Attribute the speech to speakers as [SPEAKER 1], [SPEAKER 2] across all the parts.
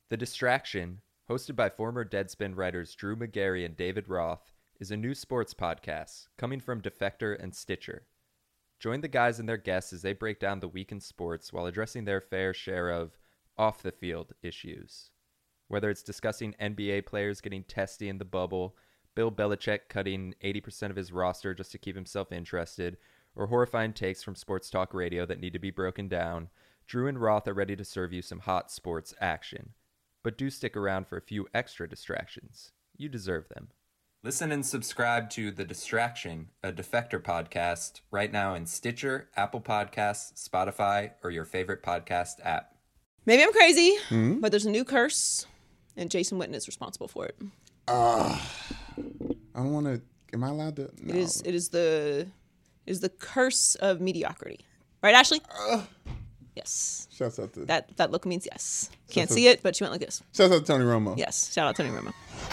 [SPEAKER 1] The Distraction, hosted by former Deadspin writers Drew McGarry and David Roth, is a new sports podcast coming from Defector and Stitcher. Join the guys and their guests as they break down the week in sports while addressing their fair share of off-the-field issues. Whether it's discussing NBA players getting testy in the bubble, Bill Belichick cutting 80% of his roster just to keep himself interested, or horrifying takes from sports talk radio that need to be broken down, Drew and Roth are ready to serve you some hot sports action. But do stick around for a few extra distractions. You deserve them. Listen and subscribe to The Distraction, a Defector podcast, right now in Stitcher, Apple Podcasts, Spotify, or your favorite podcast app.
[SPEAKER 2] Maybe I'm crazy, but there's a new curse, and Jason Witten is responsible for it.
[SPEAKER 3] I don't want to. Am I allowed to? No.
[SPEAKER 2] It is the curse of mediocrity, right, Ashley? Yes.
[SPEAKER 3] Shouts out to
[SPEAKER 2] That look means yes. Can't see it, but she went like this.
[SPEAKER 3] Shouts out to Tony Romo.
[SPEAKER 2] Yes. Shout out Tony Romo.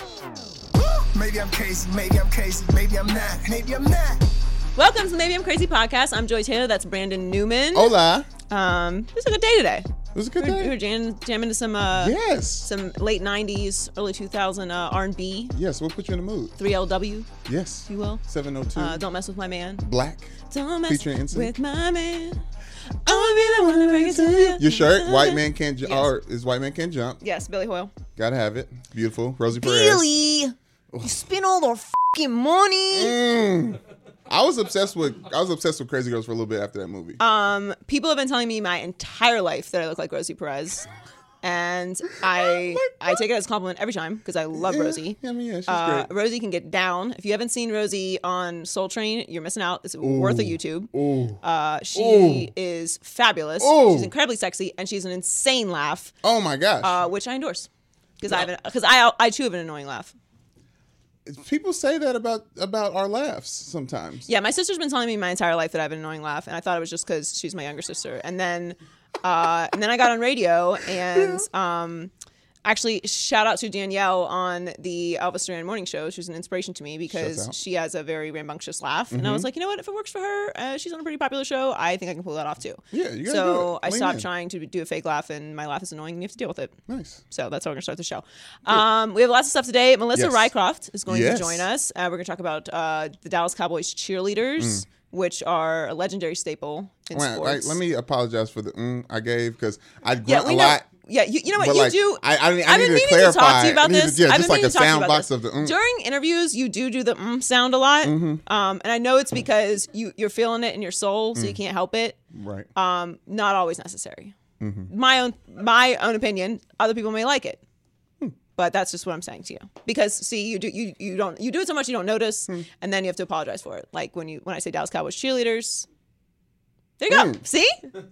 [SPEAKER 4] Maybe I'm crazy, maybe I'm crazy, maybe I'm not, maybe I'm not.
[SPEAKER 2] Welcome to the Maybe I'm Crazy podcast. I'm Joy Taylor. That's Brandon Newman.
[SPEAKER 3] Hola.
[SPEAKER 2] It was a good day today.
[SPEAKER 3] It was a good
[SPEAKER 2] We
[SPEAKER 3] day.
[SPEAKER 2] were jamming to some late 90s, early 2000 R&B,
[SPEAKER 3] Yes, we'll put you in the mood.
[SPEAKER 2] 3LW,
[SPEAKER 3] Yes.
[SPEAKER 2] if you will.
[SPEAKER 3] 702.
[SPEAKER 2] Don't mess with my man.
[SPEAKER 3] Black.
[SPEAKER 2] Don't mess
[SPEAKER 3] Featuring NSYNC.
[SPEAKER 2] with my man. I wanna be the one to bring it to you.
[SPEAKER 3] Your shirt, White Man Can't Jump.
[SPEAKER 2] Yes.
[SPEAKER 3] Or is White Man Can't Jump.
[SPEAKER 2] Yes, Billy Hoyle.
[SPEAKER 3] Gotta have it. Beautiful. Rosie Perez.
[SPEAKER 2] Billy, you spend all the fucking money.
[SPEAKER 3] I was obsessed with Crazy Girls for a little bit after that movie.
[SPEAKER 2] People have been telling me my entire life that I look like Rosie Perez. And I take it as a compliment every time because I love Rosie.
[SPEAKER 3] Yeah, I mean, yeah, she's great.
[SPEAKER 2] Rosie can get down. If you haven't seen Rosie on Soul Train, you're missing out. It's worth a YouTube. She is fabulous. She's incredibly sexy, and she's an insane laugh,
[SPEAKER 3] Oh my gosh.
[SPEAKER 2] which I endorse because I too have an annoying laugh.
[SPEAKER 3] People say that about our laughs sometimes.
[SPEAKER 2] Yeah, my sister's been telling me my entire life that I have an annoying laugh, and I thought it was just because she's my younger sister. And then I got on radio, and actually, shout out to Danielle on the Elvis Duran Morning Show. She was an inspiration to me because she has a very rambunctious laugh. And I was like, you know what? If it works for her, she's on a pretty popular show, I think I can pull that off too.
[SPEAKER 3] Yeah, you gotta do
[SPEAKER 2] So
[SPEAKER 3] it.
[SPEAKER 2] I
[SPEAKER 3] Lean
[SPEAKER 2] stopped
[SPEAKER 3] in.
[SPEAKER 2] trying to do a fake laugh, and my laugh is annoying, and you have to deal with it.
[SPEAKER 3] Nice.
[SPEAKER 2] So that's how we're going to start the show. We have lots of stuff today. Melissa
[SPEAKER 3] Yes.
[SPEAKER 2] Rycroft is going
[SPEAKER 3] Yes.
[SPEAKER 2] to join us. We're going to talk about the Dallas Cowboys cheerleaders, which are a legendary staple in
[SPEAKER 3] Wait,
[SPEAKER 2] sports.
[SPEAKER 3] let me apologize for the I gave because I grunt
[SPEAKER 2] Yeah,
[SPEAKER 3] a
[SPEAKER 2] we know.
[SPEAKER 3] lot.
[SPEAKER 2] Yeah, you know what
[SPEAKER 3] But
[SPEAKER 2] you
[SPEAKER 3] like,
[SPEAKER 2] do.
[SPEAKER 3] I
[SPEAKER 2] I've
[SPEAKER 3] need
[SPEAKER 2] been
[SPEAKER 3] to
[SPEAKER 2] meaning
[SPEAKER 3] clarify.
[SPEAKER 2] to talk to you about
[SPEAKER 3] I need
[SPEAKER 2] this.
[SPEAKER 3] to, yeah,
[SPEAKER 2] I've
[SPEAKER 3] just
[SPEAKER 2] been
[SPEAKER 3] like
[SPEAKER 2] meaning
[SPEAKER 3] a
[SPEAKER 2] to talk to you
[SPEAKER 3] sound
[SPEAKER 2] about
[SPEAKER 3] box
[SPEAKER 2] this.
[SPEAKER 3] of the
[SPEAKER 2] During interviews, you do the sound a lot, and I know it's because you're feeling it in your soul, so you can't help it.
[SPEAKER 3] Right.
[SPEAKER 2] Not always necessary. My own opinion. Other people may like it, but that's just what I'm saying to you. Because see, you do it so much you don't notice, and then you have to apologize for it. Like when I say Dallas Cowboys cheerleaders. There you go. See?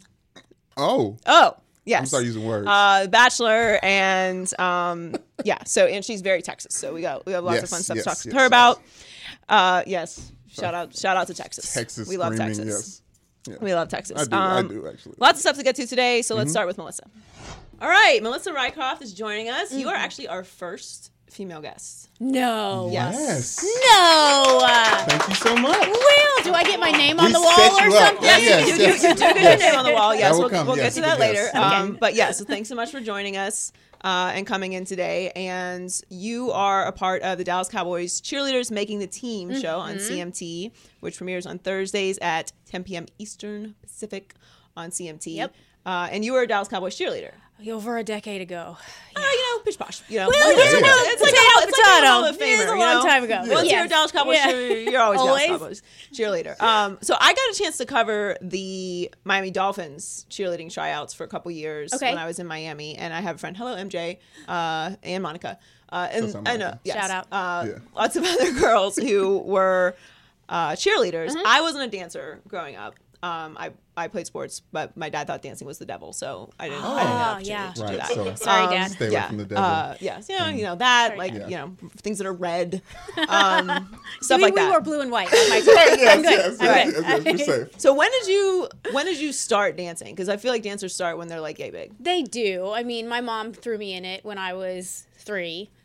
[SPEAKER 3] Oh.
[SPEAKER 2] Yes.
[SPEAKER 3] I'm sorry using words.
[SPEAKER 2] Bachelor and so and she's very Texas. So we have lots of
[SPEAKER 3] Yes,
[SPEAKER 2] fun stuff
[SPEAKER 3] yes,
[SPEAKER 2] to talk to
[SPEAKER 3] yes,
[SPEAKER 2] her
[SPEAKER 3] yes.
[SPEAKER 2] about. Yes. Shout out to Texas.
[SPEAKER 3] Texas.
[SPEAKER 2] We love
[SPEAKER 3] screaming,
[SPEAKER 2] Texas.
[SPEAKER 3] Yes. Yeah.
[SPEAKER 2] We love Texas.
[SPEAKER 3] I do actually.
[SPEAKER 2] Lots of stuff to get to today, so let's start with Melissa. All right, Melissa Rycroft is joining us. You are actually our first female guest.
[SPEAKER 5] No.
[SPEAKER 2] Yes.
[SPEAKER 5] No.
[SPEAKER 3] Thank you so much.
[SPEAKER 5] Well, do I get my name on
[SPEAKER 3] We
[SPEAKER 5] the wall
[SPEAKER 3] set
[SPEAKER 5] or
[SPEAKER 3] you up.
[SPEAKER 5] something?
[SPEAKER 3] Yes,
[SPEAKER 2] you
[SPEAKER 3] yes.
[SPEAKER 2] do get your name on the wall. Yes,
[SPEAKER 3] That will
[SPEAKER 2] we'll
[SPEAKER 3] come.
[SPEAKER 2] get
[SPEAKER 3] Yes,
[SPEAKER 2] to that
[SPEAKER 3] yes.
[SPEAKER 2] later. But yeah, so thanks so much for joining us and coming in today. And you are a part of the Dallas Cowboys Cheerleaders Making the Team show on CMT, which premieres on Thursdays at 10 p.m. Eastern Pacific on CMT.
[SPEAKER 5] Yep.
[SPEAKER 2] And you were a Dallas Cowboys cheerleader.
[SPEAKER 5] Over a decade ago.
[SPEAKER 2] Pish posh.
[SPEAKER 5] Well,
[SPEAKER 2] It's like a Hall of Famer.
[SPEAKER 5] It was a long time ago.
[SPEAKER 2] Once you're a
[SPEAKER 5] Yes.
[SPEAKER 2] Dallas Cowboys
[SPEAKER 5] Yeah.
[SPEAKER 2] cheerleader, you're always
[SPEAKER 5] Always.
[SPEAKER 2] Dallas Cowboys cheerleader. So I got a chance to cover the Miami Dolphins cheerleading tryouts for a couple years
[SPEAKER 5] Okay.
[SPEAKER 2] when I was in Miami, and I have a friend, hello MJ, and Monica, and
[SPEAKER 3] Monica.
[SPEAKER 2] yes,
[SPEAKER 5] Shout out.
[SPEAKER 2] lots of other girls who were cheerleaders.
[SPEAKER 5] Mm-hmm.
[SPEAKER 2] I wasn't a dancer growing up. I played sports, but my dad thought dancing was the devil, so I didn't have an opportunity
[SPEAKER 5] yeah.
[SPEAKER 2] to do
[SPEAKER 3] Right.
[SPEAKER 2] that.
[SPEAKER 3] So
[SPEAKER 5] Sorry, Dad.
[SPEAKER 3] stay away from the devil.
[SPEAKER 2] Yes, you know that,
[SPEAKER 5] Sorry,
[SPEAKER 2] like
[SPEAKER 5] Dad.
[SPEAKER 2] things that are red, stuff like
[SPEAKER 5] we
[SPEAKER 2] that.
[SPEAKER 5] were blue and white. I'm good.
[SPEAKER 3] yes,
[SPEAKER 5] I'm
[SPEAKER 3] yes,
[SPEAKER 5] good.
[SPEAKER 3] you're safe.
[SPEAKER 2] So when did you start dancing? Because I feel like dancers start when they're like yay big.
[SPEAKER 5] They do. I mean, my mom threw me in it when I was 3.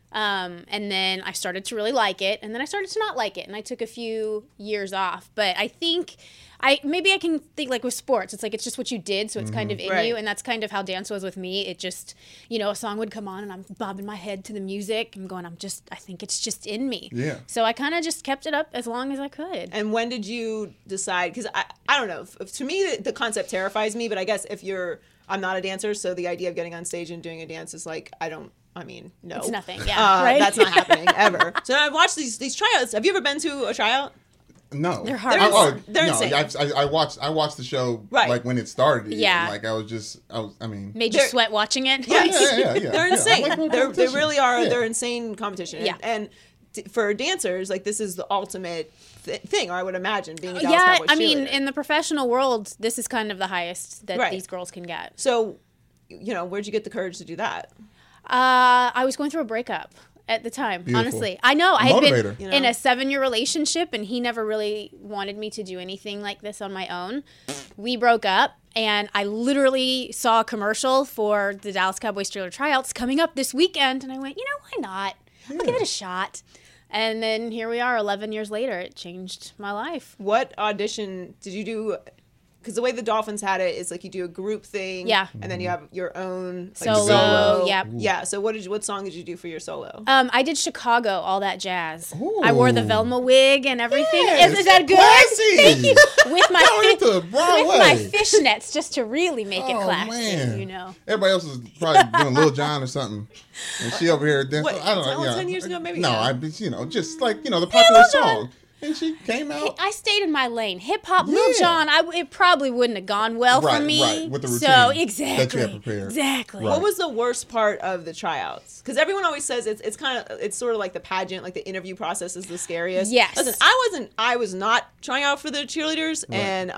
[SPEAKER 5] And then I started to really like it, and then I started to not like it, and I took a few years off. But I think maybe I can think like with sports, it's like it's just what you did, so it's kind of in
[SPEAKER 2] Right.
[SPEAKER 5] you, and that's kind of how dance was with me. It just, you know, a song would come on, and I'm bobbing my head to the music, and going, I think it's just in me.
[SPEAKER 3] Yeah.
[SPEAKER 5] So I kind of just kept it up as long as I could.
[SPEAKER 2] And when did you decide? Because I don't know. To me, the concept terrifies me. But I guess I'm not a dancer, so the idea of getting on stage and doing a dance is like, no.
[SPEAKER 5] It's nothing, yeah, right?
[SPEAKER 2] That's not happening ever. So I've watched these tryouts. Have you ever been to a tryout?
[SPEAKER 3] No,
[SPEAKER 5] They're hard.
[SPEAKER 2] They're
[SPEAKER 3] no,
[SPEAKER 2] insane.
[SPEAKER 3] I watched the show
[SPEAKER 2] Right.
[SPEAKER 3] like when it started.
[SPEAKER 5] Yeah.
[SPEAKER 3] Like I mean,
[SPEAKER 5] Made you
[SPEAKER 2] They're-
[SPEAKER 5] sweat watching it?
[SPEAKER 3] yeah.
[SPEAKER 2] They're insane.
[SPEAKER 3] Like a
[SPEAKER 2] They
[SPEAKER 3] competition.
[SPEAKER 2] really are.
[SPEAKER 3] Yeah.
[SPEAKER 2] They're insane competition.
[SPEAKER 5] Yeah.
[SPEAKER 2] And for dancers, like this is the ultimate thing, or I would imagine being a Dallas
[SPEAKER 5] Yeah,
[SPEAKER 2] Cowboys
[SPEAKER 5] I mean,
[SPEAKER 2] cheerleader.
[SPEAKER 5] in the professional world, this is kind of the highest that
[SPEAKER 2] Right.
[SPEAKER 5] these girls can get.
[SPEAKER 2] So, where'd you get the courage to do that?
[SPEAKER 5] I was going through a breakup at the time,
[SPEAKER 3] Beautiful.
[SPEAKER 5] honestly. I know. I had
[SPEAKER 3] Motivator.
[SPEAKER 5] been in a 7-year relationship, and he never really wanted me to do anything like this on my own. We broke up, and I literally saw a commercial for the Dallas Cowboys cheerleader tryouts coming up this weekend, and I went, why not? I'll give it a shot. And then here we are 11 years later. It changed my life.
[SPEAKER 2] What audition did you do? Because the way the Dolphins had it is like you do a group thing,
[SPEAKER 5] Yeah.
[SPEAKER 2] and then you have your own
[SPEAKER 5] Solo, yep.
[SPEAKER 2] Yeah. So what song did you do for your solo?
[SPEAKER 5] I did Chicago, all that jazz.
[SPEAKER 3] Ooh.
[SPEAKER 5] I wore the Velma wig and everything.
[SPEAKER 3] Yes,
[SPEAKER 5] Is that good?
[SPEAKER 3] classy.
[SPEAKER 5] Thank you. With my
[SPEAKER 3] Going into Broadway.
[SPEAKER 5] with my fishnets, just to really make it
[SPEAKER 3] Oh,
[SPEAKER 5] classy.
[SPEAKER 3] man. Everybody else is probably doing Lil Jon or something, and she over here dancing.
[SPEAKER 2] What,
[SPEAKER 3] I don't know.
[SPEAKER 2] 10 years ago, maybe?
[SPEAKER 3] No,
[SPEAKER 2] Yeah.
[SPEAKER 3] just like the popular
[SPEAKER 5] Lil Jon.
[SPEAKER 3] song, and she came out.
[SPEAKER 5] I stayed in my lane. Hip hop, Lil
[SPEAKER 3] Yeah.
[SPEAKER 5] Jon. It probably wouldn't have gone well for
[SPEAKER 3] Right,
[SPEAKER 5] me.
[SPEAKER 3] right, with the
[SPEAKER 5] So
[SPEAKER 3] routine
[SPEAKER 5] exactly,
[SPEAKER 3] that you had prepared.
[SPEAKER 5] exactly.
[SPEAKER 3] Right.
[SPEAKER 2] What was the worst part of the tryouts? Because everyone always says it's sort of like the pageant, like the interview process is the scariest.
[SPEAKER 5] Yes.
[SPEAKER 2] Listen, I was not trying out for the cheerleaders, and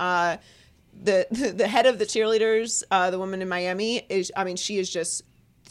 [SPEAKER 2] the head of the cheerleaders, the woman in Miami, she is just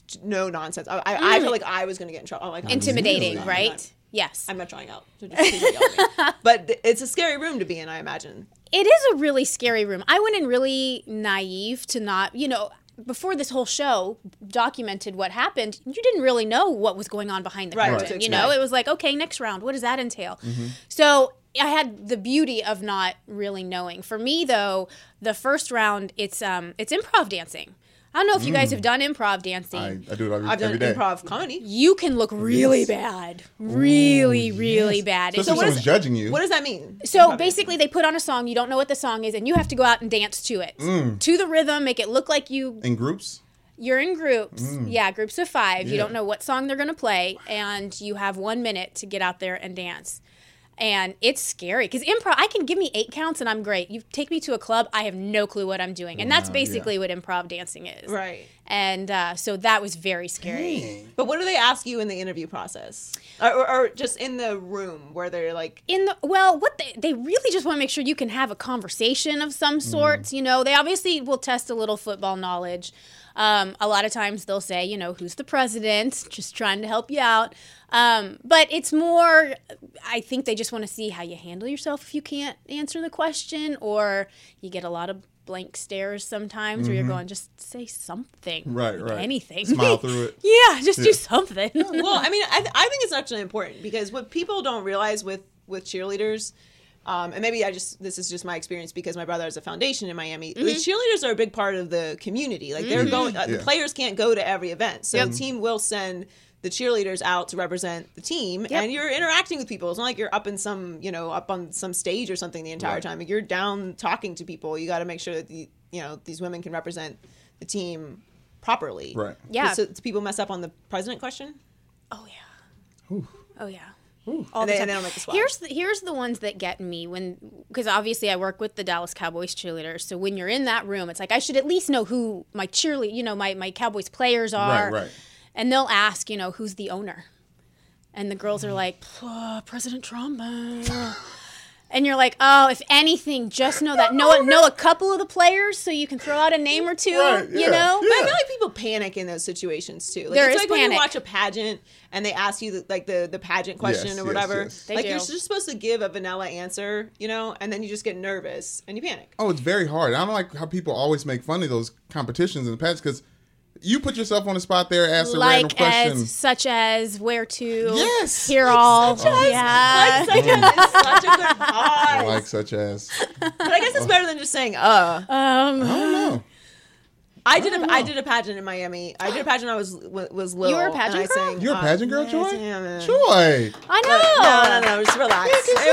[SPEAKER 2] no nonsense. I feel like I was gonna get in trouble. I'm like,
[SPEAKER 5] Intimidating,
[SPEAKER 3] Really?
[SPEAKER 5] right? Yes.
[SPEAKER 2] I'm not trying out. So just please don't yell at me. But it's a scary room to be in, I imagine.
[SPEAKER 5] It is a really scary room. I went in really naive to not, before this whole show documented what happened, you didn't really know what was going on behind the
[SPEAKER 2] Right,
[SPEAKER 5] curtain.
[SPEAKER 2] what to
[SPEAKER 5] You know,
[SPEAKER 2] expect.
[SPEAKER 5] it was like, okay, next round, what does that entail? So I had the beauty of not really knowing. For me, though, the first round, it's improv dancing. I don't know if you guys have done improv dancing.
[SPEAKER 3] I do it
[SPEAKER 2] I've done
[SPEAKER 3] every day.
[SPEAKER 2] improv comedy.
[SPEAKER 5] You can look really bad. Really, really bad.
[SPEAKER 3] Especially
[SPEAKER 2] what is-
[SPEAKER 3] someone's judging you.
[SPEAKER 2] What does that mean?
[SPEAKER 5] So basically, they put on a song. You don't know what the song is, and you have to go out and dance to it, to the rhythm. Make it look like
[SPEAKER 3] In groups?
[SPEAKER 5] you're in groups. Yeah, groups of 5. You
[SPEAKER 3] Yeah.
[SPEAKER 5] don't know what song they're gonna play, and you have 1 minute to get out there and dance. And it's scary because improv. I can give me 8 counts and I'm great. You take me to a club, I have no clue what I'm doing, and that's
[SPEAKER 3] Wow,
[SPEAKER 5] basically what improv dancing is.
[SPEAKER 2] Right.
[SPEAKER 5] And so that was very scary.
[SPEAKER 3] Dang.
[SPEAKER 2] But what do they ask you in the interview process, or just in the room where they're like,
[SPEAKER 5] What they really just want to make sure you can have a conversation of some sort. You know, they obviously will test a little football knowledge. A lot of times they'll say, who's the president, just trying to help you out. But it's more, I think they just want to see how you handle yourself if you can't answer the question, or you get a lot of blank stares sometimes where you're going, just say something.
[SPEAKER 3] Right,
[SPEAKER 5] Like
[SPEAKER 3] right.
[SPEAKER 5] anything.
[SPEAKER 3] Smile through it.
[SPEAKER 5] Yeah, just do something.
[SPEAKER 2] well, I mean, I think it's actually important because what people don't realize with cheerleaders, and maybe this is just my experience because my brother has a foundation in Miami. The cheerleaders are a big part of the community. Like they're going, the
[SPEAKER 3] Yeah.
[SPEAKER 2] players can't go to every event, so the team will send the cheerleaders out to represent the team, and you're interacting with people. It's not like you're up in some, up on some stage or something the entire
[SPEAKER 3] Right.
[SPEAKER 2] time. Like, you're down talking to people. You got to make sure that these women can represent the team properly.
[SPEAKER 3] Right.
[SPEAKER 5] Yeah.
[SPEAKER 2] So do people mess up on the president question?
[SPEAKER 5] Oh yeah. Oh yeah.
[SPEAKER 2] And
[SPEAKER 5] All the
[SPEAKER 2] they
[SPEAKER 5] time.
[SPEAKER 2] don't make the squad.
[SPEAKER 5] Here's the ones that get me because obviously I work with the Dallas Cowboys cheerleaders. So when you're in that room, it's like I should at least know who my my Cowboys players are.
[SPEAKER 3] Right.
[SPEAKER 5] And they'll ask, who's the owner, and the girls are like, President Trump. And you're like, oh, if anything, just know that. Know a couple of the players so you can throw out a name or two,
[SPEAKER 3] Right, yeah,
[SPEAKER 2] But I
[SPEAKER 3] yeah.
[SPEAKER 2] feel like people panic in those situations too. Like,
[SPEAKER 5] There
[SPEAKER 2] it's
[SPEAKER 5] is
[SPEAKER 2] like when you
[SPEAKER 5] panic.
[SPEAKER 2] watch a pageant and they ask you the pageant question
[SPEAKER 3] Yes,
[SPEAKER 2] or
[SPEAKER 3] yes,
[SPEAKER 2] whatever.
[SPEAKER 3] yes.
[SPEAKER 5] They
[SPEAKER 2] Like
[SPEAKER 5] do.
[SPEAKER 2] you're just supposed to give a vanilla answer, and then you just get nervous and you panic.
[SPEAKER 3] Oh, it's very hard. I don't like how people always make fun of those competitions in the past because You put yourself on the spot there, ask a
[SPEAKER 5] like
[SPEAKER 3] random question.
[SPEAKER 5] such as where to
[SPEAKER 3] Yes.
[SPEAKER 5] hear all.
[SPEAKER 2] Like
[SPEAKER 5] Yeah.
[SPEAKER 2] such a, it's such a good pause.
[SPEAKER 3] Like such as.
[SPEAKER 2] But I guess it's better than just saying
[SPEAKER 3] I don't know.
[SPEAKER 2] I did a pageant in Miami. I did a pageant when I was little.
[SPEAKER 5] You were a pageant
[SPEAKER 2] and I
[SPEAKER 5] girl?
[SPEAKER 2] sang,
[SPEAKER 3] You're a pageant girl, Joy?
[SPEAKER 2] yeah.
[SPEAKER 3] Joy.
[SPEAKER 5] I know.
[SPEAKER 2] No, just relax.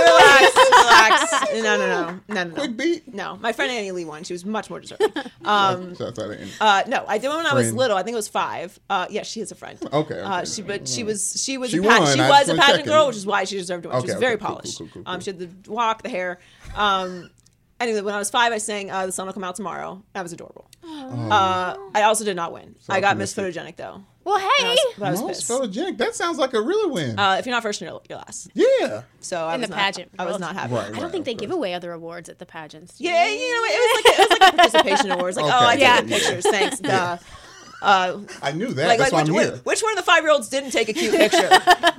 [SPEAKER 2] Relax. No.
[SPEAKER 3] Quick beat.
[SPEAKER 2] No, my friend Annie Lee won. She was much more deserving.
[SPEAKER 3] So I didn't-
[SPEAKER 2] No, I did one when I was little. I think it was 5. Yeah, she is a friend.
[SPEAKER 3] Okay.
[SPEAKER 2] She was
[SPEAKER 3] She
[SPEAKER 2] a
[SPEAKER 3] won.
[SPEAKER 2] she
[SPEAKER 3] I
[SPEAKER 2] was a
[SPEAKER 3] was
[SPEAKER 2] pageant
[SPEAKER 3] checking.
[SPEAKER 2] girl, which is why she deserved to win. She was
[SPEAKER 3] Okay,
[SPEAKER 2] very
[SPEAKER 3] okay, cool,
[SPEAKER 2] polished.
[SPEAKER 3] cool.
[SPEAKER 2] She had the walk, the hair. Anyway, when I was 5, I sang "The Sun Will Come Out Tomorrow." That was adorable. I also did not win. I got Miss
[SPEAKER 3] optimistic.
[SPEAKER 2] Photogenic though.
[SPEAKER 5] Well, hey.
[SPEAKER 2] But I was
[SPEAKER 3] Most
[SPEAKER 2] pissed.
[SPEAKER 3] photogenic. That sounds like a really win.
[SPEAKER 2] If you're not first, you're last.
[SPEAKER 3] Yeah.
[SPEAKER 2] So I
[SPEAKER 5] In
[SPEAKER 2] was
[SPEAKER 5] the
[SPEAKER 2] not,
[SPEAKER 5] pageant
[SPEAKER 2] I was
[SPEAKER 5] world.
[SPEAKER 2] not happy.
[SPEAKER 3] Right.
[SPEAKER 5] I don't think they give away other awards at the pageants.
[SPEAKER 2] Yeah, it was like a participation awards. Like,
[SPEAKER 3] Okay.
[SPEAKER 2] I
[SPEAKER 5] Yeah.
[SPEAKER 2] took pictures. Thanks.
[SPEAKER 3] I knew that.
[SPEAKER 2] Like,
[SPEAKER 3] That's why I'm
[SPEAKER 2] which,
[SPEAKER 3] here.
[SPEAKER 2] which one of the 5-year-olds didn't take a cute picture?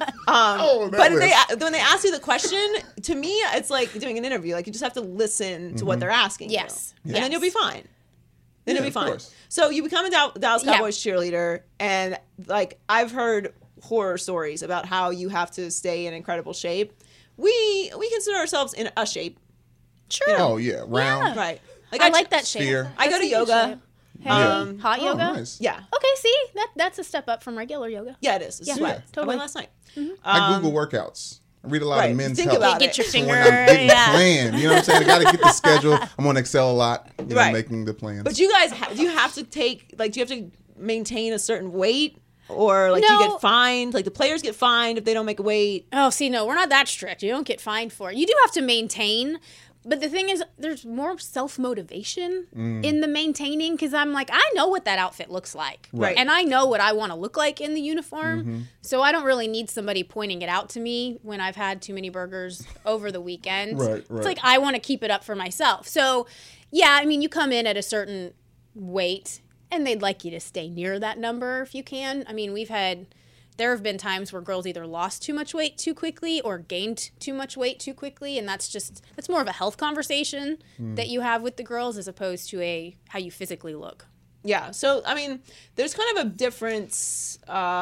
[SPEAKER 3] Oh, that
[SPEAKER 2] But
[SPEAKER 3] list.
[SPEAKER 2] when they ask you the question, to me, it's like doing an interview. Like, you just have to listen to what they're asking.
[SPEAKER 5] Yes.
[SPEAKER 2] You. And then you'll be fine. Then
[SPEAKER 3] Yeah,
[SPEAKER 2] you'll be
[SPEAKER 3] of
[SPEAKER 2] fine.
[SPEAKER 3] course.
[SPEAKER 2] So you become a Dallas
[SPEAKER 5] Yeah.
[SPEAKER 2] Cowboys cheerleader, and like I've heard horror stories about how you have to stay in incredible shape. We consider ourselves in a shape,
[SPEAKER 5] Sure.
[SPEAKER 3] Oh, yeah. Round.
[SPEAKER 2] right?
[SPEAKER 5] I like that shape.
[SPEAKER 3] Sphere.
[SPEAKER 2] I go
[SPEAKER 5] That's
[SPEAKER 2] to
[SPEAKER 5] a good
[SPEAKER 2] yoga.
[SPEAKER 5] shape. Hey,
[SPEAKER 3] Yeah.
[SPEAKER 5] hot
[SPEAKER 3] Oh,
[SPEAKER 5] yoga?
[SPEAKER 3] nice.
[SPEAKER 2] Yeah,
[SPEAKER 5] Okay, see? That's a step up from regular yoga.
[SPEAKER 2] yeah, it is. It's
[SPEAKER 5] Yeah,
[SPEAKER 2] sweat. I
[SPEAKER 5] totally.
[SPEAKER 2] went last night.
[SPEAKER 3] I Google workouts. I read a lot
[SPEAKER 2] Right.
[SPEAKER 3] of men's
[SPEAKER 2] Think
[SPEAKER 3] health.
[SPEAKER 2] about
[SPEAKER 5] Get your
[SPEAKER 2] it.
[SPEAKER 3] So
[SPEAKER 5] finger.
[SPEAKER 3] when I'm getting
[SPEAKER 5] Yeah.
[SPEAKER 3] planned, you know what I'm saying? I got to get the schedule. I'm on Excel a lot,
[SPEAKER 2] Right.
[SPEAKER 3] making the plans.
[SPEAKER 2] But you guys, do you have to do you have to maintain a certain weight, or like do you
[SPEAKER 5] No.
[SPEAKER 2] get fined? Like the players get fined if they don't make a weight.
[SPEAKER 5] Oh, see, no, we're not that strict. You don't get fined for it. You do have to maintain. But the thing is, there's more self-motivation in the maintaining because I'm like, I know what that outfit looks like.
[SPEAKER 2] Right.
[SPEAKER 5] And I know what I want to look like in the uniform. So I don't really need somebody pointing it out to me when I've had too many burgers over the weekend.
[SPEAKER 3] Right.
[SPEAKER 5] It's like I want to keep it up for myself. So, yeah, I mean, you come in at a certain weight and they'd like you to stay near that number if you can. I mean, there have been times where girls either lost too much weight too quickly or gained too much weight too quickly, and that's more of a health conversation that you have with the girls as opposed to how you physically look.
[SPEAKER 2] Yeah. So I mean, there's kind of a different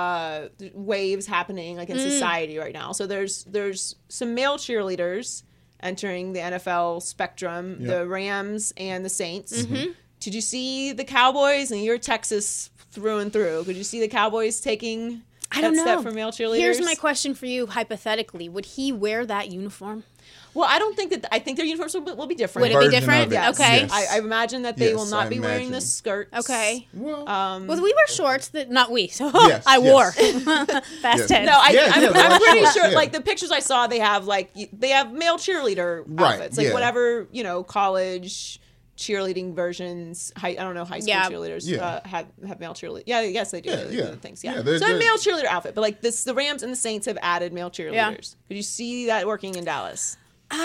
[SPEAKER 2] waves happening like in society right now. So there's some male cheerleaders entering the NFL spectrum, the Rams and the Saints. Did you see the Cowboys? And you're Texas through and through. Could you see the Cowboys taking
[SPEAKER 5] I don't
[SPEAKER 2] that
[SPEAKER 5] know.
[SPEAKER 2] step for male cheerleaders?
[SPEAKER 5] Here's my question for you, hypothetically. Would he wear that uniform?
[SPEAKER 2] Well, I don't think that. I think their uniforms will be different.
[SPEAKER 5] Would it be
[SPEAKER 3] Version
[SPEAKER 5] different?
[SPEAKER 3] of it.
[SPEAKER 2] Yes.
[SPEAKER 5] Okay.
[SPEAKER 3] Yes.
[SPEAKER 2] I imagine that they
[SPEAKER 3] Yes,
[SPEAKER 2] will not
[SPEAKER 3] I
[SPEAKER 2] be wearing the
[SPEAKER 3] imagine.
[SPEAKER 2] skirts.
[SPEAKER 5] Okay.
[SPEAKER 3] well,
[SPEAKER 5] Well, we wear shorts that, not we, so
[SPEAKER 3] Yes,
[SPEAKER 5] I
[SPEAKER 3] yes.
[SPEAKER 5] wore. Fast 10.
[SPEAKER 2] No,
[SPEAKER 3] Yeah,
[SPEAKER 2] I'm
[SPEAKER 3] they're like
[SPEAKER 2] pretty
[SPEAKER 3] shorts,
[SPEAKER 2] sure.
[SPEAKER 3] yeah.
[SPEAKER 2] Like the pictures I saw, they have male cheerleader
[SPEAKER 3] Right,
[SPEAKER 2] outfits, like
[SPEAKER 3] yeah.
[SPEAKER 2] whatever college cheerleading versions. I don't know, high school
[SPEAKER 5] Yeah.
[SPEAKER 2] cheerleaders
[SPEAKER 3] Yeah.
[SPEAKER 2] have male cheerleading. Yeah, yes they do.
[SPEAKER 3] Yeah,
[SPEAKER 2] They do
[SPEAKER 3] yeah.
[SPEAKER 2] the things. Yeah,
[SPEAKER 3] Yeah, they're-
[SPEAKER 2] so a
[SPEAKER 3] they're-
[SPEAKER 2] male cheerleader outfit, but like the Rams and the Saints have added male cheerleaders. Could you see that working in Dallas?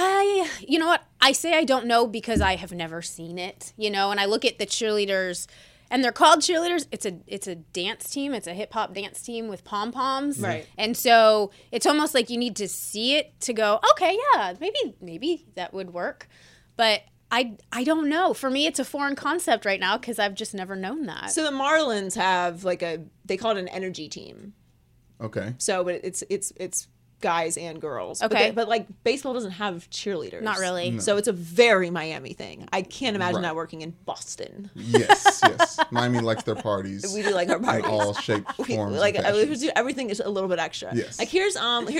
[SPEAKER 5] You know what? I say I don't know because I have never seen it, and I look at the cheerleaders and they're called cheerleaders. It's a dance team. It's a hip hop dance team with pom-poms.
[SPEAKER 2] Right.
[SPEAKER 5] And so it's almost like you need to see it to go, okay, yeah, maybe that would work. But I don't know. For me, it's a foreign concept right now because I've just never known that.
[SPEAKER 2] So the Marlins have they call it an energy team.
[SPEAKER 3] okay.
[SPEAKER 2] So, but it's guys and girls.
[SPEAKER 5] Okay.
[SPEAKER 2] But like baseball doesn't have cheerleaders.
[SPEAKER 5] Not really.
[SPEAKER 2] So it's a very Miami thing. I can't imagine
[SPEAKER 3] Right.
[SPEAKER 2] that working in Boston.
[SPEAKER 3] Yes. Miami likes their parties.
[SPEAKER 2] We do like our
[SPEAKER 3] in
[SPEAKER 2] parties.
[SPEAKER 3] all shapes,
[SPEAKER 2] We,
[SPEAKER 3] forms,
[SPEAKER 2] like
[SPEAKER 3] and
[SPEAKER 2] we
[SPEAKER 3] fashions.
[SPEAKER 2] do everything is a little bit extra.
[SPEAKER 3] Yes.
[SPEAKER 2] Like here's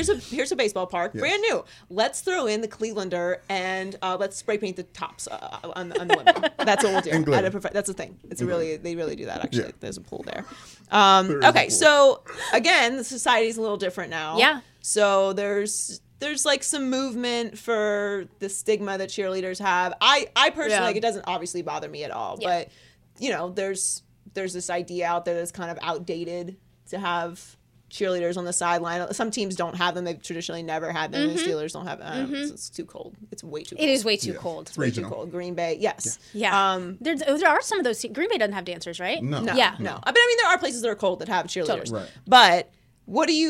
[SPEAKER 2] a baseball park,
[SPEAKER 3] Yes.
[SPEAKER 2] brand new. Let's throw in the Clevelander and let's spray paint the tops on the women. That's what we'll do.
[SPEAKER 3] And glitter.
[SPEAKER 2] That's a thing. They really do that actually.
[SPEAKER 3] Yeah.
[SPEAKER 2] There's a pool there.
[SPEAKER 3] There is a
[SPEAKER 2] Okay,
[SPEAKER 3] pool.
[SPEAKER 2] so again, the society's a little different now.
[SPEAKER 5] Yeah.
[SPEAKER 2] So there's like some movement for the stigma that cheerleaders have. I personally
[SPEAKER 5] Yeah.
[SPEAKER 2] like it doesn't obviously bother me at all,
[SPEAKER 5] Yeah.
[SPEAKER 2] but there's this idea out there that's kind of outdated to have cheerleaders on the sideline. Some teams don't have them. They've traditionally never had them. The Steelers don't have them. It's too cold. It's way too cold.
[SPEAKER 5] It is way too
[SPEAKER 3] Yeah.
[SPEAKER 5] cold.
[SPEAKER 3] It's
[SPEAKER 2] way too
[SPEAKER 3] regional.
[SPEAKER 2] cold. Green Bay, yes.
[SPEAKER 5] Yeah. There are some of those. Green Bay doesn't have dancers, right?
[SPEAKER 3] No.
[SPEAKER 2] No,
[SPEAKER 5] Yeah.
[SPEAKER 2] no. But I mean, there are places that are cold that have cheerleaders.
[SPEAKER 5] Totally.
[SPEAKER 3] Right.
[SPEAKER 2] But what do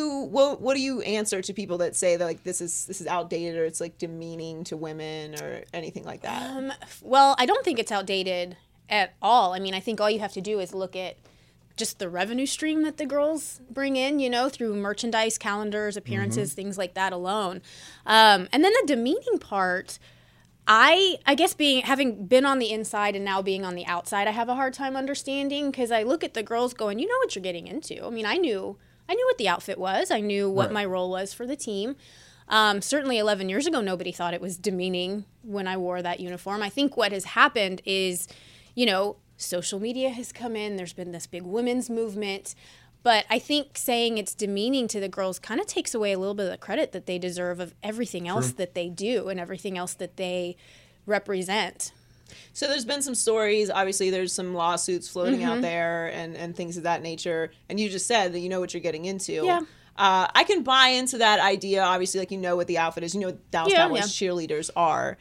[SPEAKER 2] you answer to people that say that like this is outdated or it's like demeaning to women or anything like that?
[SPEAKER 5] Well, I don't think it's outdated at all. I mean, I think all you have to do is look at just the revenue stream that the girls bring in, through merchandise, calendars, appearances, things like that alone. And then the demeaning part, I guess having been on the inside and now being on the outside, I have a hard time understanding, because I look at the girls going, you know what you're getting into. I mean, I knew what the outfit was. I knew what my role was for the team. Certainly 11 years ago, nobody thought it was demeaning when I wore that uniform. I think what has happened is, social media has come in. There's been this big women's movement. But I think saying it's demeaning to the girls kind of takes away a little bit of the credit that they deserve of everything else that they do and everything else that they represent.
[SPEAKER 2] So there's been some stories. Obviously, there's some lawsuits floating out there and things of that nature. And you just said that you know what you're getting into.
[SPEAKER 5] Yeah.
[SPEAKER 2] I can buy into that idea. Obviously, like, what the outfit is. What Dallas Cowboys cheerleaders are.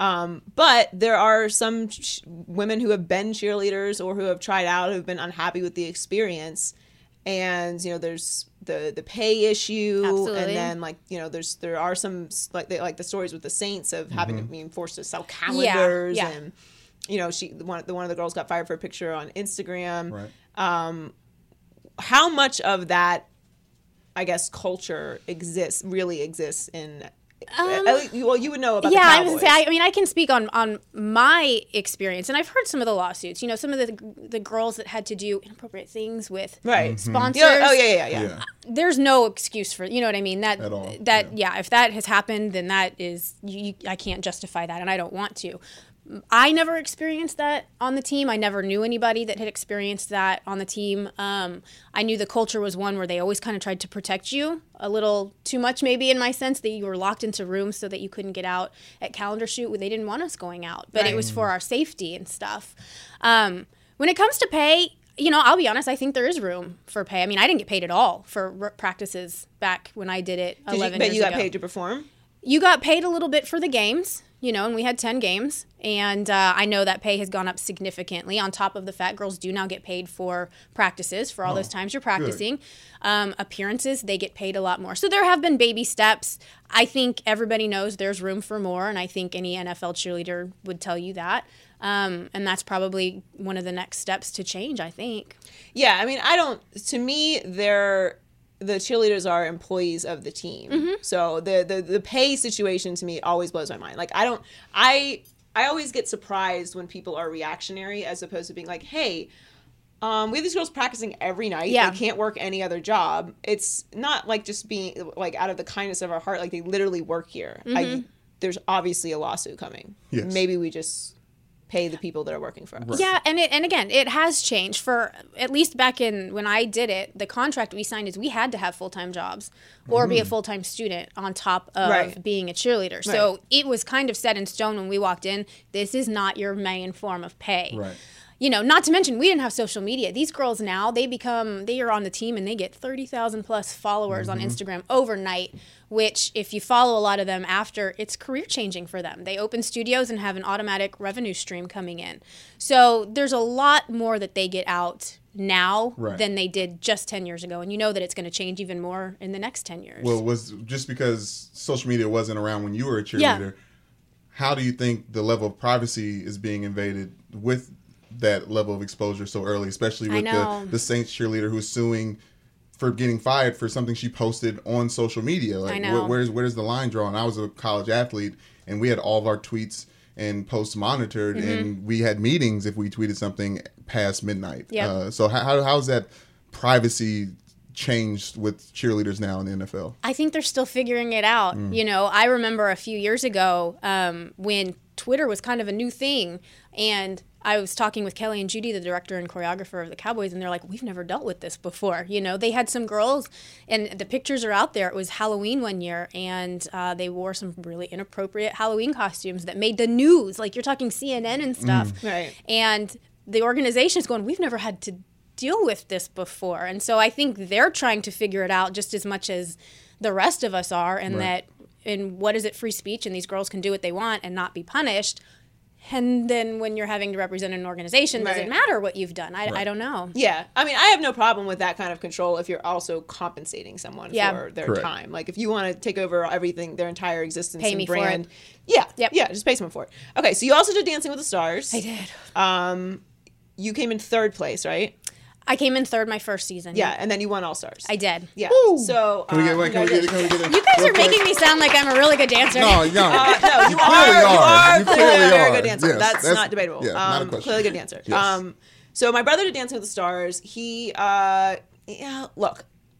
[SPEAKER 2] But there are some women who have been cheerleaders or who have tried out, who have been unhappy with the experience. And, there's the pay issue.
[SPEAKER 5] Absolutely.
[SPEAKER 2] And then, there are some, like the stories with the Saints of having to being forced to sell calendars.
[SPEAKER 5] Yeah.
[SPEAKER 2] And, one of the girls got fired for a picture on Instagram.
[SPEAKER 3] Right.
[SPEAKER 2] How much of that, I guess, culture really exists in... well, you would know about the Cowboys.
[SPEAKER 5] I was gonna say, I can speak on my experience, and I've heard some of the lawsuits. Some of the girls that had to do inappropriate things with sponsors.
[SPEAKER 2] Yeah.
[SPEAKER 5] There's no excuse for, you know what I mean?
[SPEAKER 3] At all.
[SPEAKER 5] If that has happened, then that is, I can't justify that, and I don't want to. I never experienced that on the team. I never knew anybody that had experienced that on the team. I knew the culture was one where they always kind of tried to protect you a little too much, maybe, in my sense, that you were locked into rooms so that you couldn't get out at calendar shoot. They didn't want us going out, but it was for our safety and stuff. When it comes to pay, I'll be honest, I think there is room for pay. I didn't get paid at all for practices back when I did it 11 years ago.
[SPEAKER 2] But you got paid to perform?
[SPEAKER 5] You got paid a little bit for the games. And we had 10 games, and I know that pay has gone up significantly on top of the fact girls do now get paid for practices for all those times you're practicing. Appearances, they get paid a lot more. So there have been baby steps. I think everybody knows there's room for more, and I think any NFL cheerleader would tell you that. And that's probably one of the next steps to change, I think. Yeah,
[SPEAKER 2] to me, the cheerleaders are employees of the team. So the pay situation to me always blows my mind. Like, I always get surprised when people are reactionary as opposed to being like, hey, we have these girls practicing every night.
[SPEAKER 5] Yeah.
[SPEAKER 2] They can't work any other job. It's not like just being like out of the kindness of our heart. Like, they literally work here. There's obviously a lawsuit coming.
[SPEAKER 3] Yes.
[SPEAKER 2] Maybe we just pay the people that are working for us.
[SPEAKER 3] Right.
[SPEAKER 5] Yeah, and again, it has changed. For at least back in when I did it, the contract we signed is we had to have full-time jobs or be a full-time student on top of being a cheerleader. So it was kind of set in stone when we walked in. This is not your main form of pay.
[SPEAKER 3] Right.
[SPEAKER 5] Not to mention, we didn't have social media. These girls now, they are on the team and they get 30,000 plus followers on Instagram overnight, which if you follow a lot of them after, it's career changing for them. They open studios and have an automatic revenue stream coming in. So there's a lot more that they get out now than they did just 10 years ago. And that it's going to change even more in the next 10 years.
[SPEAKER 3] Well, was just because social media wasn't around when you were a cheerleader, how do you think the level of privacy is being invaded with that level of exposure so early, especially with the Saints cheerleader who's suing for getting fired for something she posted on social media? Like,
[SPEAKER 5] I know.
[SPEAKER 3] Where's the line drawn? I was a college athlete, and we had all of our tweets and posts monitored, and we had meetings if we tweeted something past midnight.
[SPEAKER 5] Yep.
[SPEAKER 3] So how's that privacy changed with cheerleaders now in the NFL?
[SPEAKER 5] I think they're still figuring it out. I remember a few years ago when Twitter was kind of a new thing, and I was talking with Kelly and Judy, the director and choreographer of the Cowboys, and they're like, we've never dealt with this before. They had some girls, and the pictures are out there. It was Halloween one year, and they wore some really inappropriate Halloween costumes that made the news. Like, you're talking CNN and stuff.
[SPEAKER 2] Right.
[SPEAKER 5] And the organization is going, we've never had to deal with this before. And so I think they're trying to figure it out just as much as the rest of us are, and what is it, free speech, and these girls can do what they want and not be punished. And then when you're having to represent an organization, does it matter what you've done? I don't know.
[SPEAKER 2] Yeah. I have no problem with that kind of control if you're also compensating someone for their time. Like, if you want to take over everything, their entire existence
[SPEAKER 5] Pay
[SPEAKER 2] and
[SPEAKER 5] me
[SPEAKER 2] brand.
[SPEAKER 5] for it.
[SPEAKER 2] Yeah.
[SPEAKER 5] Yep.
[SPEAKER 2] Yeah, just pay someone for it. Okay, so you also did Dancing with the Stars.
[SPEAKER 5] I did.
[SPEAKER 2] You came in third place, right?
[SPEAKER 5] I came in third my first season.
[SPEAKER 2] Yeah, and then you won All Stars.
[SPEAKER 5] I did.
[SPEAKER 2] Yeah.
[SPEAKER 3] Woo.
[SPEAKER 2] So
[SPEAKER 3] Can we get it?
[SPEAKER 5] You guys are making me sound like I'm a really good dancer.
[SPEAKER 3] No,
[SPEAKER 2] no, you
[SPEAKER 3] clearly
[SPEAKER 2] are
[SPEAKER 3] You
[SPEAKER 2] clearly a
[SPEAKER 3] clearly
[SPEAKER 2] very
[SPEAKER 3] are.
[SPEAKER 2] good dancer.
[SPEAKER 3] Yes,
[SPEAKER 2] that's not debatable.
[SPEAKER 3] Yeah, not a question.
[SPEAKER 2] Clearly a good dancer.
[SPEAKER 3] Yes.
[SPEAKER 2] So my brother did Dancing with the Stars. He look.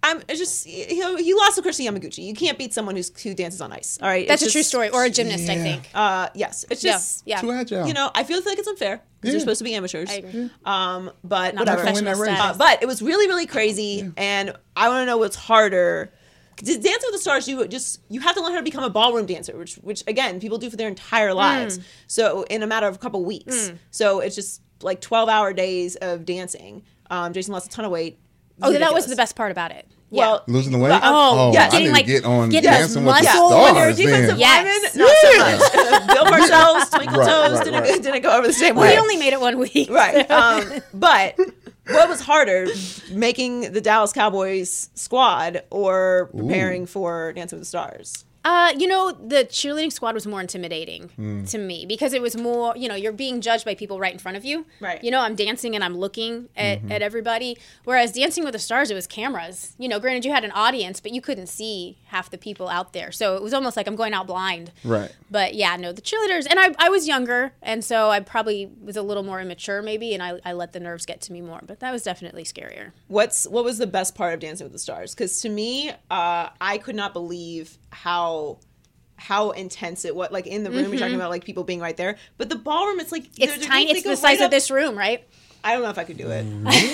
[SPEAKER 2] He lost to Krista Yamaguchi. You can't beat someone who dances on ice. All right,
[SPEAKER 5] That's a true story. Or a gymnast, I think.
[SPEAKER 2] Yes, it's just
[SPEAKER 5] yeah.
[SPEAKER 3] Too agile.
[SPEAKER 2] I feel like it's unfair because they're supposed to be amateurs.
[SPEAKER 5] I agree.
[SPEAKER 2] But
[SPEAKER 5] Not
[SPEAKER 2] whatever.
[SPEAKER 5] professional status.
[SPEAKER 2] But it was really, really crazy, and I want to know what's harder. Dancing with the Stars, you have to learn how to become a ballroom dancer, which again people do for their entire lives. So in a matter of a couple weeks. So it's just like 12-hour days of dancing. Jason lost a ton of weight.
[SPEAKER 5] Oh, that was the best part about it.
[SPEAKER 2] Well,
[SPEAKER 3] losing the weight?
[SPEAKER 5] Oh,
[SPEAKER 2] yes.
[SPEAKER 3] I need
[SPEAKER 5] like,
[SPEAKER 3] to get on
[SPEAKER 5] get
[SPEAKER 3] Dancing with the
[SPEAKER 5] muscle.
[SPEAKER 3] Stars.
[SPEAKER 2] when you're a defensive
[SPEAKER 3] then.
[SPEAKER 2] lineman, not so much. Bill Parcells, Twinkle Toes
[SPEAKER 3] right.
[SPEAKER 2] didn't go over the same
[SPEAKER 5] We
[SPEAKER 2] way.
[SPEAKER 5] only made it 1 week.
[SPEAKER 2] Right. But what was harder, making the Dallas Cowboys squad or preparing for Dancing with the Stars?
[SPEAKER 5] The cheerleading squad was more intimidating to me because it was more, you're being judged by people right in front of you.
[SPEAKER 2] Right.
[SPEAKER 5] I'm dancing and I'm looking at everybody. Whereas Dancing with the Stars, it was cameras. Granted you had an audience, but you couldn't see half the people out there. So it was almost like I'm going out blind.
[SPEAKER 3] Right.
[SPEAKER 5] But yeah, no, the cheerleaders, and I was younger, and so I probably was a little more immature maybe, and I let the nerves get to me more. But that was definitely scarier.
[SPEAKER 2] What was the best part of Dancing with the Stars? Because to me, I could not believe how intense it was. Like in the room, you're talking about like people being right there, but the ballroom, it's like
[SPEAKER 5] It's tiny. It's the size of this room, right?
[SPEAKER 2] I don't know if I could do it.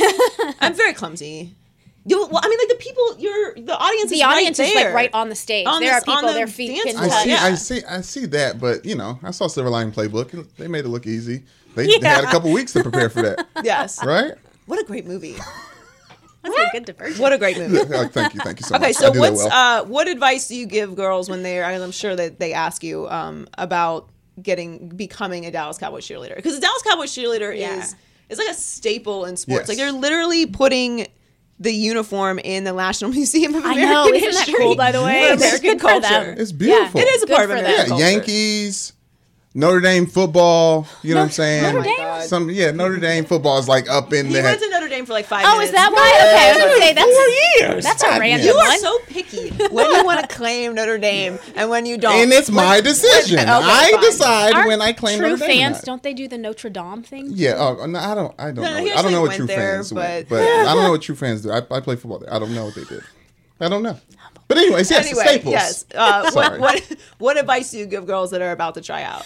[SPEAKER 2] I'm very clumsy. Well, I mean, like the people, the audience is right there.
[SPEAKER 5] is like right on the stage. There are people, their feet can touch.
[SPEAKER 3] I see that, but I saw Silver Lining Playbook. They made it look easy. They had a couple weeks to prepare for that.
[SPEAKER 2] Yes.
[SPEAKER 3] Right?
[SPEAKER 2] What a great movie.
[SPEAKER 5] That's a good diversion.
[SPEAKER 2] What a great movie.
[SPEAKER 3] Thank you so much.
[SPEAKER 2] Okay, so
[SPEAKER 3] what
[SPEAKER 2] advice do you give girls when I'm sure that they ask you about becoming a Dallas Cowboys cheerleader? Because the Dallas Cowboys cheerleader is like a staple in sports.
[SPEAKER 3] Yes.
[SPEAKER 2] Like they're literally putting the uniform in the National Museum of American
[SPEAKER 5] I know, isn't
[SPEAKER 2] History.
[SPEAKER 5] that cool, by the way?
[SPEAKER 2] For
[SPEAKER 5] It's
[SPEAKER 2] American
[SPEAKER 5] good for them.
[SPEAKER 2] culture.
[SPEAKER 3] It's beautiful.
[SPEAKER 2] It is a
[SPEAKER 5] Good
[SPEAKER 2] part of
[SPEAKER 5] for
[SPEAKER 2] American
[SPEAKER 5] them.
[SPEAKER 2] culture.
[SPEAKER 3] Yankees, Notre Dame football. You know what I'm saying?
[SPEAKER 5] Notre Dame?
[SPEAKER 2] God.
[SPEAKER 3] Notre Dame football is like up in
[SPEAKER 2] He
[SPEAKER 3] there.
[SPEAKER 2] went to Notre Dame for like 5
[SPEAKER 5] Oh,
[SPEAKER 2] minutes.
[SPEAKER 5] is that why? Okay, I was going to say,
[SPEAKER 3] 4 years.
[SPEAKER 5] that's a random
[SPEAKER 2] You are
[SPEAKER 5] one.
[SPEAKER 2] so picky when you want to claim Notre Dame and when you don't.
[SPEAKER 3] And it's my decision.
[SPEAKER 2] Okay,
[SPEAKER 3] I
[SPEAKER 2] fine.
[SPEAKER 3] decide
[SPEAKER 5] Aren't
[SPEAKER 3] when I claim
[SPEAKER 5] true
[SPEAKER 3] Notre Dame.
[SPEAKER 5] fans,
[SPEAKER 3] or not.
[SPEAKER 5] don't they do the Notre Dame thing?
[SPEAKER 3] Yeah. Oh, no, I don't know.
[SPEAKER 2] he
[SPEAKER 3] I don't know what
[SPEAKER 2] actually
[SPEAKER 3] true
[SPEAKER 2] went there,
[SPEAKER 3] fans do.
[SPEAKER 2] but-
[SPEAKER 3] But I don't know what true fans do. I play football there. I don't know what they did. I don't know. But anyways, yes,
[SPEAKER 2] Anyway,
[SPEAKER 3] Staples.
[SPEAKER 2] yes.
[SPEAKER 3] Sorry.
[SPEAKER 2] What advice do you give girls that are about to try out?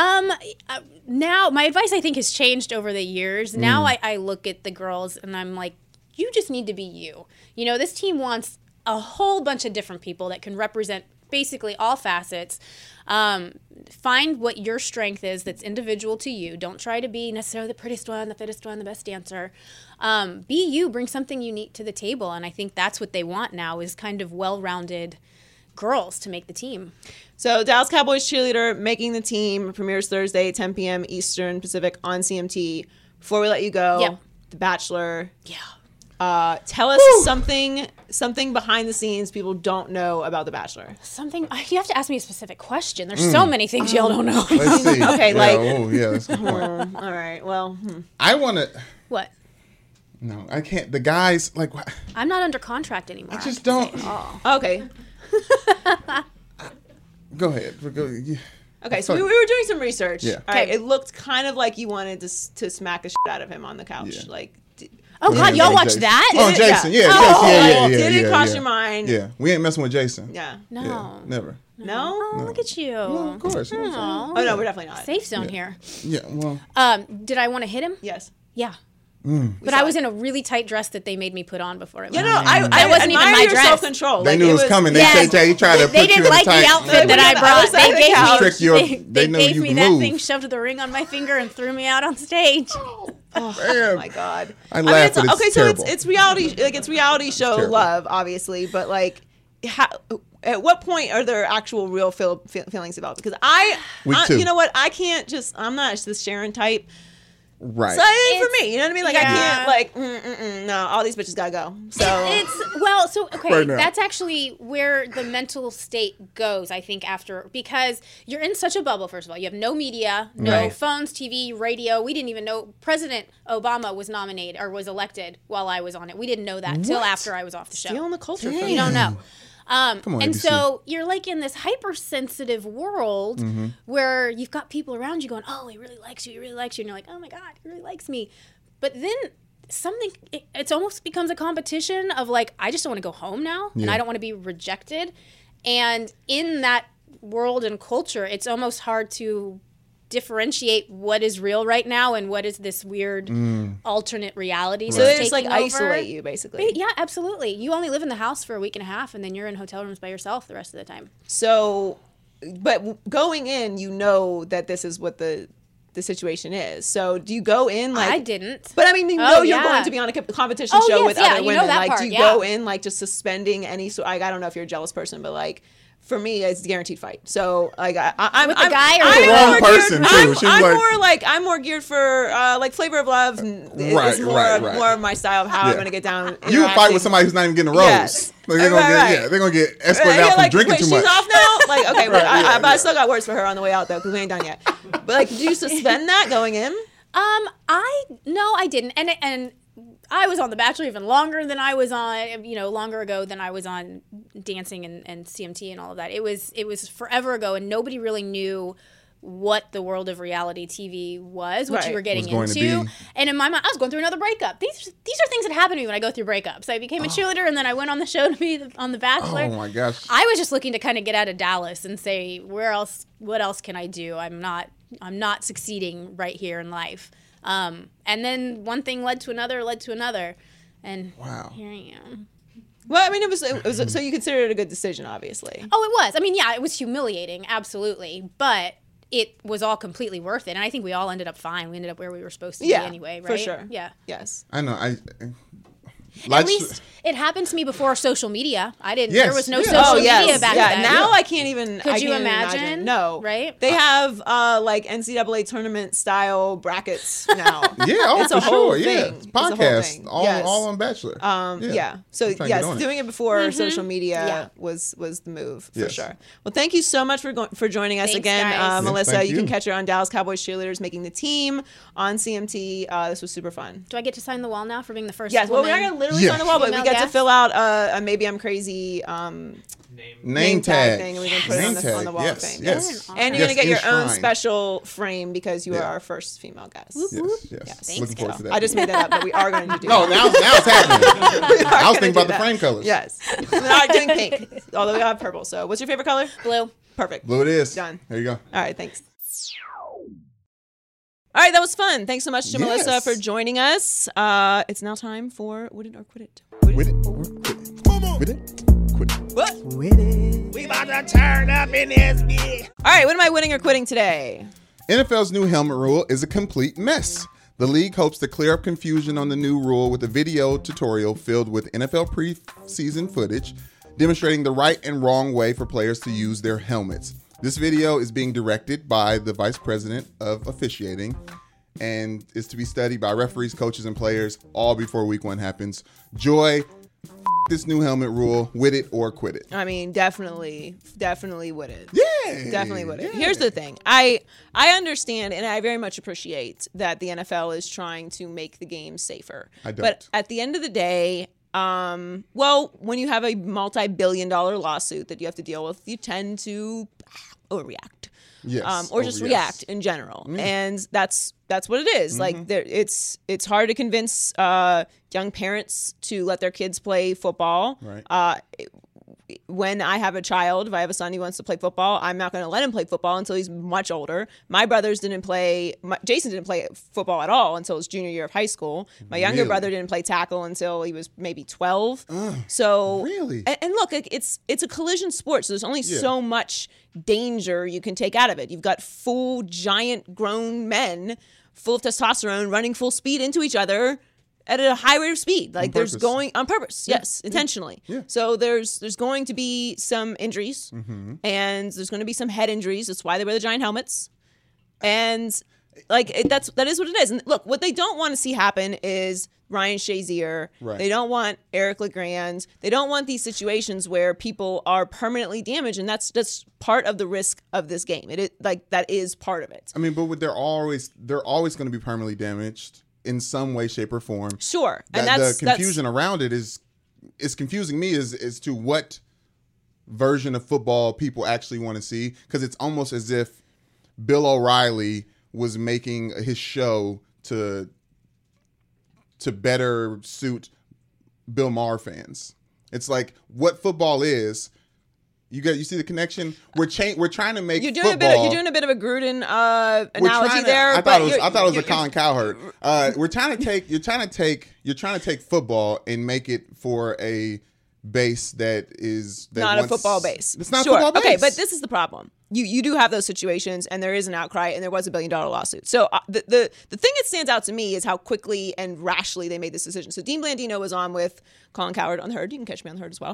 [SPEAKER 5] Now, my advice, I think, has changed over the years. Now I look at the girls and I'm like, you just need to be you. This team wants a whole bunch of different people that can represent basically all facets. Find what your strength is that's individual to you. Don't try to be necessarily the prettiest one, the fittest one, the best dancer. Be you. Bring something unique to the table. And I think that's what they want now is kind of well-rounded girls to make the team.
[SPEAKER 2] So Dallas Cowboys cheerleader making the team premieres Thursday, 10 p.m. Eastern Pacific on CMT. Before we let you go, The Bachelor.
[SPEAKER 5] Yeah.
[SPEAKER 2] Tell us something behind the scenes people don't know about The Bachelor.
[SPEAKER 5] Something, you have to ask me a specific question. There's so many things y'all don't know.
[SPEAKER 3] Let's see.
[SPEAKER 2] Okay,
[SPEAKER 3] Yeah,
[SPEAKER 2] like-
[SPEAKER 3] oh yeah, that's a good point.
[SPEAKER 2] All right. Well,
[SPEAKER 3] I want to.
[SPEAKER 5] What?
[SPEAKER 3] No, I can't. The guys like.
[SPEAKER 5] I'm not under contract anymore.
[SPEAKER 3] I just don't.
[SPEAKER 2] okay.
[SPEAKER 3] Go ahead.
[SPEAKER 2] Okay, so we were doing some research.
[SPEAKER 3] Yeah.
[SPEAKER 2] All right.
[SPEAKER 5] Okay.
[SPEAKER 2] It looked kind of like you wanted to smack the shit out of him on the couch.
[SPEAKER 3] Yeah.
[SPEAKER 2] Like,
[SPEAKER 5] Oh, God, y'all watched
[SPEAKER 3] Jason.
[SPEAKER 5] that?
[SPEAKER 3] Oh,
[SPEAKER 2] Did it?
[SPEAKER 3] Jason.
[SPEAKER 2] Yeah.
[SPEAKER 3] Yeah,
[SPEAKER 2] Oh,
[SPEAKER 3] Jason. Yeah.
[SPEAKER 2] did it cross
[SPEAKER 3] yeah.
[SPEAKER 2] your mind?
[SPEAKER 3] Yeah, we ain't messing with Jason.
[SPEAKER 2] Yeah.
[SPEAKER 5] No.
[SPEAKER 3] Yeah, never.
[SPEAKER 2] No?
[SPEAKER 5] Oh, look at you.
[SPEAKER 3] Well, of course. You know what I'm
[SPEAKER 2] Oh, no, we're definitely not.
[SPEAKER 5] Safe zone here.
[SPEAKER 3] saying? Yeah. Well.
[SPEAKER 5] Did I want to hit him?
[SPEAKER 2] Yes.
[SPEAKER 5] Yeah.
[SPEAKER 3] Mm.
[SPEAKER 5] But I was in a really tight dress that they made me put on before it
[SPEAKER 2] Yeah,
[SPEAKER 5] went
[SPEAKER 2] no,
[SPEAKER 5] on.
[SPEAKER 2] I
[SPEAKER 5] wasn't even
[SPEAKER 2] admire
[SPEAKER 5] my
[SPEAKER 2] your
[SPEAKER 5] dress.
[SPEAKER 2] self-control.
[SPEAKER 3] They
[SPEAKER 2] Like,
[SPEAKER 3] knew it was coming. They
[SPEAKER 5] Yes.
[SPEAKER 3] tried to
[SPEAKER 5] They
[SPEAKER 3] put you
[SPEAKER 5] didn't
[SPEAKER 3] in a
[SPEAKER 5] like
[SPEAKER 3] tight.
[SPEAKER 5] the outfit that I
[SPEAKER 2] I
[SPEAKER 5] brought.
[SPEAKER 2] was
[SPEAKER 5] They
[SPEAKER 2] at the
[SPEAKER 5] gave
[SPEAKER 2] couch.
[SPEAKER 5] me,
[SPEAKER 3] Trick your-
[SPEAKER 5] they
[SPEAKER 3] they know
[SPEAKER 5] gave
[SPEAKER 3] you
[SPEAKER 5] me
[SPEAKER 3] can
[SPEAKER 5] that
[SPEAKER 3] move.
[SPEAKER 5] thing, shoved the ring on my finger, and threw me out on stage.
[SPEAKER 2] Oh my God.
[SPEAKER 3] I laugh, but it's
[SPEAKER 2] okay,
[SPEAKER 3] terrible.
[SPEAKER 2] so it's reality, like it's reality show
[SPEAKER 3] terrible.
[SPEAKER 2] love, obviously, but like, at what point are there actual real feelings developed? Because
[SPEAKER 3] Week 2.
[SPEAKER 2] you know what, I'm not just the Sharon type.
[SPEAKER 3] Right.
[SPEAKER 2] So it ain't for me. You know what I mean? Like I
[SPEAKER 5] Yeah.
[SPEAKER 2] can't like no, all these bitches gotta go. So
[SPEAKER 5] Okay,
[SPEAKER 3] Right now.
[SPEAKER 5] that's actually where the mental state goes, I think, because you're in such a bubble, first of all. You have no media, no
[SPEAKER 3] Right.
[SPEAKER 5] phones, TV, radio. We didn't even know President Obama was nominated or was elected while I was on it. We didn't know that till after I was off the show.
[SPEAKER 2] stealing the culture from
[SPEAKER 5] You
[SPEAKER 2] me.
[SPEAKER 5] don't know.
[SPEAKER 3] Come on,
[SPEAKER 5] And
[SPEAKER 3] ABC.
[SPEAKER 5] so you're like in this hypersensitive world where you've got people around you going, oh, he really likes you, he really likes you. And you're like, oh my God, he really likes me. But then it almost becomes a competition of like, I just don't want to go home now and I don't want to be rejected. And in that world and culture, it's almost hard to differentiate what is real right now and what is this weird alternate reality.
[SPEAKER 2] So
[SPEAKER 5] that's
[SPEAKER 2] they just like
[SPEAKER 5] taking over.
[SPEAKER 2] isolate you basically.
[SPEAKER 5] Yeah, absolutely. You only live in the house for a week and a half, and then you're in hotel rooms by yourself the rest of the time.
[SPEAKER 2] So, but going in, you know that this is what the situation is. So do you go in like
[SPEAKER 5] I didn't.
[SPEAKER 2] But I mean, you
[SPEAKER 5] Oh,
[SPEAKER 2] know, you're
[SPEAKER 5] yeah.
[SPEAKER 2] going to be on a competition
[SPEAKER 5] Oh,
[SPEAKER 2] show
[SPEAKER 5] yes,
[SPEAKER 2] with
[SPEAKER 5] yeah,
[SPEAKER 2] other
[SPEAKER 5] you know
[SPEAKER 2] women.
[SPEAKER 5] that
[SPEAKER 2] Like,
[SPEAKER 5] part,
[SPEAKER 2] do you
[SPEAKER 5] yeah.
[SPEAKER 2] go in like just suspending any? So I don't know if you're a jealous person, but like for me, it's a guaranteed fight. So like I'm
[SPEAKER 5] With the
[SPEAKER 2] I'm,
[SPEAKER 5] guy or
[SPEAKER 2] I'm
[SPEAKER 5] with the
[SPEAKER 2] more
[SPEAKER 3] wrong
[SPEAKER 2] geared-
[SPEAKER 3] person, too.
[SPEAKER 2] I'm,
[SPEAKER 3] She's
[SPEAKER 2] I'm
[SPEAKER 3] like-
[SPEAKER 2] more like I'm more geared for like Flavor of Love.
[SPEAKER 3] Right,
[SPEAKER 2] It's more
[SPEAKER 3] right.
[SPEAKER 2] more of my style of how I'm
[SPEAKER 3] Yeah.
[SPEAKER 2] going to get down.
[SPEAKER 3] You would fight with somebody who's not even getting a rose.
[SPEAKER 2] Yes.
[SPEAKER 3] Like, they're gonna
[SPEAKER 2] Right,
[SPEAKER 3] get,
[SPEAKER 2] right.
[SPEAKER 3] yeah, they're gonna get escorted
[SPEAKER 2] Right,
[SPEAKER 3] out
[SPEAKER 2] yeah,
[SPEAKER 3] from
[SPEAKER 2] like,
[SPEAKER 3] drinking
[SPEAKER 2] wait,
[SPEAKER 3] too
[SPEAKER 2] she's
[SPEAKER 3] much.
[SPEAKER 2] off now? Like, okay,
[SPEAKER 3] Right, yeah,
[SPEAKER 2] but I still got words for her on the way out, though, because we ain't done yet. But, like, do you suspend that going in?
[SPEAKER 5] I didn't, and I was on The Bachelor even longer than I was on, longer ago than I was on Dancing and CMT and all of that. It was forever ago, and nobody really knew what the world of reality TV was, what
[SPEAKER 2] Right.
[SPEAKER 5] you were getting
[SPEAKER 3] Was going to
[SPEAKER 5] into.
[SPEAKER 3] be.
[SPEAKER 5] And in my mind, I was going through another breakup. These are things that happen to me when I go through breakups. I became a cheerleader, and then I went on the show to be on The Bachelor.
[SPEAKER 3] Oh my gosh.
[SPEAKER 5] I was just looking to kind of get out of Dallas and say, what else can I do? I'm not succeeding right here in life. And then one thing led to another. And
[SPEAKER 3] Wow.
[SPEAKER 5] here I am.
[SPEAKER 2] Well, I mean, it was so you consider it a good decision, obviously.
[SPEAKER 5] Oh, it was. I mean, yeah, it was humiliating, absolutely. But it was all completely worth it. And I think we all ended up fine. We ended up where we were supposed to be anyway, right?
[SPEAKER 2] for sure.
[SPEAKER 5] Yeah.
[SPEAKER 2] Yes.
[SPEAKER 3] I know.
[SPEAKER 5] At least it happened to me before social media.
[SPEAKER 3] Yes,
[SPEAKER 5] There was no
[SPEAKER 3] yeah.
[SPEAKER 5] social media back
[SPEAKER 2] yeah.
[SPEAKER 5] then.
[SPEAKER 2] Now I can't even.
[SPEAKER 5] Could
[SPEAKER 2] I
[SPEAKER 5] you
[SPEAKER 2] can't even
[SPEAKER 5] imagine?
[SPEAKER 2] No.
[SPEAKER 5] Right?
[SPEAKER 2] They have like NCAA tournament style brackets now.
[SPEAKER 3] Yeah, oh,
[SPEAKER 2] It's a
[SPEAKER 3] for
[SPEAKER 2] whole
[SPEAKER 3] sure. Yeah,
[SPEAKER 2] thing.
[SPEAKER 3] it's
[SPEAKER 2] It's a whole
[SPEAKER 3] podcast,
[SPEAKER 2] thing.
[SPEAKER 3] all,
[SPEAKER 2] Yes.
[SPEAKER 3] all on Bachelor.
[SPEAKER 2] Yeah. So
[SPEAKER 3] I'm trying to get
[SPEAKER 2] yes,
[SPEAKER 3] on it.
[SPEAKER 2] doing it before social media
[SPEAKER 5] Yeah.
[SPEAKER 2] was the move for
[SPEAKER 3] Yes.
[SPEAKER 2] sure. Well, thank you so much for joining us
[SPEAKER 5] Thanks,
[SPEAKER 2] again,
[SPEAKER 5] guys.
[SPEAKER 3] Yes,
[SPEAKER 2] Melissa.
[SPEAKER 3] thank
[SPEAKER 2] You can
[SPEAKER 3] you.
[SPEAKER 2] catch her on Dallas Cowboys Cheerleaders Making the Team on CMT. This was super fun.
[SPEAKER 5] Do I get to sign the wall now for being the first
[SPEAKER 2] Yes, well, we're
[SPEAKER 5] woman?
[SPEAKER 2] not gonna literally
[SPEAKER 3] Yeah.
[SPEAKER 2] sign the wall, but we
[SPEAKER 5] Female
[SPEAKER 2] get to
[SPEAKER 5] guest?
[SPEAKER 2] fill out a Maybe I'm Crazy
[SPEAKER 3] Name tag
[SPEAKER 2] thing, and we can put it
[SPEAKER 3] Name
[SPEAKER 2] on the
[SPEAKER 3] tag.
[SPEAKER 2] wall
[SPEAKER 3] Yes,
[SPEAKER 2] thing.
[SPEAKER 3] yes.
[SPEAKER 2] And you're
[SPEAKER 3] Yes,
[SPEAKER 2] gonna get your own
[SPEAKER 3] enshrined.
[SPEAKER 2] special frame because you are
[SPEAKER 3] Yeah.
[SPEAKER 2] our first female guest.
[SPEAKER 3] Yes, yes.
[SPEAKER 2] Yes.
[SPEAKER 3] Looking forward to that.
[SPEAKER 2] I just made that up, but we are going to do
[SPEAKER 3] No,
[SPEAKER 2] that.
[SPEAKER 3] now it's happening.
[SPEAKER 2] We are
[SPEAKER 3] I was
[SPEAKER 2] gonna
[SPEAKER 3] thinking about
[SPEAKER 2] do
[SPEAKER 3] the
[SPEAKER 2] that.
[SPEAKER 3] frame colors.
[SPEAKER 2] Yes. We're not doing pink, although we have purple. So what's your favorite color?
[SPEAKER 5] Blue.
[SPEAKER 2] Perfect.
[SPEAKER 3] Blue it is.
[SPEAKER 2] Done.
[SPEAKER 3] There you go.
[SPEAKER 2] All right, thanks. All right, that was fun. Thanks so much to Melissa
[SPEAKER 3] Yes.
[SPEAKER 2] for joining us. It's now time for Win It or Quit It.
[SPEAKER 3] With it or quit it. With it. Quit it.
[SPEAKER 2] What?
[SPEAKER 6] We about to turn up in this bitch.
[SPEAKER 2] All right, what am I winning or quitting today?
[SPEAKER 3] NFL's new helmet rule is a complete mess. The league hopes to clear up confusion on the new rule with a video tutorial filled with NFL preseason footage demonstrating the right and wrong way for players to use their helmets. This video is being directed by the vice president of officiating and is to be studied by referees, coaches, and players all before week 1 happens. Joy, this new helmet rule, with it or quit it.
[SPEAKER 2] I mean, definitely would it.
[SPEAKER 3] Yeah.
[SPEAKER 2] Definitely would it.
[SPEAKER 3] Yeah.
[SPEAKER 2] Here's the thing. I understand and I very much appreciate that the NFL is trying to make the game safer.
[SPEAKER 3] I don't.
[SPEAKER 2] But at the end of the day, well, when you have a multi-billion-dollar lawsuit that you have to deal with, you tend to overreact.
[SPEAKER 3] Yes.
[SPEAKER 2] Or just
[SPEAKER 3] yes.
[SPEAKER 2] react in general, and that's what it is. Like it's hard to convince young parents to let their kids play football.
[SPEAKER 3] Right.
[SPEAKER 2] When I have a child, if I have a son who wants to play football, I'm not going to let him play football until he's much older. My brothers didn't play. Jason didn't play football at all until his junior year of high school. My younger
[SPEAKER 3] Really?
[SPEAKER 2] brother didn't play tackle until he was maybe 12. So
[SPEAKER 3] really?
[SPEAKER 2] and look, it's a collision sport, so there's only so much danger you can take out of it. You've got full giant grown men full of testosterone running full speed into each other at a high rate of speed. Like there's
[SPEAKER 3] purpose.
[SPEAKER 2] going on purpose. Yes, intentionally.
[SPEAKER 3] Yeah.
[SPEAKER 2] So there's going to be some injuries and there's going to be some head injuries. That's why they wear the giant helmets. And Like that is what it is. And look, what they don't want to see happen is Ryan Shazier.
[SPEAKER 3] Right.
[SPEAKER 2] They don't want Eric LeGrand. They don't want these situations where people are permanently damaged, and that's just part of the risk of this game. That is part of it.
[SPEAKER 3] I mean, but they're always going to be permanently damaged in some way, shape, or form.
[SPEAKER 2] Sure, and
[SPEAKER 3] the confusion around it is confusing me as to what version of football people actually want to see, because it's almost as if Bill O'Reilly was making his show to better suit Bill Maher fans. It's like what football is. You see the connection? We're trying to make football.
[SPEAKER 2] You're doing a bit of a Gruden analogy there.
[SPEAKER 3] I thought it was a Colin Cowherd. You're trying to take football and make it for a base that not
[SPEAKER 2] a football base.
[SPEAKER 3] It's not a football base.
[SPEAKER 2] Okay, but this is the problem. You do have those situations, and there is an outcry, and there was $1 billion lawsuit. So the thing that stands out to me is how quickly and rashly they made this decision. So Dean Blandino was on with Colin Cowherd on The Herd. You can catch me on The Herd as well.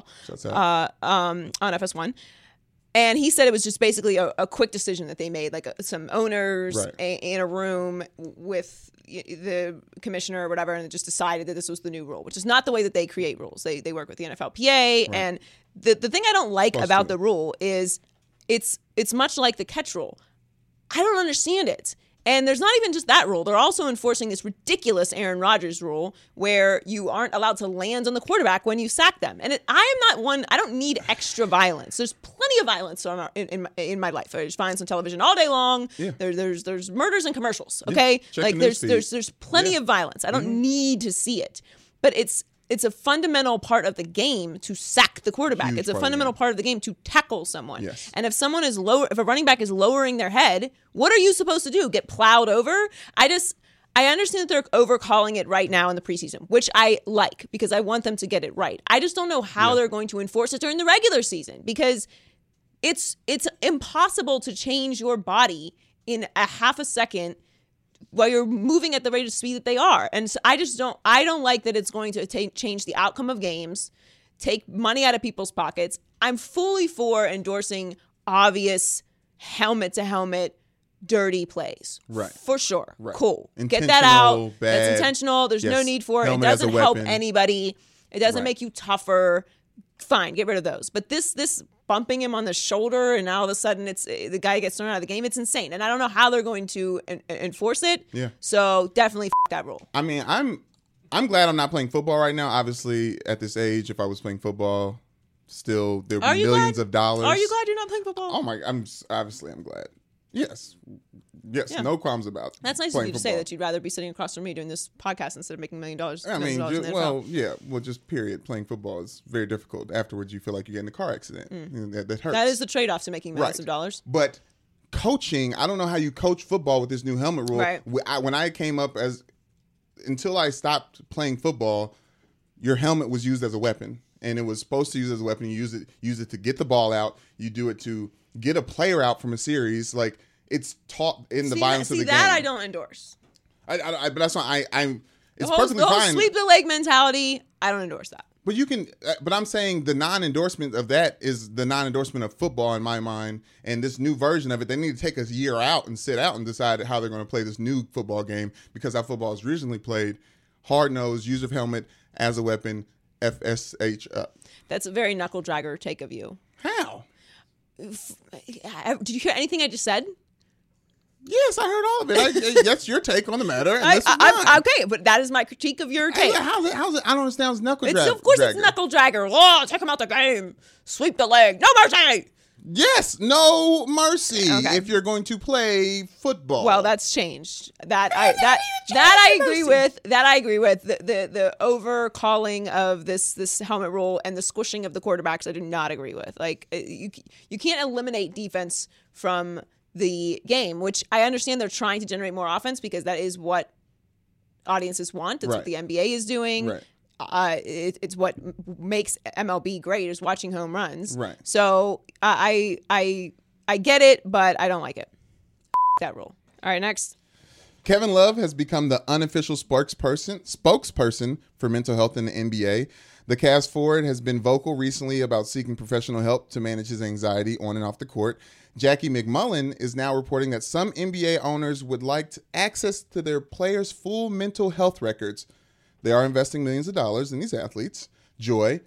[SPEAKER 2] On FS1. And he said it was just basically a quick decision that they made, like some owners in a room with the commissioner or whatever, and it just decided that this was the new rule, which is not the way that they create rules. They work with the NFLPA, and the thing I don't like about the rule is it's much like the catch rule. I don't understand it. And there's not even just that rule. They're also enforcing this ridiculous Aaron Rodgers rule where you aren't allowed to land on the quarterback when you sack them. And I am not one. I don't need extra violence. There's plenty of violence in my life. There's violence on television all day long. Yeah. There's murders and commercials. Okay,
[SPEAKER 3] yeah.
[SPEAKER 2] There's plenty of violence. I don't need to see it. But it's a fundamental part of the game to sack the quarterback. It's a fundamental part of the game to tackle someone. Yes. And if a running back is lowering their head, what are you supposed to do? Get plowed over? I understand that they're overcalling it right now in the preseason, which I like because I want them to get it right. I just don't know how they're going to enforce it during the regular season, because it's impossible to change your body in a half a second while you're moving at the rate of speed that they are. And so I don't like that it's going to change the outcome of games, take money out of people's pockets. I'm fully for endorsing obvious helmet-to-helmet dirty plays.
[SPEAKER 3] Right.
[SPEAKER 2] For sure. Right. Cool. Get that out. Bad. That's intentional. There's no need for it. It doesn't help anybody. It doesn't make you tougher. Fine, get rid of those. But this bumping him on the shoulder and now all of a sudden the guy gets thrown out of the game, it's insane. And I don't know how they're going to enforce it. Yeah. So definitely that rule.
[SPEAKER 3] I mean, I'm glad I'm not playing football right now. Obviously, at this age, if I was playing football, still there would be millions of dollars.
[SPEAKER 2] Are you glad you're not playing football?
[SPEAKER 3] Oh my! I'm glad. Yes, yeah. No qualms about it.
[SPEAKER 2] That's nice of you to say that you'd rather be sitting across from me doing this podcast instead of making $1 million.
[SPEAKER 3] I mean, just period. Playing football is very difficult. Afterwards, you feel like you get in a car accident. That hurts.
[SPEAKER 2] That is the trade-off to making millions of dollars.
[SPEAKER 3] But coaching, I don't know how you coach football with this new helmet rule.
[SPEAKER 2] Right.
[SPEAKER 3] When I came up until I stopped playing football, your helmet was used as a weapon, and it was supposed to use as a weapon. You use it to get the ball out. You do it to get a player out from a series. Like, it's taught in the violence of the game.
[SPEAKER 2] See, that I don't endorse.
[SPEAKER 3] But that's why I'm. It's perfectly
[SPEAKER 2] fine. The whole
[SPEAKER 3] fine.
[SPEAKER 2] Sweep the leg mentality, I don't endorse that.
[SPEAKER 3] But you can. But I'm saying the non-endorsement of that is the non-endorsement of football in my mind. And this new version of it, they need to take a year out and sit out and decide how they're going to play this new football game, because how football is originally played: hard-nosed, use of helmet as a weapon, FSH up.
[SPEAKER 2] That's a very knuckle-dragger take of you.
[SPEAKER 3] How?
[SPEAKER 2] Did you hear anything I just said?
[SPEAKER 3] Yes, I heard all of it. That's your take on the matter. And
[SPEAKER 2] okay, but that is my critique of your take.
[SPEAKER 3] How's it? I don't understand. It's knuckle dragger.
[SPEAKER 2] Of course, it's knuckle dragger. Oh, take him out the game. Sweep the leg. No mercy.
[SPEAKER 3] Yes, no mercy. Okay. If you're going to play football.
[SPEAKER 2] Well, that's changed. That I agree with. That I agree with. The over calling of this helmet rule and the squishing of the quarterbacks, I do not agree with. Like, you can't eliminate defense from the game, which I understand they're trying to generate more offense because that is what audiences want. That's what the NBA is doing. Right. It's what makes MLB great, is watching home runs. Right. So I get it, but I don't like it. That rule. All right, next.
[SPEAKER 3] Kevin Love has become the unofficial spokesperson for mental health in the NBA. The Cavs forward has been vocal recently about seeking professional help to manage his anxiety on and off the court. Jackie McMullen is now reporting that some NBA owners would like access to their players' full mental health records. They are investing millions of dollars in these athletes. Joy,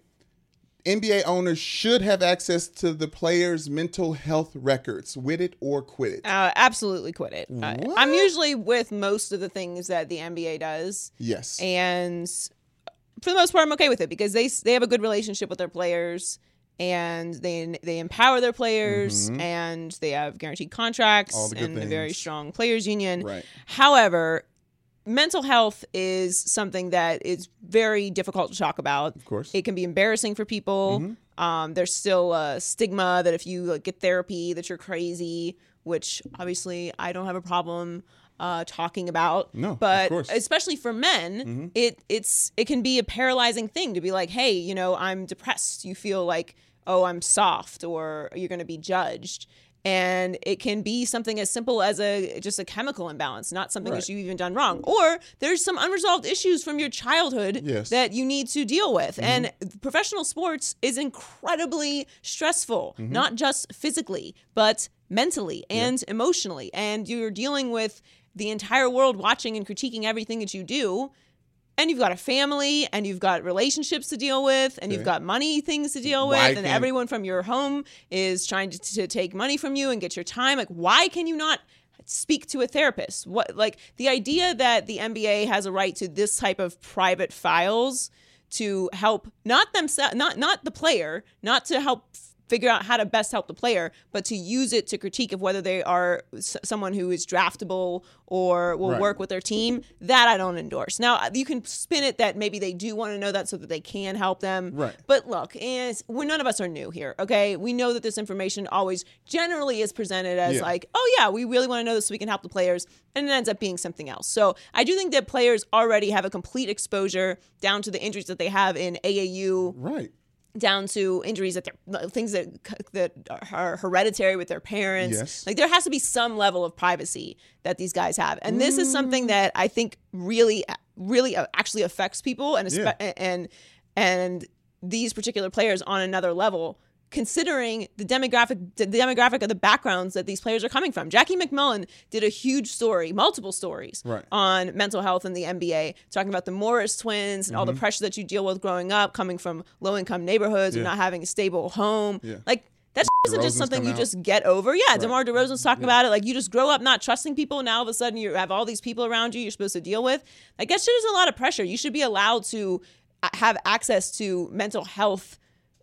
[SPEAKER 3] NBA owners should have access to the players' mental health records. With it or quit it?
[SPEAKER 2] Absolutely quit it. I'm usually with most of the things that the NBA does.
[SPEAKER 3] Yes.
[SPEAKER 2] And for the most part, I'm okay with it because they have a good relationship with their players. And they empower their players, and they have guaranteed contracts and a very strong players union.
[SPEAKER 3] Right.
[SPEAKER 2] However, mental health is something that is very difficult to talk about.
[SPEAKER 3] Of course.
[SPEAKER 2] It can be embarrassing for people. There's still a stigma that if you get therapy that you're crazy, which obviously I don't have a problem talking about.
[SPEAKER 3] No,
[SPEAKER 2] but
[SPEAKER 3] of course.
[SPEAKER 2] especially for men, it can be a paralyzing thing to be like, hey, I'm depressed. You feel like, oh, I'm soft, or you're going to be judged. And it can be something as simple as just a chemical imbalance, not something that you've even done wrong. Or there's some unresolved issues from your childhood that you need to deal with. And professional sports is incredibly stressful, not just physically, but mentally and emotionally. And you're dealing with the entire world watching and critiquing everything that you do. And you've got a family, and you've got relationships to deal with, and you've got money things to deal with, and everyone from your home is trying to take money from you and get your time. Like, why can you not speak to a therapist? The idea that the NBA has a right to this type of private files to help not themselves, not the player, not to help figure out how to best help the player, but to use it to critique of whether they are someone who is draftable or will work with their team, that I don't endorse. Now, you can spin it that maybe they do want to know that so that they can help them.
[SPEAKER 3] Right.
[SPEAKER 2] But look, none of us are new here, okay? We know that this information always generally is presented as like, oh yeah, we really want to know this so we can help the players, and it ends up being something else. So I do think that players already have a complete exposure down to the injuries that they have in AAU.
[SPEAKER 3] Right.
[SPEAKER 2] Down to injuries things that are hereditary with their parents.
[SPEAKER 3] Yes.
[SPEAKER 2] Like, there has to be some level of privacy that these guys have, and this is something that I think really actually affects people, and these particular players on another level, considering the demographic of the backgrounds that these players are coming from. Jackie McMullen did a huge story, multiple stories on mental health in the NBA, talking about the Morris twins and all the pressure that you deal with growing up, coming from low-income neighborhoods and not having a stable home. Like, that isn't just something you just get over. Yeah, DeMar DeRozan's talking about it. Like, you just grow up not trusting people, and now all of a sudden you have all these people around you you're supposed to deal with. Like, that shit is a lot of pressure. You should be allowed to have access to mental health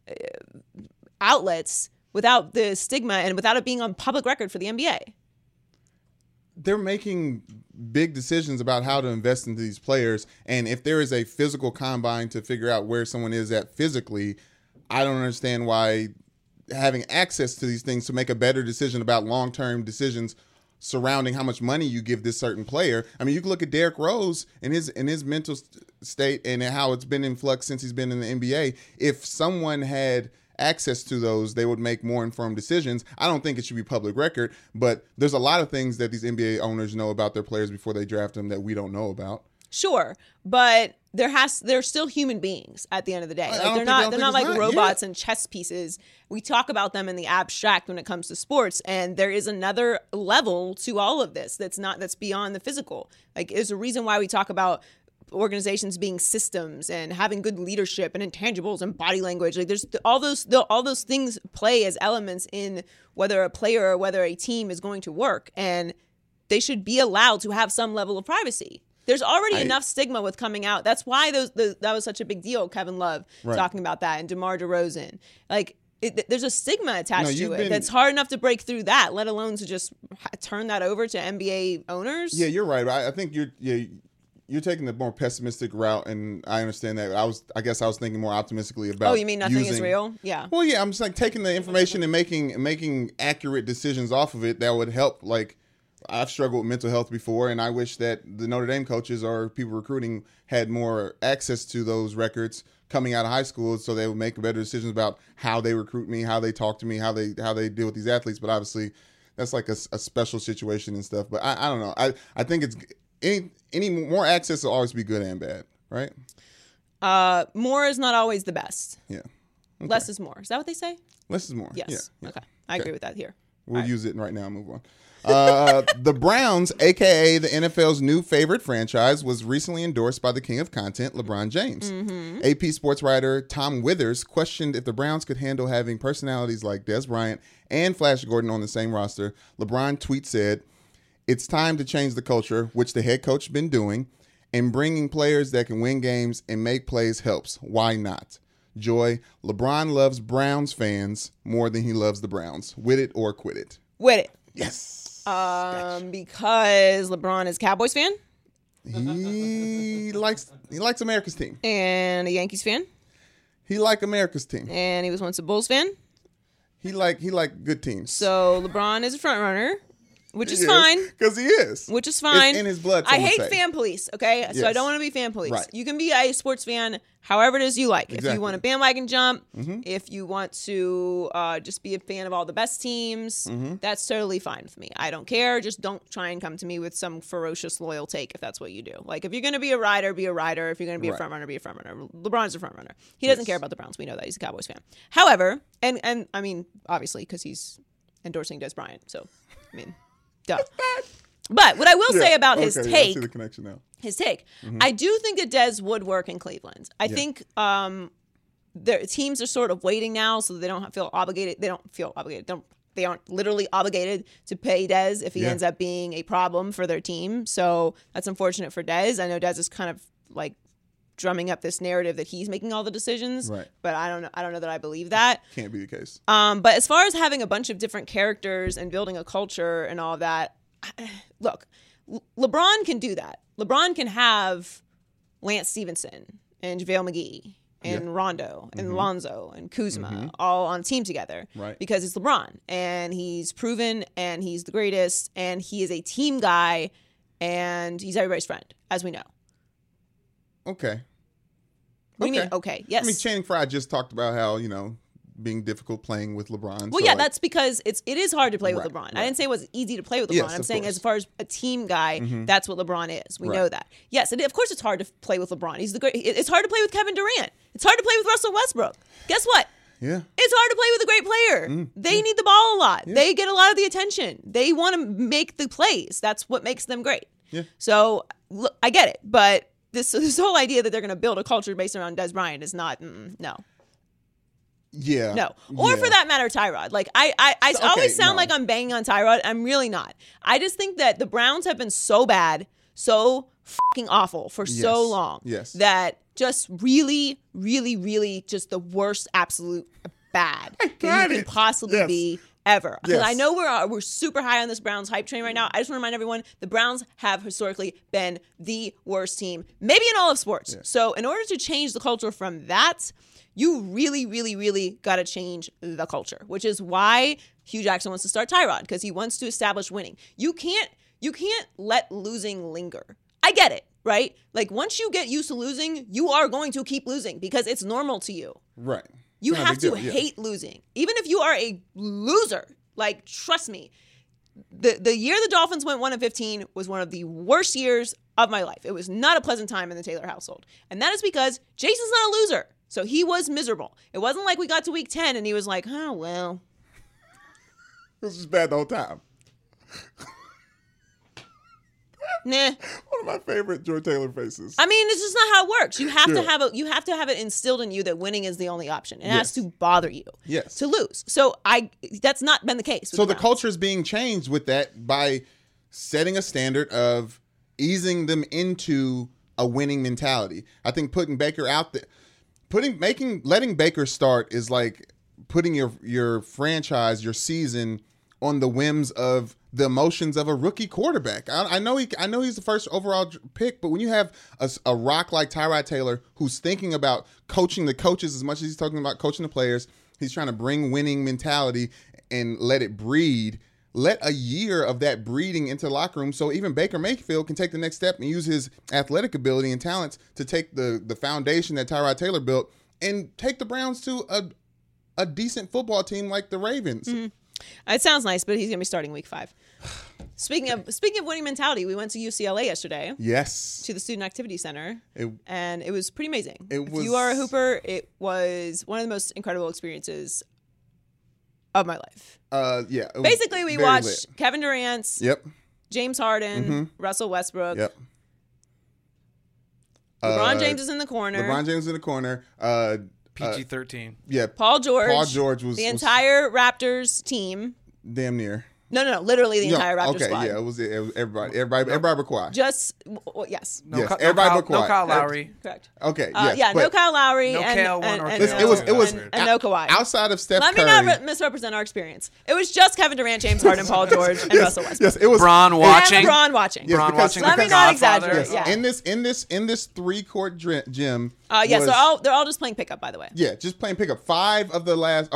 [SPEAKER 2] outlets without the stigma and without it being on public record for the NBA.
[SPEAKER 3] They're making big decisions about how to invest into these players, and if there is a physical combine to figure out where someone is at physically, I don't understand why having access to these things to make a better decision about long-term decisions surrounding how much money you give this certain player. I mean, you can look at Derrick Rose and his mental state and how it's been in flux since he's been in the NBA. If someone had access to those, they would make more informed decisions. I don't think it should be public record, but there's a lot of things that these NBA owners know about their players before they draft them that we don't know about.
[SPEAKER 2] Sure, but they're still human beings at the end of the day. Like, they're not like robots and chess pieces. We talk about them in the abstract when it comes to sports, and there is another level to all of this that's beyond the physical. Like, there's a reason why we talk about organizations being systems and having good leadership and intangibles and body language. Like, there's all those things play as elements in whether a player or whether a team is going to work, and they should be allowed to have some level of privacy. There's already enough stigma with coming out. That's why that was such a big deal. Kevin Love talking about that, and DeMar DeRozan. Like, there's a stigma attached to it that's hard enough to break through that, let alone to just turn that over to NBA owners.
[SPEAKER 3] Yeah, you're right. I think you're taking the more pessimistic route, and I understand that. I guess I was thinking more optimistically about.
[SPEAKER 2] Oh, you mean nothing is real? Yeah.
[SPEAKER 3] Well, yeah, I'm just like taking the information and making accurate decisions off of it that would help. Like, I've struggled with mental health before, and I wish that the Notre Dame coaches or people recruiting had more access to those records coming out of high school, so they would make better decisions about how they recruit me, how they talk to me, how they deal with these athletes. But obviously, that's like a special situation and stuff. But I don't know. I think it's any more access will always be good and bad, right?
[SPEAKER 2] More is not always the best.
[SPEAKER 3] Yeah. Okay.
[SPEAKER 2] Less is more. Is that what they say?
[SPEAKER 3] Less is more.
[SPEAKER 2] Yes.
[SPEAKER 3] Yeah.
[SPEAKER 2] Okay. I agree with that here.
[SPEAKER 3] We'll use it right now and move on. The Browns, a.k.a. the NFL's new favorite franchise, was recently endorsed by the king of content, LeBron James. AP sports writer Tom Withers questioned if the Browns could handle having personalities like Dez Bryant and Flash Gordon on the same roster. LeBron tweet said, "It's time to change the culture," which the head coach has been doing, and bringing players that can win games and make plays helps. Why not? Joy, LeBron loves Browns fans more than he loves the Browns. With it or quit it.
[SPEAKER 2] With it.
[SPEAKER 3] Yes.
[SPEAKER 2] Because LeBron is a Cowboys fan.
[SPEAKER 3] He likes America's team.
[SPEAKER 2] And a Yankees fan.
[SPEAKER 3] He like America's team.
[SPEAKER 2] And he was once a Bulls fan.
[SPEAKER 3] He like good teams.
[SPEAKER 2] So LeBron is a front runner, which is fine.
[SPEAKER 3] Because he is.
[SPEAKER 2] Which is fine.
[SPEAKER 3] It's in his blood.
[SPEAKER 2] I hate fan police, okay? So
[SPEAKER 3] Yes.
[SPEAKER 2] I don't want to be fan police.
[SPEAKER 3] Right.
[SPEAKER 2] You can be a sports fan however it is you like. If
[SPEAKER 3] Exactly.
[SPEAKER 2] you want a bandwagon jump, if you want to just be a fan of all the best teams, that's totally fine with me. I don't care. Just don't try and come to me with some ferocious loyal take if that's what you do. Like, if you're going to be a rider, be a rider. If you're going to be a front runner, be a front runner. LeBron's a front runner. He doesn't care about the Browns. We know that. He's a Cowboys fan. However, and I mean, obviously, because he's endorsing Dez Bryant. So, I mean, duh. But what I will say about his
[SPEAKER 3] I
[SPEAKER 2] take,
[SPEAKER 3] see the connection now.
[SPEAKER 2] I do think that Dez would work in Cleveland. I think their teams are sort of waiting now, so they don't feel obligated. They don't feel obligated. They aren't literally obligated to pay Dez if he ends up being a problem for their team. So that's unfortunate for Dez. I know Dez is kind of like drumming up this narrative that he's making all the decisions.
[SPEAKER 3] Right.
[SPEAKER 2] But I don't know that I believe that.
[SPEAKER 3] Can't be the case.
[SPEAKER 2] But as far as having a bunch of different characters and building a culture and all of that, look, LeBron can do that. LeBron can have Lance Stevenson and JaVale McGee and Rondo and Lonzo and Kuzma all on a team together.
[SPEAKER 3] Right.
[SPEAKER 2] Because it's LeBron. And he's proven and he's the greatest and he is a team guy and he's everybody's friend, as we know.
[SPEAKER 3] Okay.
[SPEAKER 2] What do you mean, okay? Yes.
[SPEAKER 3] I mean, Channing Frye just talked about how, being difficult playing with LeBron.
[SPEAKER 2] Well, that's because it is hard to play with LeBron.
[SPEAKER 3] Right.
[SPEAKER 2] I didn't say it was easy to play with LeBron.
[SPEAKER 3] Yes,
[SPEAKER 2] I'm
[SPEAKER 3] of
[SPEAKER 2] saying
[SPEAKER 3] course.
[SPEAKER 2] as far as a team guy, that's what LeBron is. We know that. Yes, and of course it's hard to play with LeBron. He's the great. It's hard to play with Kevin Durant. It's hard to play with Russell Westbrook. Guess what?
[SPEAKER 3] Yeah.
[SPEAKER 2] It's hard to play with a great player. They need the ball a lot. Yeah. They get a lot of the attention. They want to make the plays. That's what makes them great.
[SPEAKER 3] Yeah.
[SPEAKER 2] So look, I get it, but this whole idea that they're going to build a culture based around Dez Bryant is not no.
[SPEAKER 3] Yeah.
[SPEAKER 2] No. Or for that matter, Tyrod. Like, I always sound like I'm banging on Tyrod. I'm really not. I just think that the Browns have been so bad, so fucking awful for so long that just really, really, really just the worst absolute bad that you can possibly be ever. Because I know we're super high on this Browns hype train right now. I just want to remind everyone, the Browns have historically been the worst team, maybe in all of sports. Yeah. So in order to change the culture from that, you really, really, really got to change the culture, which is why Hugh Jackson wants to start Tyrod, because he wants to establish winning. You can't let losing linger. I get it, right? Like, once you get used to losing, you are going to keep losing because it's normal to you.
[SPEAKER 3] Right.
[SPEAKER 2] You have to hate losing. Even if you are a loser, like, trust me, the year the Dolphins went 1-15 was one of the worst years of my life. It was not a pleasant time in the Taylor household. And that is because Jason's not a loser. So he was miserable. It wasn't like we got to week 10 and he was like, oh, well.
[SPEAKER 3] This is bad the whole time.
[SPEAKER 2] Nah.
[SPEAKER 3] One of my favorite Joy Taylor faces.
[SPEAKER 2] I mean, it's just not how it works. You have to have it instilled in you that winning is the only option. It has to bother you to lose. So that's not been the case.
[SPEAKER 3] So the culture is being changed with that by setting a standard of easing them into a winning mentality. I think putting Baker out there, letting Baker start is like putting your franchise, your season on the whims of the emotions of a rookie quarterback. I know he's the first overall pick, but when you have a rock like Tyrod Taylor who's thinking about coaching the coaches as much as he's talking about coaching the players, he's trying to bring winning mentality and let it breed. Let a year of that breeding into the locker room so even Baker Mayfield can take the next step and use his athletic ability and talents to take the foundation that Tyrod Taylor built and take the Browns to a decent football team like the Ravens. Mm-hmm.
[SPEAKER 2] It sounds nice, but he's going to be starting week 5. Speaking of winning mentality, we went to UCLA yesterday.
[SPEAKER 3] Yes.
[SPEAKER 2] To the Student Activity Center. And it was pretty amazing.
[SPEAKER 3] If
[SPEAKER 2] you are a hooper, it was one of the most incredible experiences of my life.
[SPEAKER 3] Yeah.
[SPEAKER 2] Basically, we watched Kevin Durant.
[SPEAKER 3] Yep.
[SPEAKER 2] James Harden. Russell Westbrook.
[SPEAKER 3] Yep.
[SPEAKER 2] LeBron James is in the corner.
[SPEAKER 1] PG-13.
[SPEAKER 3] Yeah.
[SPEAKER 2] Paul George.
[SPEAKER 3] Paul George was
[SPEAKER 2] the entire Raptors team.
[SPEAKER 3] Damn near.
[SPEAKER 2] No, literally the entire Raptors squad.
[SPEAKER 3] Okay, yeah, it was everybody but Kawhi.
[SPEAKER 2] Yes.
[SPEAKER 3] Everybody but Kawhi.
[SPEAKER 1] No Kyle Lowry.
[SPEAKER 2] Correct.
[SPEAKER 3] Okay, yes.
[SPEAKER 2] Yeah, no Kyle Lowry.
[SPEAKER 1] No
[SPEAKER 2] and,
[SPEAKER 1] Kale
[SPEAKER 2] and,
[SPEAKER 1] one or
[SPEAKER 2] and,
[SPEAKER 1] Kale.
[SPEAKER 2] and no Kawhi.
[SPEAKER 3] Outside of Steph
[SPEAKER 2] Let
[SPEAKER 3] Curry.
[SPEAKER 2] me not misrepresent our experience. It was just Kevin Durant, James Harden, Paul George, and Russell Westbrook.
[SPEAKER 3] Yes, it was
[SPEAKER 1] Bron watching.
[SPEAKER 2] And Bron watching.
[SPEAKER 3] Yes,
[SPEAKER 1] Bron watching.
[SPEAKER 2] Let me not exaggerate.
[SPEAKER 3] Yes.
[SPEAKER 2] Yeah.
[SPEAKER 3] In this 3-court gym.
[SPEAKER 2] So they're all just playing pickup, by the way.
[SPEAKER 3] Yeah, just playing pickup. 4 of the last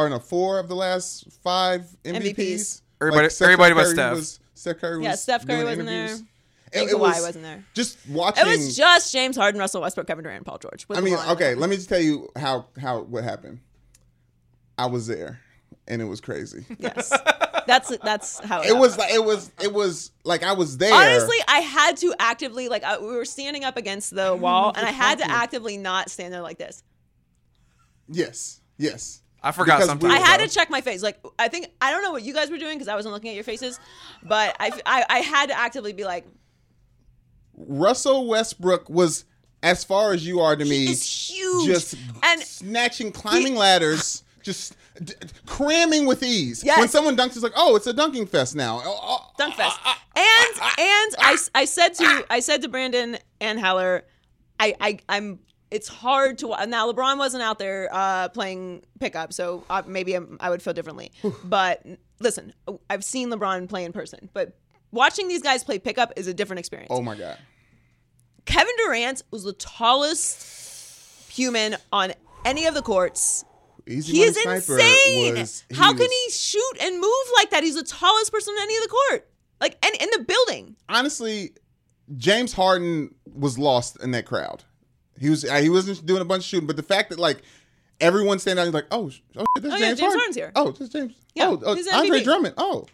[SPEAKER 3] 5 MVPs.
[SPEAKER 1] Everybody but Steph.
[SPEAKER 3] Steph Curry was
[SPEAKER 2] Steph Curry
[SPEAKER 3] doing
[SPEAKER 2] wasn't
[SPEAKER 3] interviews.
[SPEAKER 2] there. And Kawhi wasn't there.
[SPEAKER 3] Just watching.
[SPEAKER 2] It was just James Harden, Russell Westbrook, Kevin Durant, and Paul George.
[SPEAKER 3] I mean, okay, let me just tell you what happened. I was there, and it was crazy.
[SPEAKER 2] Yes, that's how
[SPEAKER 3] it was. Like it was like I was there.
[SPEAKER 2] Honestly, I had to actively we were standing up against the wall, and I had to actively not stand there like this.
[SPEAKER 3] Yes.
[SPEAKER 1] I forgot sometimes.
[SPEAKER 2] I had to check my face. I don't know what you guys were doing because I wasn't looking at your faces, but I had to actively be like,
[SPEAKER 3] Russell Westbrook was, as far as you are to me,
[SPEAKER 2] is huge.
[SPEAKER 3] Just snatching, climbing ladders, just cramming with ease.
[SPEAKER 2] Yes.
[SPEAKER 3] When someone dunks, it's like, oh, it's a dunking fest now.
[SPEAKER 2] Dunk fest. And I said to Brandon and Heller, I'm. It's hard to now. LeBron wasn't out there playing pickup, so maybe I would feel differently. But listen, I've seen LeBron play in person, but watching these guys play pickup is a different experience.
[SPEAKER 3] Oh my God!
[SPEAKER 2] Kevin Durant was the tallest human on any of the courts. He is insane. How can he shoot and move like that? He's the tallest person on any of the court, and in the building.
[SPEAKER 3] Honestly, James Harden was lost in that crowd. He wasn't doing a bunch of shooting, but the fact that everyone standing out, he's like, oh, this is James
[SPEAKER 2] Harden's here.
[SPEAKER 3] Oh, this is James.
[SPEAKER 2] Yeah,
[SPEAKER 3] he's Andre Drummond.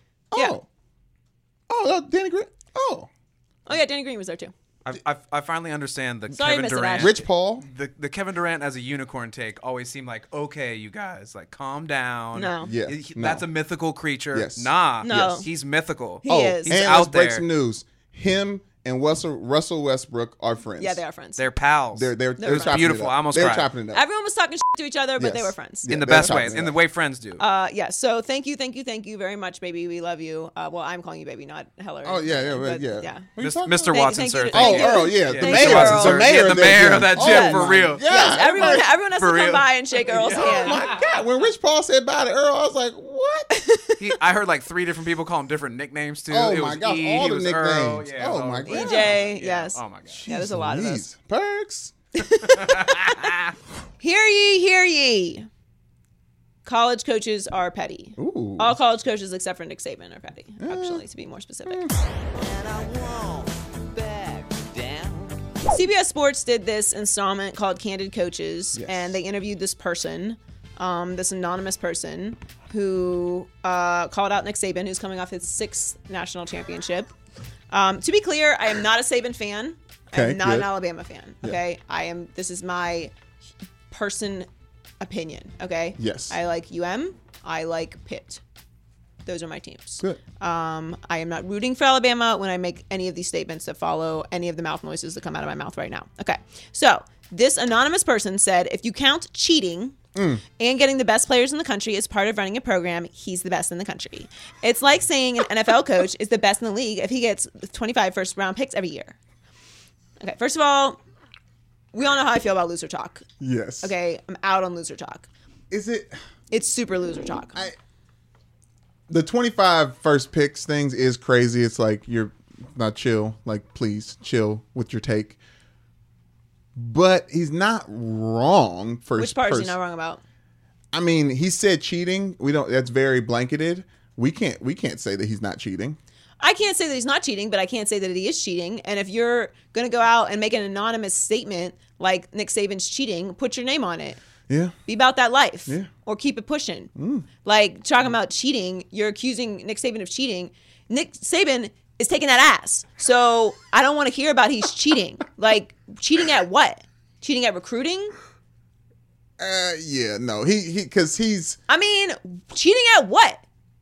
[SPEAKER 3] Danny Green.
[SPEAKER 2] Oh yeah, Danny Green was there too.
[SPEAKER 1] I finally understand the
[SPEAKER 2] Sorry,
[SPEAKER 1] Kevin
[SPEAKER 2] Mr.
[SPEAKER 1] Durant.
[SPEAKER 3] Rich Paul.
[SPEAKER 1] The Kevin Durant as a unicorn take always seemed like, okay, you guys, calm down.
[SPEAKER 2] No.
[SPEAKER 3] Yeah.
[SPEAKER 1] That's a mythical creature.
[SPEAKER 3] Yes.
[SPEAKER 1] Nah.
[SPEAKER 2] No.
[SPEAKER 1] Yes. He's mythical.
[SPEAKER 2] He is.
[SPEAKER 1] He's
[SPEAKER 3] and
[SPEAKER 1] out
[SPEAKER 3] let's break
[SPEAKER 1] there.
[SPEAKER 3] some news. Him and Russell Westbrook are friends.
[SPEAKER 2] Yeah, they are friends.
[SPEAKER 1] They're pals.
[SPEAKER 3] They're
[SPEAKER 1] It was beautiful. I almost
[SPEAKER 3] They're
[SPEAKER 1] cried.
[SPEAKER 3] chopping it up.
[SPEAKER 2] Everyone was talking shit to each other, but
[SPEAKER 3] Yes.
[SPEAKER 2] they were friends.
[SPEAKER 3] Yeah,
[SPEAKER 1] in the
[SPEAKER 3] they're
[SPEAKER 1] best way.
[SPEAKER 3] chopping it
[SPEAKER 1] In the
[SPEAKER 3] up.
[SPEAKER 1] way friends do.
[SPEAKER 2] Yeah. So thank you very much, baby. We love you. Well, I'm calling you baby, not Heller.
[SPEAKER 3] Oh yeah.
[SPEAKER 2] But,
[SPEAKER 3] Yeah. What are you talking
[SPEAKER 1] Mr.
[SPEAKER 3] about?
[SPEAKER 1] Watson,
[SPEAKER 2] thank
[SPEAKER 1] sir.
[SPEAKER 2] you.
[SPEAKER 1] Thank
[SPEAKER 3] Oh,
[SPEAKER 1] you.
[SPEAKER 3] Earl, yeah. The
[SPEAKER 2] Thank
[SPEAKER 3] mayor.
[SPEAKER 2] you, Earl.
[SPEAKER 3] The mayor.
[SPEAKER 1] Yeah, the mayor of that gym,
[SPEAKER 2] Yes.
[SPEAKER 1] for real.
[SPEAKER 3] Yeah.
[SPEAKER 2] Yes, everyone has
[SPEAKER 1] For
[SPEAKER 2] to come
[SPEAKER 1] real.
[SPEAKER 2] by and shake Earl's hand.
[SPEAKER 3] Oh my God! When Rich Paul said bye to Earl, I was like, "What?"
[SPEAKER 1] I heard 3 different people call him different nicknames too.
[SPEAKER 3] Oh
[SPEAKER 1] It
[SPEAKER 3] my
[SPEAKER 1] was
[SPEAKER 3] gosh!
[SPEAKER 1] E,
[SPEAKER 3] All
[SPEAKER 1] he
[SPEAKER 3] the
[SPEAKER 1] was
[SPEAKER 3] nicknames.
[SPEAKER 1] Earl. Yeah,
[SPEAKER 3] Oh my God!
[SPEAKER 2] EJ, yes.
[SPEAKER 1] Oh my god.
[SPEAKER 2] Yeah, there's a lot of those.
[SPEAKER 3] Perks.
[SPEAKER 2] Hear ye, hear ye. College coaches are petty.
[SPEAKER 3] Ooh.
[SPEAKER 2] All college coaches except for Nick Saban are petty, actually, to be more specific. CBS Sports did this installment called Candid Coaches,
[SPEAKER 3] Yes.
[SPEAKER 2] and they interviewed this person, this anonymous person, who called out Nick Saban, who's coming off his 6th national championship. To be clear, I am not a Saban fan.
[SPEAKER 3] Okay,
[SPEAKER 2] I'm not
[SPEAKER 3] good.
[SPEAKER 2] an Alabama fan. Okay, this is my person opinion. Okay.
[SPEAKER 3] Yes.
[SPEAKER 2] I like UM. I like Pitt. Those are my teams.
[SPEAKER 3] Good.
[SPEAKER 2] I am not rooting for Alabama when I make any of these statements that follow any of the mouth noises that come out of my mouth right now. Okay. So this anonymous person said, if you count cheating and getting the best players in the country as part of running a program, he's the best in the country. It's like saying an NFL coach is the best in the league if he gets 25 first-round picks every year. Okay. First of all, we all know how I feel about loser talk.
[SPEAKER 3] Yes.
[SPEAKER 2] Okay. I'm out on loser talk.
[SPEAKER 3] Is it?
[SPEAKER 2] It's super loser talk.
[SPEAKER 3] The 25 first picks things is crazy. It's like you're not chill. Like, please chill with your take. But he's not wrong.
[SPEAKER 2] Which part is he not wrong about?
[SPEAKER 3] I mean, he said cheating. We don't. That's very blanketed. We can't say that he's not cheating.
[SPEAKER 2] I can't say that he's not cheating, but I can't say that he is cheating. And if you're going to go out and make an anonymous statement like Nick Saban's cheating, put your name on it.
[SPEAKER 3] Yeah.
[SPEAKER 2] Be about that life.
[SPEAKER 3] Yeah.
[SPEAKER 2] Or keep it pushing. Like, talking about cheating, you're accusing Nick Saban of cheating. Nick Saban is taking that ass. So I don't want to hear about he's cheating. Like, cheating at what? Cheating at recruiting?
[SPEAKER 3] Yeah, no. Because he's...
[SPEAKER 2] I mean, cheating at what?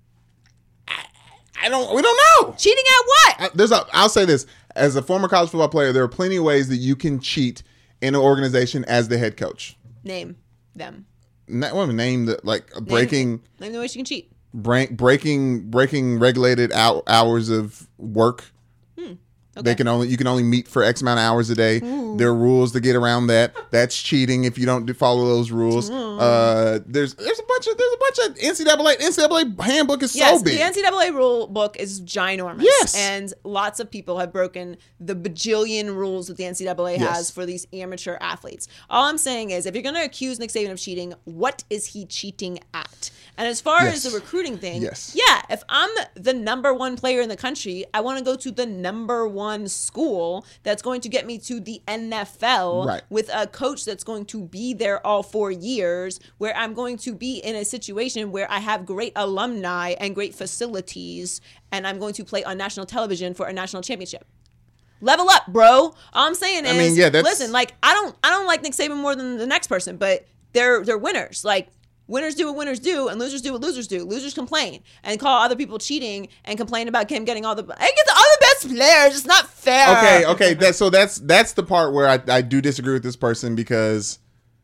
[SPEAKER 3] we don't know.
[SPEAKER 2] Cheating at what?
[SPEAKER 3] I'll say this. As a former college football player, there are plenty of ways that you can cheat in an organization as the head coach.
[SPEAKER 2] Name them.
[SPEAKER 3] Name the, like, breaking...
[SPEAKER 2] Name the ways you can cheat.
[SPEAKER 3] Breaking regulated hours of work. Okay. You can only meet for X amount of hours a day. Ooh. There are rules to get around that. That's cheating if you don't follow those rules. There's a bunch of NCAA handbook is so big.
[SPEAKER 2] The NCAA rule book is ginormous.
[SPEAKER 3] Yes.
[SPEAKER 2] And lots of people have broken the bajillion rules that the NCAA has for these amateur athletes. All I'm saying is, if you're going to accuse Nick Saban of cheating, what is he cheating at? And as far as the recruiting thing, if I'm the number one player in the country, I want to go to the number one school that's going to get me to the NFL with a coach that's going to be there all 4 years, where I'm going to be in a situation where I have great alumni and great facilities, and I'm going to play on national television for a national championship. Level up, bro. All I'm saying is, listen, like, I don't like Nick Saban more than the next person, but they're winners. Like, winners do what winners do, and losers do what losers do. Losers complain and call other people cheating and complain about him getting all the... I get the other best players. It's not fair.
[SPEAKER 3] Okay. That's the part where I do disagree with this person, because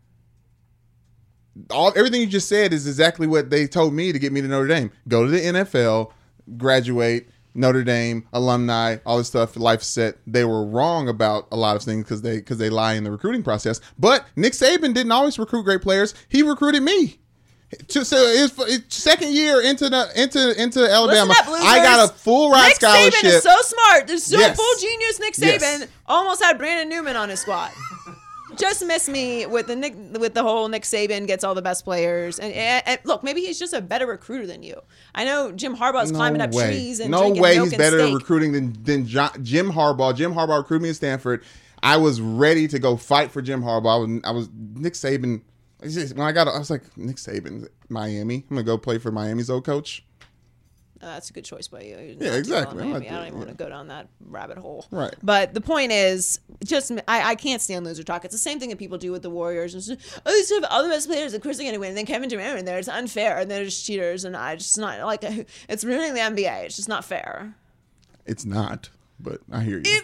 [SPEAKER 3] everything you just said is exactly what they told me to get me to Notre Dame. Go to the NFL, graduate, Notre Dame, alumni, all this stuff, life set. They were wrong about a lot of things because they lie in the recruiting process. But Nick Saban didn't always recruit great players. He recruited me. So his second year into Alabama, I got a full ride scholarship.
[SPEAKER 2] Nick Saban is so smart. There's full genius. Nick Saban almost had Brandon Newman on his squad. Just miss me with the whole Nick Saban gets all the best players. And look, maybe he's just a better recruiter than you. I know Jim Harbaugh's climbing up trees and drinking milk
[SPEAKER 3] he's better
[SPEAKER 2] steak.
[SPEAKER 3] recruiting than Jim Harbaugh. Jim Harbaugh recruited me at Stanford. I was ready to go fight for Jim Harbaugh. I was Nick Saban. When I was like, Nick Saban, Miami. I'm gonna go play for Miami's old coach.
[SPEAKER 2] That's a good choice by you.
[SPEAKER 3] Yeah, exactly.
[SPEAKER 2] I don't even want to go down that rabbit hole.
[SPEAKER 3] Right.
[SPEAKER 2] But the point is, I can't stand loser talk. It's the same thing that people do with the Warriors. It's just, they have all the best players. Of course they're going to win. And then Kevin Durant in there. It's unfair. And they're just cheaters. And it's not like it's ruining the NBA. It's just not fair.
[SPEAKER 3] It's not. But I hear you.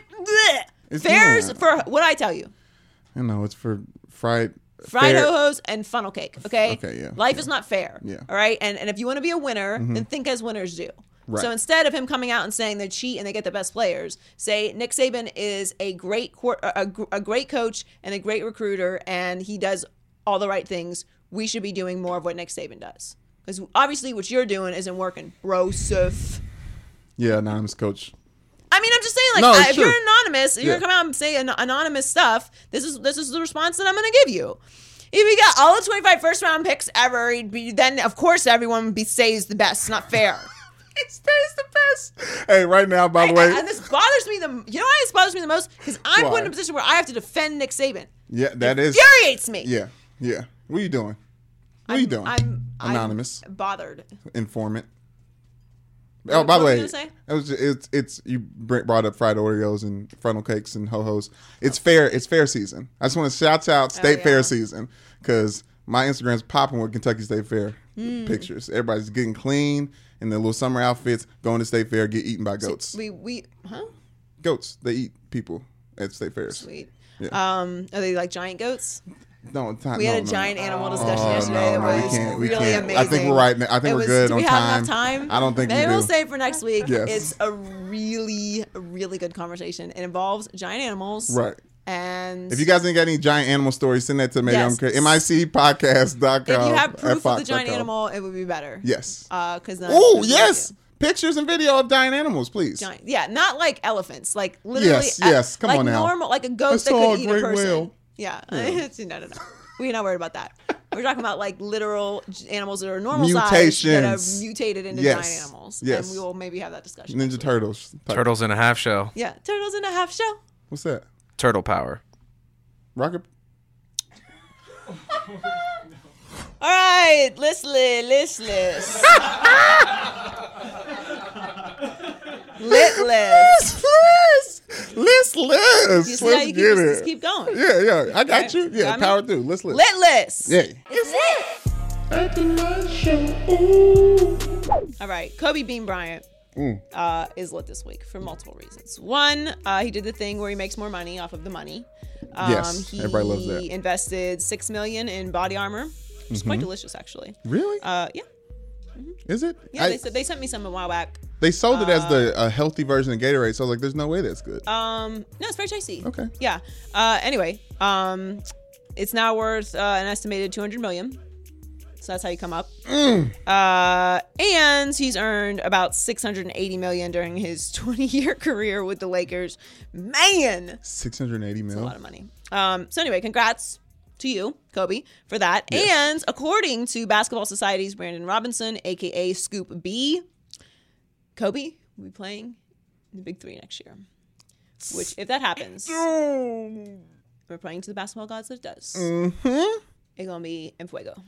[SPEAKER 2] Fair's for what I tell you.
[SPEAKER 3] I know it's for fried
[SPEAKER 2] ho-hos and funnel cake, okay?
[SPEAKER 3] Okay, yeah.
[SPEAKER 2] Life is not fair, all right? And if you want to be a winner, then think as winners do. Right. So instead of him coming out and saying they cheat and they get the best players, say Nick Saban is a great coach and a great recruiter, and he does all the right things. We should be doing more of what Nick Saban does. Because obviously what you're doing isn't working, brosif.
[SPEAKER 3] Yeah, anonymous coach.
[SPEAKER 2] I mean, I'm just saying, like, if you're anonymous, you're going to come out and say anonymous stuff, this is the response that I'm going to give you. If we got all the 25 first-round picks ever, then, of course, everyone would say he's the best. It's not fair.
[SPEAKER 3] He stays the best. Hey, right now, by the way.
[SPEAKER 2] And this bothers me. You know why this bothers me the most? Because I'm put in a position where I have to defend Nick Saban.
[SPEAKER 3] Yeah, that is.
[SPEAKER 2] Infuriates me.
[SPEAKER 3] Yeah. What are you doing? I'm anonymous.
[SPEAKER 2] I'm bothered.
[SPEAKER 3] Informant. Oh, by the way, you brought up fried Oreos and funnel cakes and ho-hos. It's fair. It's fair season. I just want to shout out State Fair season, because my Instagram's popping with Kentucky State Fair pictures. Everybody's getting clean in their little summer outfits, going to State Fair, get eaten by goats. Goats. They eat people at State Fairs.
[SPEAKER 2] Sweet.
[SPEAKER 3] Yeah.
[SPEAKER 2] Are they like giant goats?
[SPEAKER 3] No,
[SPEAKER 2] we had a giant animal discussion yesterday. It was really amazing.
[SPEAKER 3] I think we're right now. I think we're good on time.
[SPEAKER 2] Do we have enough time?
[SPEAKER 3] I don't think
[SPEAKER 2] Maybe
[SPEAKER 3] we do.
[SPEAKER 2] We'll save for next week.
[SPEAKER 3] Yes.
[SPEAKER 2] It's a really, really good conversation. It involves giant animals.
[SPEAKER 3] Right.
[SPEAKER 2] And
[SPEAKER 3] if you guys ain't got any giant animal stories, send that to MicPodcast.com.
[SPEAKER 2] If you have proof of the giant animal, it would be better.
[SPEAKER 3] Yes.
[SPEAKER 2] Yes.
[SPEAKER 3] Pictures and video of giant animals, please.
[SPEAKER 2] Not like elephants. Like literally.
[SPEAKER 3] Yes. Come
[SPEAKER 2] like
[SPEAKER 3] on now.
[SPEAKER 2] Normal, like a goat that could eat a person.
[SPEAKER 3] Whale.
[SPEAKER 2] Yeah. No. We're not worried about that. We're talking about like literal animals that are normal size that have mutated into giant animals.
[SPEAKER 3] Yes.
[SPEAKER 2] And we will maybe have that discussion.
[SPEAKER 3] Ninja Turtles.
[SPEAKER 1] Turtles in a half shell.
[SPEAKER 2] Yeah. Turtles in a half shell.
[SPEAKER 3] What's that?
[SPEAKER 1] Turtle power.
[SPEAKER 3] Rocket.
[SPEAKER 2] All right, listless. Litless.
[SPEAKER 3] Listless.
[SPEAKER 2] You see how you just keep going.
[SPEAKER 3] Yeah. I got you. Yeah,
[SPEAKER 2] Got me?
[SPEAKER 3] power through. Listless.
[SPEAKER 2] Litless.
[SPEAKER 3] Yeah.
[SPEAKER 2] All right, Kobe Bean Bryant is lit this week for multiple reasons. One, he did the thing where he makes more money off of the money.
[SPEAKER 3] Yes, everybody loves that.
[SPEAKER 2] He invested $6 million in body armor, which is quite delicious, actually.
[SPEAKER 3] Really?
[SPEAKER 2] Yeah.
[SPEAKER 3] Is it?
[SPEAKER 2] Yeah, they sent me some a while back.
[SPEAKER 3] They sold it as a healthy version of Gatorade, so I was like, there's no way that's good.
[SPEAKER 2] No, it's very tasty.
[SPEAKER 3] Okay.
[SPEAKER 2] Yeah. Anyway, it's now worth an estimated $200 million. So that's how you come up. And he's earned about $680 million during his 20-year career with the Lakers. Man,
[SPEAKER 3] $680 million.
[SPEAKER 2] that's a lot of money. So anyway, congrats to you, Kobe, for that.
[SPEAKER 3] Yes.
[SPEAKER 2] And according to Basketball Society's Brandon Robinson, aka Scoop B, Kobe will be playing in the Big Three next year. Which, if that happens, we're praying to the basketball gods that it does. It's gonna be en fuego.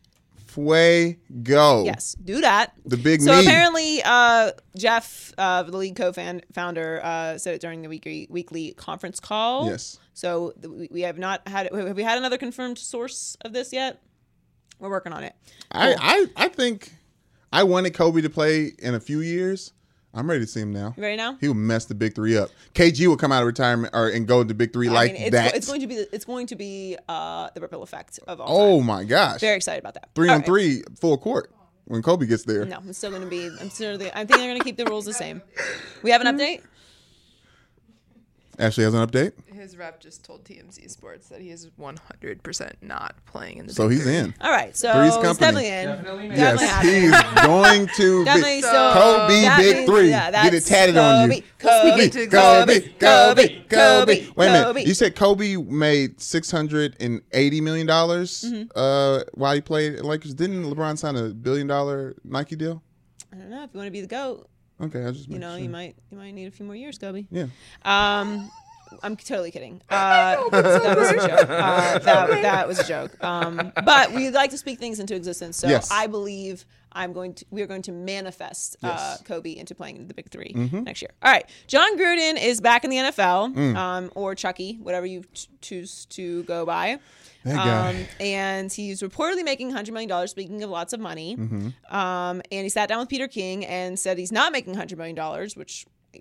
[SPEAKER 3] Fuego.
[SPEAKER 2] Yes, do that.
[SPEAKER 3] The big
[SPEAKER 2] So
[SPEAKER 3] me.
[SPEAKER 2] apparently, Jeff, the league co-founder, said it during the weekly conference call.
[SPEAKER 3] Yes.
[SPEAKER 2] So we have not had. Have we had another confirmed source of this yet? We're working on it. Cool.
[SPEAKER 3] I think I wanted Kobe to play in a few years. I'm ready to see him now.
[SPEAKER 2] You ready now?
[SPEAKER 3] He will mess the Big Three up. KG will come out of retirement and go to the Big Three that.
[SPEAKER 2] It's going to be the ripple effect of all.
[SPEAKER 3] Oh
[SPEAKER 2] time.
[SPEAKER 3] my gosh!
[SPEAKER 2] Very excited about that.
[SPEAKER 3] 3
[SPEAKER 2] All
[SPEAKER 3] on
[SPEAKER 2] right.
[SPEAKER 3] 3 full court when Kobe gets there.
[SPEAKER 2] No, it's still going to be. I think they're going to keep the rules the same. We have an update.
[SPEAKER 3] Ashley has an update.
[SPEAKER 7] His rep just told TMZ Sports that he is 100% not playing in the
[SPEAKER 3] So
[SPEAKER 7] Big
[SPEAKER 3] he's
[SPEAKER 7] Three.
[SPEAKER 3] in.
[SPEAKER 2] All right, so
[SPEAKER 3] Three's
[SPEAKER 2] it's
[SPEAKER 3] company.
[SPEAKER 2] definitely in.
[SPEAKER 1] Definitely made.
[SPEAKER 2] Definitely
[SPEAKER 3] Yes,
[SPEAKER 2] happening.
[SPEAKER 3] he's going to
[SPEAKER 2] Definitely.
[SPEAKER 3] be
[SPEAKER 2] So
[SPEAKER 3] Kobe
[SPEAKER 2] that
[SPEAKER 3] Big
[SPEAKER 2] means-
[SPEAKER 3] Three.
[SPEAKER 2] yeah,
[SPEAKER 3] Get it
[SPEAKER 2] that's
[SPEAKER 3] tatted on you.
[SPEAKER 2] Kobe.
[SPEAKER 3] Kobe. Wait a minute.
[SPEAKER 2] Kobe.
[SPEAKER 3] You said Kobe made $680 million while he played at Lakers. Didn't LeBron sign a $1 billion Nike deal?
[SPEAKER 2] I don't know if you want to be the GOAT.
[SPEAKER 3] Okay, I just
[SPEAKER 2] You know,
[SPEAKER 3] sure.
[SPEAKER 2] you might need a few more years, Kobe.
[SPEAKER 3] Yeah.
[SPEAKER 2] I'm totally kidding. That was a joke. That was a joke. But we like to speak things into existence. So
[SPEAKER 3] Yes.
[SPEAKER 2] I believe we are going to manifest
[SPEAKER 3] Yes.
[SPEAKER 2] Kobe into playing in the Big Three next year. All right. John Gruden is back in the NFL, or Chucky, whatever you choose to go by.
[SPEAKER 3] That guy.
[SPEAKER 2] And he's reportedly making $100 million, speaking of lots of money. And he sat down with Peter King and said he's not making $100 million, which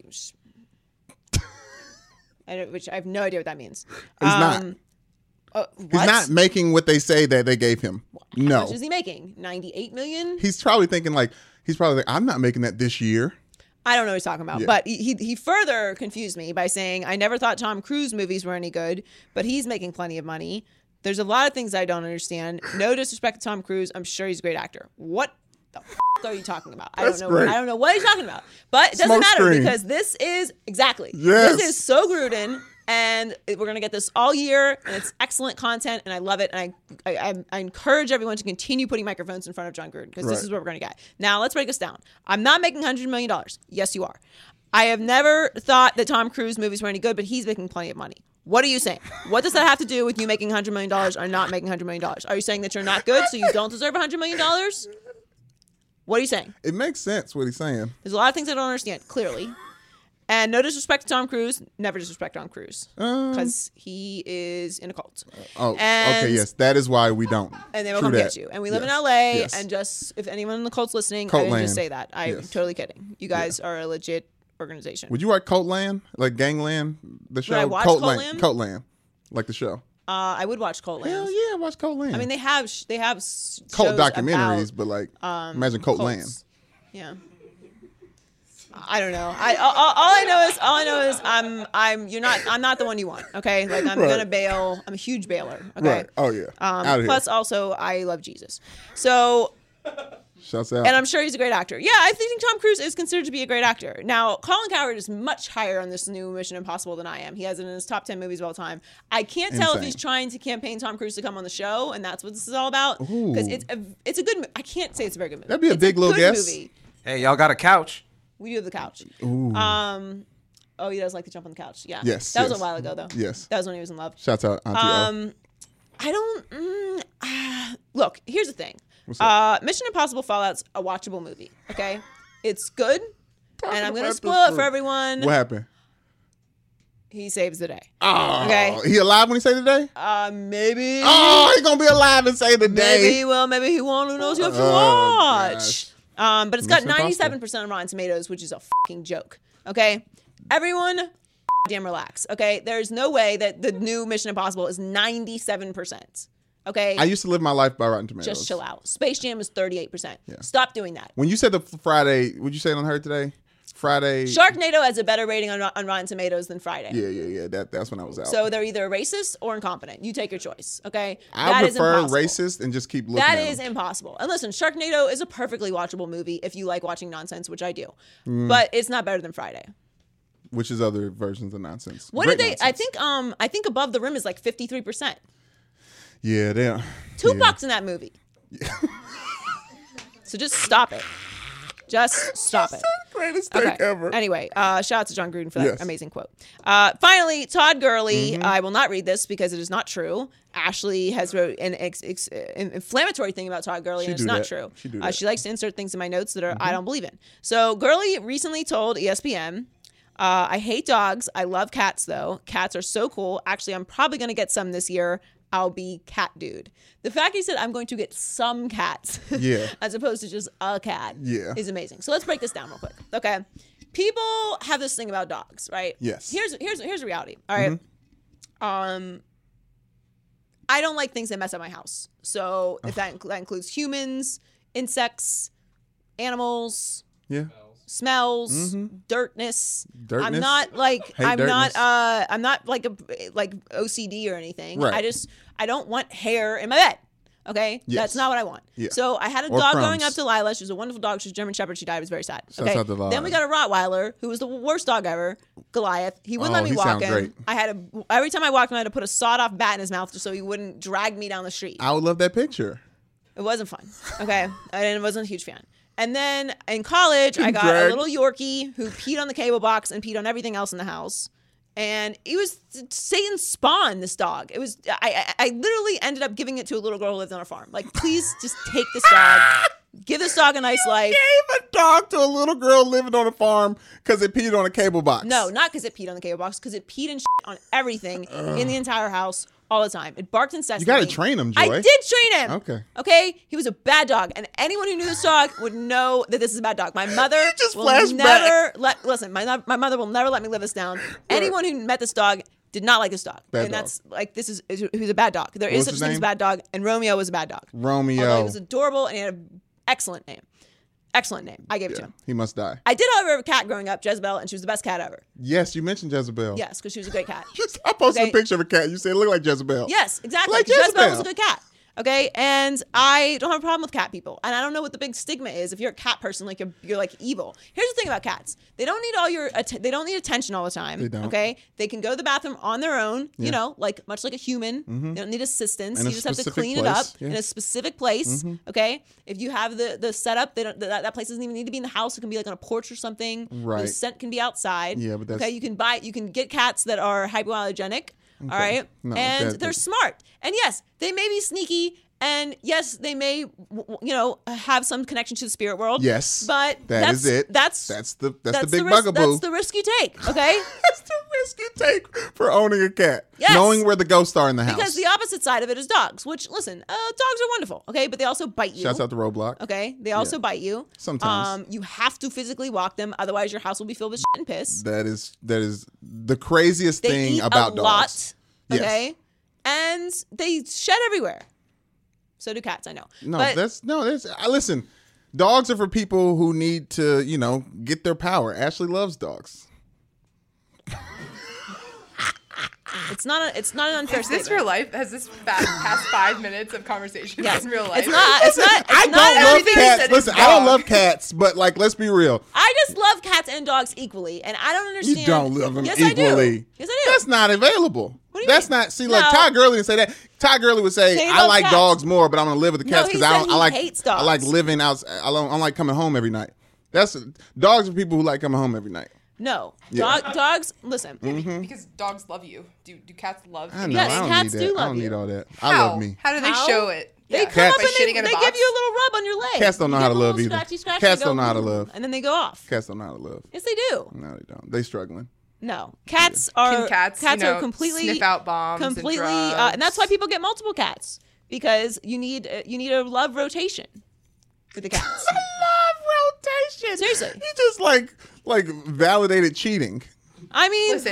[SPEAKER 2] I have no idea what that means.
[SPEAKER 3] He's not. He's not making what they say that they gave him. No.
[SPEAKER 2] How much is he making? $98 million?
[SPEAKER 3] He's probably thinking I'm not making that this year.
[SPEAKER 2] I don't know what he's talking about.
[SPEAKER 3] Yeah.
[SPEAKER 2] But he further confused me by saying, I never thought Tom Cruise movies were any good, but he's making plenty of money. There's a lot of things I don't understand. No disrespect to Tom Cruise. I'm sure he's a great actor. What the are you talking about?
[SPEAKER 3] That's great.
[SPEAKER 2] I don't know what he's talking about. But it doesn't
[SPEAKER 3] Smoke
[SPEAKER 2] matter
[SPEAKER 3] screen.
[SPEAKER 2] because this is exactly.
[SPEAKER 3] Yes.
[SPEAKER 2] This is so Gruden. And we're going to get this all year, and it's excellent content, and I love it. And I encourage everyone to continue putting microphones in front of John Gruden, because this
[SPEAKER 3] Right.
[SPEAKER 2] is what we're going to get. Now, let's break this down. I'm not making $100 million. Yes, you are. I have never thought that Tom Cruise movies were any good, but he's making plenty of money. What are you saying? What does that have to do with you making $100 million or not making $100 million? Are you saying that you're not good, so you don't deserve $100 million? What are you saying?
[SPEAKER 3] It makes sense what he's saying.
[SPEAKER 2] There's a lot of things I don't understand, clearly. And no disrespect to Tom Cruise. Never disrespect Tom Cruise. Because he is in a cult.
[SPEAKER 3] Oh,
[SPEAKER 2] And-
[SPEAKER 3] okay, yes. That is why we don't.
[SPEAKER 2] And they will
[SPEAKER 3] True
[SPEAKER 2] come
[SPEAKER 3] that.
[SPEAKER 2] get you. And we live
[SPEAKER 3] Yes.
[SPEAKER 2] in LA.
[SPEAKER 3] Yes.
[SPEAKER 2] And just, if anyone in the cult's listening,
[SPEAKER 3] Cult
[SPEAKER 2] I didn't just
[SPEAKER 3] land.
[SPEAKER 2] say that. I'm
[SPEAKER 3] Yes.
[SPEAKER 2] totally kidding. You guys are a legit organization.
[SPEAKER 3] Would you watch Cult Land? Like Gangland? The show?
[SPEAKER 2] I watch
[SPEAKER 3] Cult
[SPEAKER 2] Cult
[SPEAKER 3] Land.
[SPEAKER 2] Land?
[SPEAKER 3] Cult Land. Like the show.
[SPEAKER 2] I would watch Cult Land.
[SPEAKER 3] Hell yeah, watch Cult Land.
[SPEAKER 2] I mean, they have
[SPEAKER 3] cult
[SPEAKER 2] shows
[SPEAKER 3] documentaries,
[SPEAKER 2] about,
[SPEAKER 3] but like, imagine Cult
[SPEAKER 2] cults.
[SPEAKER 3] Land.
[SPEAKER 2] Yeah. I don't know. All I know is I'm not the one you want. Okay, like I'm
[SPEAKER 3] Right.
[SPEAKER 2] gonna bail. I'm a huge bailer. Okay.
[SPEAKER 3] Right. Oh yeah. Out of
[SPEAKER 2] Plus,
[SPEAKER 3] here.
[SPEAKER 2] also, I love Jesus. So,
[SPEAKER 3] Shouts out.
[SPEAKER 2] and I'm sure he's a great actor. Yeah, I think Tom Cruise is considered to be a great actor. Now, Colin Cowherd is much higher on this new Mission Impossible than I am. He has it in his top 10 movies of all time. I can't tell if
[SPEAKER 3] Insane.
[SPEAKER 2] he's trying to campaign Tom Cruise to come on the show, and that's what this is all about. Because it's a good. I can't say it's a very good movie.
[SPEAKER 3] That'd be a
[SPEAKER 2] It's
[SPEAKER 3] big little
[SPEAKER 2] good
[SPEAKER 3] guess.
[SPEAKER 2] movie.
[SPEAKER 1] Hey, y'all got a couch?
[SPEAKER 2] We do have the couch.
[SPEAKER 3] Ooh.
[SPEAKER 2] Oh, he does like to jump on the couch. Yeah.
[SPEAKER 3] Yes,
[SPEAKER 2] That was
[SPEAKER 3] yes.
[SPEAKER 2] a while ago, though.
[SPEAKER 3] Yes.
[SPEAKER 2] That was when he was in love.
[SPEAKER 3] Shouts out Auntie O.
[SPEAKER 2] I don't. look, here's the thing. Mission Impossible Fallout's a watchable movie, okay? It's good, and I'm going to spoil it for everyone.
[SPEAKER 3] What happened?
[SPEAKER 2] He saves the day.
[SPEAKER 3] Oh,
[SPEAKER 2] okay.
[SPEAKER 3] He alive when he saves the day?
[SPEAKER 2] Maybe.
[SPEAKER 3] Oh, he going to be alive and save the day.
[SPEAKER 2] Maybe he will, maybe he won't. Who knows? You have to watch.
[SPEAKER 3] Gosh.
[SPEAKER 2] But it's got 97% on Rotten Tomatoes, which is a fucking joke, okay? Everyone, damn relax, okay? There's no way that the new Mission Impossible is 97%. Okay.
[SPEAKER 3] I used to live my life by Rotten Tomatoes.
[SPEAKER 2] Just chill out. Space Jam is 38%.
[SPEAKER 3] Yeah.
[SPEAKER 2] Stop doing that.
[SPEAKER 3] When you said the Friday, would you say it on her today? Friday.
[SPEAKER 2] Sharknado has a better rating on Rotten Tomatoes than Friday.
[SPEAKER 3] Yeah. That's when I was out.
[SPEAKER 2] So they're either racist or incompetent. You take your choice. Okay.
[SPEAKER 3] I prefer racist and just keep looking.
[SPEAKER 2] That is impossible. And listen, Sharknado is a perfectly watchable movie if you like watching nonsense, which I do. But it's not better than Friday.
[SPEAKER 3] Which is other versions of nonsense.
[SPEAKER 2] What did they? Nonsense. I think Above the Rim is like 53%.
[SPEAKER 3] Yeah, they are.
[SPEAKER 2] Tupac's in that movie. Yeah. So just stop it. Just stop it.
[SPEAKER 3] Greatest thing ever.
[SPEAKER 2] Anyway, shout out to John Gruden for that amazing quote. Finally, Todd Gurley. I will not read this because it is not true. Ashley has wrote an inflammatory thing about Todd Gurley, and it's not true. She likes to insert things in my notes that are I don't believe in. So Gurley recently told ESPN, I hate dogs. I love cats, though. Cats are so cool. Actually, I'm probably going to get some this year. I'll be cat dude. The fact he said I'm going to get some cats as opposed to just a cat is amazing. So let's break this down real quick. Okay. People have this thing about dogs, right?
[SPEAKER 3] Yes.
[SPEAKER 2] Here's the reality. All right. I don't like things that mess up my house. So if that includes humans, insects, animals, smells, dirtness. I'm not like I'm not like OCD or anything.
[SPEAKER 3] Right.
[SPEAKER 2] I don't want hair in my bed. Okay, that's not what I want. Yeah. So I had a dog growing up, Delilah. She was a wonderful dog. She was a German Shepherd. She died. It was very sad. Okay. Then we got a Rottweiler who was the worst dog ever, Goliath. He wouldn't let me walk him. Great. Every time I walked him, I had to put a sawed-off bat in his mouth just so he wouldn't drag me down the street.
[SPEAKER 3] I would love that picture.
[SPEAKER 2] It wasn't fun. Okay, I wasn't a huge fan. And then in college, I got a little Yorkie who peed on the cable box and peed on everything else in the house. And it was Satan's spawn, this dog. It was, I literally ended up giving it to a little girl who lived on a farm. Like, please just take this dog. Give this dog a nice life.
[SPEAKER 3] Gave a dog to a little girl living on a farm because it peed on a cable box.
[SPEAKER 2] No, not because it peed on the cable box, because it peed and shit on everything in the entire house. All the time. It barked incessantly.
[SPEAKER 3] You got to train him, Joy.
[SPEAKER 2] I did train him.
[SPEAKER 3] Okay.
[SPEAKER 2] He was a bad dog. And anyone who knew this dog would know that this is a bad dog. My mother
[SPEAKER 3] will
[SPEAKER 2] never listen, my mother will never let me live this down. Anyone who met this dog did not like this dog. That's like, he was a bad dog. There is such thing as a bad dog. And Romeo was a bad dog. Although he was adorable and he had an excellent name. Excellent name. I gave it to him.
[SPEAKER 3] He must die.
[SPEAKER 2] I did, however, have a cat growing up, Jezebel, and she was the best cat ever.
[SPEAKER 3] Yes, you mentioned Jezebel.
[SPEAKER 2] Yes, because she was a great cat.
[SPEAKER 3] I posted a picture of a cat. You said it looked like Jezebel.
[SPEAKER 2] Yes, exactly. Like Jezebel was a good cat. Okay, and I don't have a problem with cat people, and I don't know what the big stigma is. If you're a cat person, like you're like evil. Here's the thing about cats: they don't need all your they don't need attention all the time.
[SPEAKER 3] They don't.
[SPEAKER 2] Okay, they can go to the bathroom on their own. You know, like much like a human. They don't need assistance. You just have to clean it up in a specific place. Okay, if you have the setup, they don't that place doesn't even need to be in the house. It can be like on a porch or something.
[SPEAKER 3] Right.
[SPEAKER 2] The scent can be outside.
[SPEAKER 3] Yeah, but that's
[SPEAKER 2] okay. You can get cats that are hypoallergenic. Okay. All right, and they're smart. And yes, they may be sneaky. And yes, they may, have some connection to the spirit world.
[SPEAKER 3] Yes,
[SPEAKER 2] but
[SPEAKER 3] that's it. That's the big bugaboo.
[SPEAKER 2] That's the risk you take. Okay,
[SPEAKER 3] that's the risk you take for owning a cat.
[SPEAKER 2] Yes.
[SPEAKER 3] Knowing where the ghosts are in the house.
[SPEAKER 2] Because the opposite side of it is dogs. Which, listen, dogs are wonderful. Okay, but they also bite you.
[SPEAKER 3] Shouts out to Roblox.
[SPEAKER 2] Okay, they also bite you.
[SPEAKER 3] Sometimes.
[SPEAKER 2] You have to physically walk them, otherwise your house will be filled with shit and piss.
[SPEAKER 3] That is the craziest thing about dogs.
[SPEAKER 2] They eat a lot. Okay, and they shed everywhere. So do cats, I know.
[SPEAKER 3] Listen, dogs are for people who need to, get their power. Ashley loves dogs.
[SPEAKER 2] It's not an unfair statement.
[SPEAKER 7] Is this real life? Has this past 5 minutes of conversation been real life?
[SPEAKER 2] It's not.
[SPEAKER 3] I don't love cats. Listen, I don't love cats, but let's be real.
[SPEAKER 2] I just love cats and dogs equally, and I don't understand.
[SPEAKER 3] You don't love them
[SPEAKER 2] equally. Yes, I do.
[SPEAKER 3] That's not available.
[SPEAKER 2] What do you
[SPEAKER 3] That's
[SPEAKER 2] mean?
[SPEAKER 3] not. See, Todd Gurley would say that. Todd Gurley would say, "I like dogs more, but I'm gonna live with the cats because I
[SPEAKER 2] hates dogs.
[SPEAKER 3] I like living out. I like coming home every night. Dogs are people who like coming home every night."
[SPEAKER 2] No, dogs. Listen,
[SPEAKER 7] because dogs love you. Do cats love you?
[SPEAKER 3] I know.
[SPEAKER 2] Yes,
[SPEAKER 3] I don't
[SPEAKER 2] cats
[SPEAKER 3] need that.
[SPEAKER 2] do love
[SPEAKER 3] I don't
[SPEAKER 2] you.
[SPEAKER 3] need all that.
[SPEAKER 7] How?
[SPEAKER 3] I love me.
[SPEAKER 7] How do they show it?
[SPEAKER 2] They
[SPEAKER 7] Yeah.
[SPEAKER 2] come up
[SPEAKER 7] By
[SPEAKER 2] and
[SPEAKER 7] shitting
[SPEAKER 2] they
[SPEAKER 7] in a
[SPEAKER 2] give
[SPEAKER 7] box?
[SPEAKER 2] you a little rub on your leg.
[SPEAKER 3] Cats don't know
[SPEAKER 2] You
[SPEAKER 3] how
[SPEAKER 2] give
[SPEAKER 3] to
[SPEAKER 2] them a
[SPEAKER 3] love
[SPEAKER 2] little
[SPEAKER 3] either.
[SPEAKER 2] scratchy, scratchy,
[SPEAKER 3] Cats
[SPEAKER 2] they go,
[SPEAKER 3] don't know how to love.
[SPEAKER 2] and then they go off.
[SPEAKER 3] Cats don't know how to love.
[SPEAKER 2] Yes, they do.
[SPEAKER 3] No, they don't. They struggling.
[SPEAKER 2] No, cats are
[SPEAKER 7] Can cats,
[SPEAKER 2] are completely
[SPEAKER 7] sniff out bombs
[SPEAKER 2] completely,
[SPEAKER 7] and drugs?
[SPEAKER 2] and that's why people get multiple cats because you need a love rotation with the cats.
[SPEAKER 3] Love rotation.
[SPEAKER 2] Seriously.
[SPEAKER 3] You just like validated cheating.
[SPEAKER 2] I mean,
[SPEAKER 7] Listen.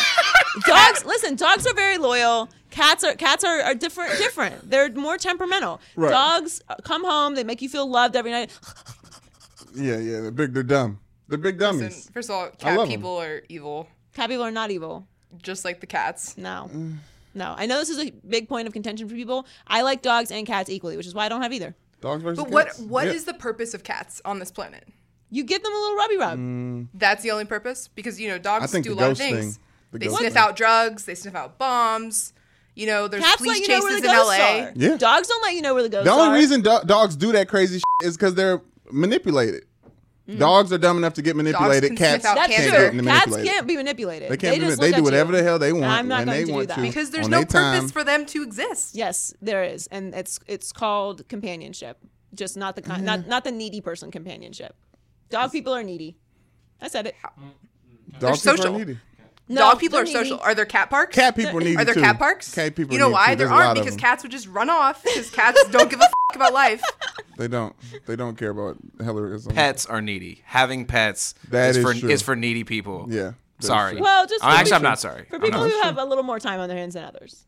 [SPEAKER 2] dogs are very loyal. Cats are different. They're more temperamental.
[SPEAKER 3] Right.
[SPEAKER 2] Dogs come home, they make you feel loved every night.
[SPEAKER 3] Yeah, they're dumb. They're big dummies.
[SPEAKER 7] Listen, first of all,
[SPEAKER 3] I love
[SPEAKER 7] cat people are evil,
[SPEAKER 2] Cat people are not evil.
[SPEAKER 7] just like the cats.
[SPEAKER 2] No. No. I know this is a big point of contention for people. I like dogs and cats equally, which is why I don't have either.
[SPEAKER 3] Dogs versus
[SPEAKER 7] But
[SPEAKER 3] cats.
[SPEAKER 7] what is
[SPEAKER 3] Yeah.
[SPEAKER 7] the purpose of cats on this planet?
[SPEAKER 2] You give them a little rubby rub.
[SPEAKER 7] That's the only purpose? Because,
[SPEAKER 3] I
[SPEAKER 7] dogs
[SPEAKER 3] think
[SPEAKER 7] do a
[SPEAKER 3] the
[SPEAKER 7] lot of
[SPEAKER 3] ghost
[SPEAKER 7] things.
[SPEAKER 3] thing. The
[SPEAKER 7] They
[SPEAKER 3] ghost
[SPEAKER 7] sniff
[SPEAKER 3] thing.
[SPEAKER 7] out drugs. They sniff out bombs. There's
[SPEAKER 2] Cats
[SPEAKER 7] police
[SPEAKER 2] let you know where
[SPEAKER 7] chases
[SPEAKER 2] the
[SPEAKER 7] in
[SPEAKER 2] ghosts
[SPEAKER 7] LA.
[SPEAKER 2] are.
[SPEAKER 3] Yeah.
[SPEAKER 2] Dogs don't let you know where the ghosts
[SPEAKER 3] The
[SPEAKER 2] are.
[SPEAKER 3] only reason dogs do that crazy is because they're manipulated. Dogs are dumb enough to get manipulated.
[SPEAKER 7] can
[SPEAKER 3] Cats
[SPEAKER 7] sniff out
[SPEAKER 2] That's
[SPEAKER 3] can't
[SPEAKER 7] cancer.
[SPEAKER 3] get
[SPEAKER 2] true. Cats
[SPEAKER 3] manipulated.
[SPEAKER 2] can't be manipulated.
[SPEAKER 3] They can't.
[SPEAKER 2] just
[SPEAKER 3] They
[SPEAKER 2] look
[SPEAKER 3] do
[SPEAKER 2] at
[SPEAKER 3] whatever
[SPEAKER 2] you.
[SPEAKER 3] the hell they want
[SPEAKER 2] I'm not
[SPEAKER 3] when
[SPEAKER 2] going
[SPEAKER 3] they
[SPEAKER 2] to do
[SPEAKER 3] want
[SPEAKER 2] that.
[SPEAKER 3] to.
[SPEAKER 7] Because there's
[SPEAKER 3] on
[SPEAKER 7] no
[SPEAKER 3] their time.
[SPEAKER 7] purpose for them to exist.
[SPEAKER 2] Yes, there is, and it's called companionship. Just not the kind, not the needy person companionship. Dog people are needy. I said it.
[SPEAKER 7] They're
[SPEAKER 3] Dog people are
[SPEAKER 7] social.
[SPEAKER 3] needy.
[SPEAKER 2] No,
[SPEAKER 7] Dog people
[SPEAKER 2] they're
[SPEAKER 7] are
[SPEAKER 2] needy.
[SPEAKER 7] social. Are there cat parks?
[SPEAKER 3] Cat people need
[SPEAKER 7] Are there
[SPEAKER 3] too.
[SPEAKER 7] cat parks?
[SPEAKER 3] Cat people
[SPEAKER 7] You know
[SPEAKER 3] need
[SPEAKER 7] why?
[SPEAKER 3] too.
[SPEAKER 7] There
[SPEAKER 3] There's a lot
[SPEAKER 7] aren't
[SPEAKER 3] of
[SPEAKER 7] because
[SPEAKER 3] them.
[SPEAKER 7] cats would just run off because cats don't give a about life.
[SPEAKER 3] They don't. They don't care about hellarism.
[SPEAKER 8] Pets are needy. Having pets
[SPEAKER 3] That
[SPEAKER 8] is
[SPEAKER 3] is
[SPEAKER 8] for
[SPEAKER 3] true.
[SPEAKER 8] needy people.
[SPEAKER 3] Yeah. that is
[SPEAKER 8] Sorry.
[SPEAKER 3] true.
[SPEAKER 2] Well, just for
[SPEAKER 8] Actually,
[SPEAKER 2] people-
[SPEAKER 8] I'm not sorry.
[SPEAKER 2] For
[SPEAKER 8] I'm
[SPEAKER 2] people
[SPEAKER 8] not.
[SPEAKER 2] who have a little more time on their hands than others.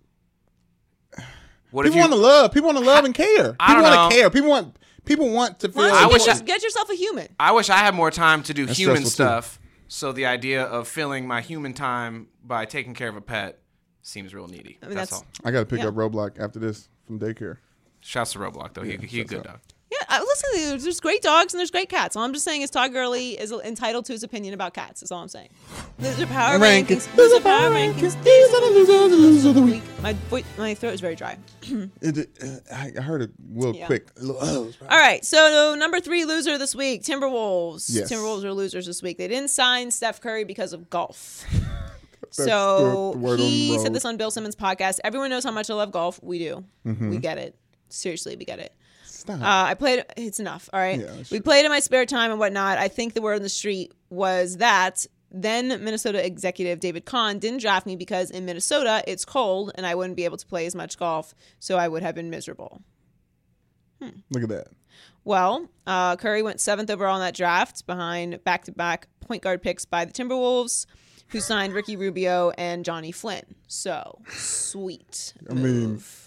[SPEAKER 8] What if
[SPEAKER 3] People want to love. People want to love and care.
[SPEAKER 8] I
[SPEAKER 3] People
[SPEAKER 8] don't
[SPEAKER 3] want to
[SPEAKER 8] know.
[SPEAKER 3] care. People want to feel.
[SPEAKER 2] Why
[SPEAKER 8] I
[SPEAKER 2] don't you
[SPEAKER 8] wish
[SPEAKER 2] get yourself a human.
[SPEAKER 8] I wish I had more time to do
[SPEAKER 3] That's
[SPEAKER 8] human
[SPEAKER 3] stressful, too.
[SPEAKER 8] stuff. So the idea of filling my human time by taking care of a pet seems real needy.
[SPEAKER 2] I mean,
[SPEAKER 8] that's
[SPEAKER 2] that's-
[SPEAKER 8] all.
[SPEAKER 3] I got to pick
[SPEAKER 2] Yeah.
[SPEAKER 3] up Roblox after this from daycare.
[SPEAKER 8] Shouts to Roblox though. He a
[SPEAKER 3] shouts
[SPEAKER 8] good
[SPEAKER 3] out.
[SPEAKER 8] dog.
[SPEAKER 2] Yeah, listen, there's great dogs and there's great cats. All I'm just saying is Todd Gurley is entitled to his opinion about cats. That's all I'm saying. Loser power rankings. Loser power rankings.
[SPEAKER 3] These are the losers of the week.
[SPEAKER 2] My throat is very dry.
[SPEAKER 3] I heard it real
[SPEAKER 2] Yeah.
[SPEAKER 3] quick.
[SPEAKER 2] All right, so number 3 loser this week, Timberwolves.
[SPEAKER 3] Yes.
[SPEAKER 2] Timberwolves are losers this week. They didn't sign Steph Curry because of golf.
[SPEAKER 3] the
[SPEAKER 2] So
[SPEAKER 3] word on
[SPEAKER 2] he
[SPEAKER 3] the
[SPEAKER 2] said
[SPEAKER 3] road.
[SPEAKER 2] this on Bill Simmons' podcast. Everyone knows how much I love golf. We do.
[SPEAKER 3] Mm-hmm.
[SPEAKER 2] We get it. Seriously, we get it.
[SPEAKER 3] Stop.
[SPEAKER 2] I played. It's enough. All right.
[SPEAKER 3] Yeah, that's
[SPEAKER 2] We
[SPEAKER 3] true.
[SPEAKER 2] played in my spare time and whatnot. I think the word on the street was that then Minnesota executive David Kahn didn't draft me because in Minnesota it's cold and I wouldn't be able to play as much golf, so I would have been miserable.
[SPEAKER 3] Look at that.
[SPEAKER 2] Well, Curry went 7th overall in that draft behind back-to-back point guard picks by the Timberwolves, who signed Ricky Rubio and Johnny Flynn. So sweet.
[SPEAKER 3] I mean,
[SPEAKER 2] move.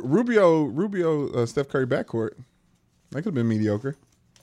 [SPEAKER 3] Rubio, Steph Curry backcourt. That could have been mediocre.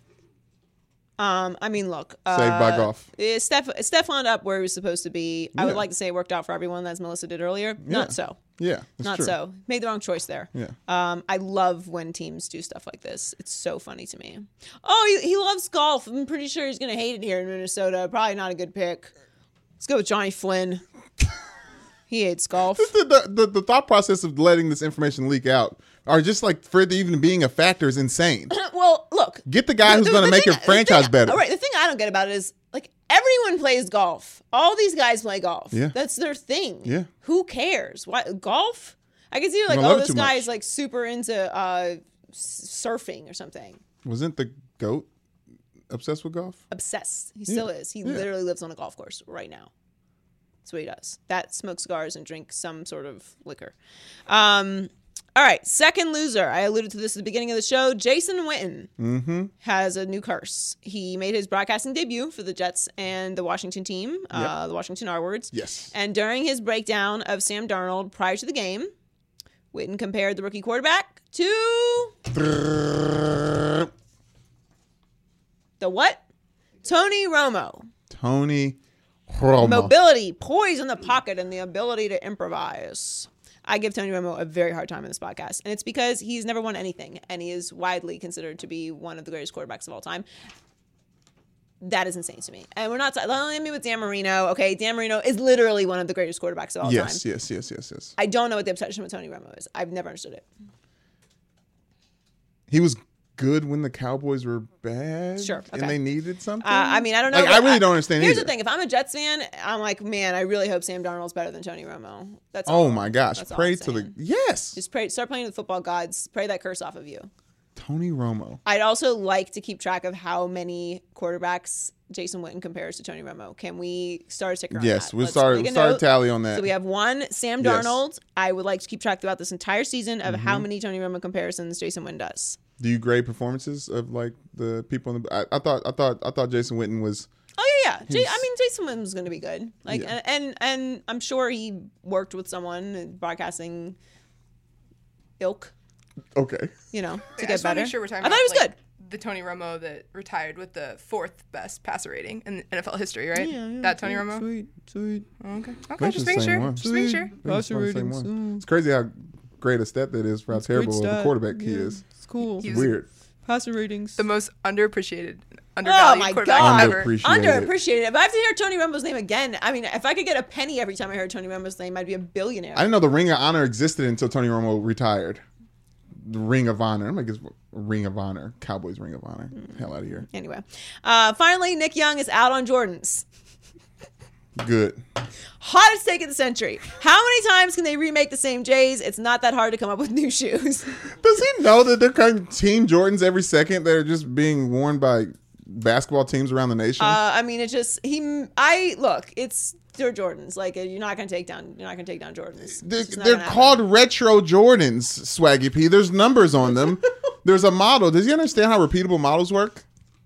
[SPEAKER 2] I mean, look.
[SPEAKER 3] Saved by golf.
[SPEAKER 2] Steph wound up where he was supposed to be. I would
[SPEAKER 3] Yeah.
[SPEAKER 2] like to say it worked out for everyone, as Melissa did earlier. Not so.
[SPEAKER 3] Yeah, that's
[SPEAKER 2] Not
[SPEAKER 3] true.
[SPEAKER 2] so. Made the wrong choice there.
[SPEAKER 3] Yeah.
[SPEAKER 2] I love when teams do stuff like this. It's so funny to me. Oh, he loves golf. I'm pretty sure he's going to hate it here in Minnesota. Probably not a good pick. Let's go with Johnny Flynn. He hates golf.
[SPEAKER 3] The thought process of letting this information leak out, or just like for it even being a factor, is insane.
[SPEAKER 2] Well, look.
[SPEAKER 3] Get the guy who's going to make your franchise better.
[SPEAKER 2] All right. The thing I don't get about it is like everyone plays golf. All these guys play golf.
[SPEAKER 3] Yeah.
[SPEAKER 2] That's their thing.
[SPEAKER 3] Yeah.
[SPEAKER 2] Who cares? Why golf? I can see like,
[SPEAKER 3] don't love
[SPEAKER 2] oh,
[SPEAKER 3] it
[SPEAKER 2] this
[SPEAKER 3] too
[SPEAKER 2] guy
[SPEAKER 3] much.
[SPEAKER 2] is like super into surfing or something.
[SPEAKER 3] Wasn't the GOAT obsessed with golf?
[SPEAKER 2] Obsessed. He still is. He literally lives on a golf course right now. That's what he does. That, smoke cigars and drink some sort of liquor. All right, second loser. I alluded to this at the beginning of the show. Jason Witten has a new curse. He made his broadcasting debut for the Jets and the Washington team, the Washington R-Words.
[SPEAKER 3] Yes.
[SPEAKER 2] And during his breakdown of Sam Darnold prior to the game, Witten compared the rookie quarterback to the what? Tony Romo.
[SPEAKER 3] Tony Romo.
[SPEAKER 2] Mobility, poise in the pocket, and the ability to improvise. I give Tony Romo a very hard time in this podcast, and it's because he's never won anything, and he is widely considered to be one of the greatest quarterbacks of all time. That is insane to me. And we're not talking with Dan Marino. Okay, Dan Marino is literally one of the greatest quarterbacks of all time.
[SPEAKER 3] Yes.
[SPEAKER 2] I don't know what the obsession with Tony Romo is. I've never understood it.
[SPEAKER 3] He was good when the Cowboys were bad?
[SPEAKER 2] Sure. Okay.
[SPEAKER 3] And they needed something?
[SPEAKER 2] I mean, I don't know.
[SPEAKER 3] Like, I really don't understand
[SPEAKER 2] Here's
[SPEAKER 3] either.
[SPEAKER 2] the thing. If I'm a Jets fan, I'm like, man, I really hope Sam Darnold's better than Tony Romo. That's
[SPEAKER 3] Oh,
[SPEAKER 2] all.
[SPEAKER 3] my gosh.
[SPEAKER 2] That's all
[SPEAKER 3] Pray
[SPEAKER 2] I'm
[SPEAKER 3] to the...
[SPEAKER 2] saying.
[SPEAKER 3] Yes.
[SPEAKER 2] Just pray. Start playing with football gods. Pray that curse off of you.
[SPEAKER 3] Tony Romo.
[SPEAKER 2] I'd also like to keep track of how many quarterbacks Jason Witten compares to Tony Romo. Can we start a ticker on
[SPEAKER 3] Yes,
[SPEAKER 2] that?
[SPEAKER 3] we'll
[SPEAKER 2] Let's
[SPEAKER 3] start
[SPEAKER 2] make
[SPEAKER 3] a
[SPEAKER 2] note.
[SPEAKER 3] tally on that.
[SPEAKER 2] So we have one, Sam
[SPEAKER 3] Yes.
[SPEAKER 2] Darnold. I would like to keep track throughout this entire season of how many Tony Romo comparisons Jason Witten does.
[SPEAKER 3] Do you grade performances of like the people in the? I thought Jason Witten was.
[SPEAKER 2] Oh yeah. I mean, Jason Witten was going to be good. Like,
[SPEAKER 3] Yeah.
[SPEAKER 2] and I'm sure he worked with someone broadcasting ilk,
[SPEAKER 3] Okay.
[SPEAKER 2] you know, to
[SPEAKER 7] I
[SPEAKER 2] get
[SPEAKER 7] just want
[SPEAKER 2] better.
[SPEAKER 7] to make sure we're talking
[SPEAKER 2] I
[SPEAKER 7] about
[SPEAKER 2] thought he was
[SPEAKER 7] like,
[SPEAKER 2] good.
[SPEAKER 7] the Tony Romo that retired with the 4th best passer rating in NFL history, right? That Tony Romo.
[SPEAKER 3] Sweet.
[SPEAKER 7] Okay.
[SPEAKER 3] That's
[SPEAKER 7] Okay. Just
[SPEAKER 3] the
[SPEAKER 7] making
[SPEAKER 3] same
[SPEAKER 7] sure.
[SPEAKER 3] one.
[SPEAKER 7] Just making sure.
[SPEAKER 3] It's crazy how great a stat that is for how terrible of a quarterback he is.
[SPEAKER 2] It's cool.
[SPEAKER 3] It's weird.
[SPEAKER 2] Passer ratings.
[SPEAKER 7] The most underappreciated,
[SPEAKER 2] Oh
[SPEAKER 7] undervalued
[SPEAKER 2] my
[SPEAKER 7] quarterback
[SPEAKER 2] God.
[SPEAKER 7] ever.
[SPEAKER 2] Underappreciated. If I have to hear Tony Romo's name again, I mean, if I could get a penny every time I heard Tony Romo's name, I'd be a billionaire.
[SPEAKER 3] I didn't know the Ring of Honor existed until Tony Romo retired. The Ring of Honor. I'm like, it's Ring of Honor. Cowboys Ring of Honor. Hell out of here.
[SPEAKER 2] Anyway, finally, Nick Young is out on Jordans.
[SPEAKER 3] Good.
[SPEAKER 2] Hottest take of the century. How many times can they remake the same J's? It's not that hard to come up with new shoes.
[SPEAKER 3] Does he know that they're kind of Team Jordans every second that are just being worn by basketball teams around the nation?
[SPEAKER 2] I mean, it's just it's they're Jordans. Like you're not gonna take down Jordans.
[SPEAKER 3] They're called retro Jordans, Swaggy P. There's numbers on them. There's a model. Does he understand how repeatable models work?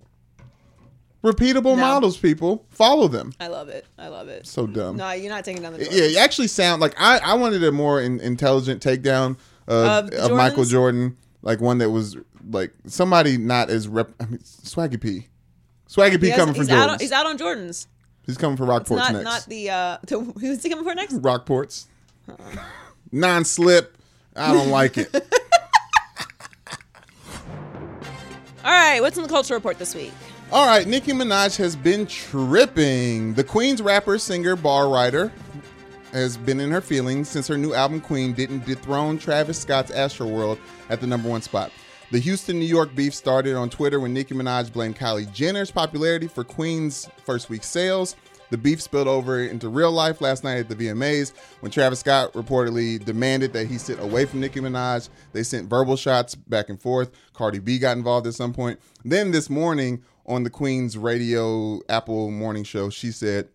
[SPEAKER 3] Repeatable models, people. Follow them.
[SPEAKER 2] I love it.
[SPEAKER 3] So dumb.
[SPEAKER 2] No, you're not taking down the Jordans.
[SPEAKER 3] Yeah, you actually sound like I wanted a more intelligent takedown of Michael Jordan, like one that was like somebody not as Swaggy P. Swaggy P coming for Jordans.
[SPEAKER 2] He's out on Jordans.
[SPEAKER 3] He's coming for Rockports next.
[SPEAKER 2] Not the who's he coming for next?
[SPEAKER 3] Rockports. Non-slip. I don't like it.
[SPEAKER 2] All right, what's in the culture report this week?
[SPEAKER 3] All right, Nicki Minaj has been tripping. The Queen's rapper, singer, bar writer has been in her feelings since her new album Queen didn't dethrone Travis Scott's Astroworld at the #1 spot. The Houston, New York beef started on Twitter when Nicki Minaj blamed Kylie Jenner's popularity for Queen's first week sales. The beef spilled over into real life last night at the VMAs when Travis Scott reportedly demanded that he sit away from Nicki Minaj. They sent verbal shots back and forth. Cardi B got involved at some point. Then this morning on the Queen's radio Apple morning show, she said,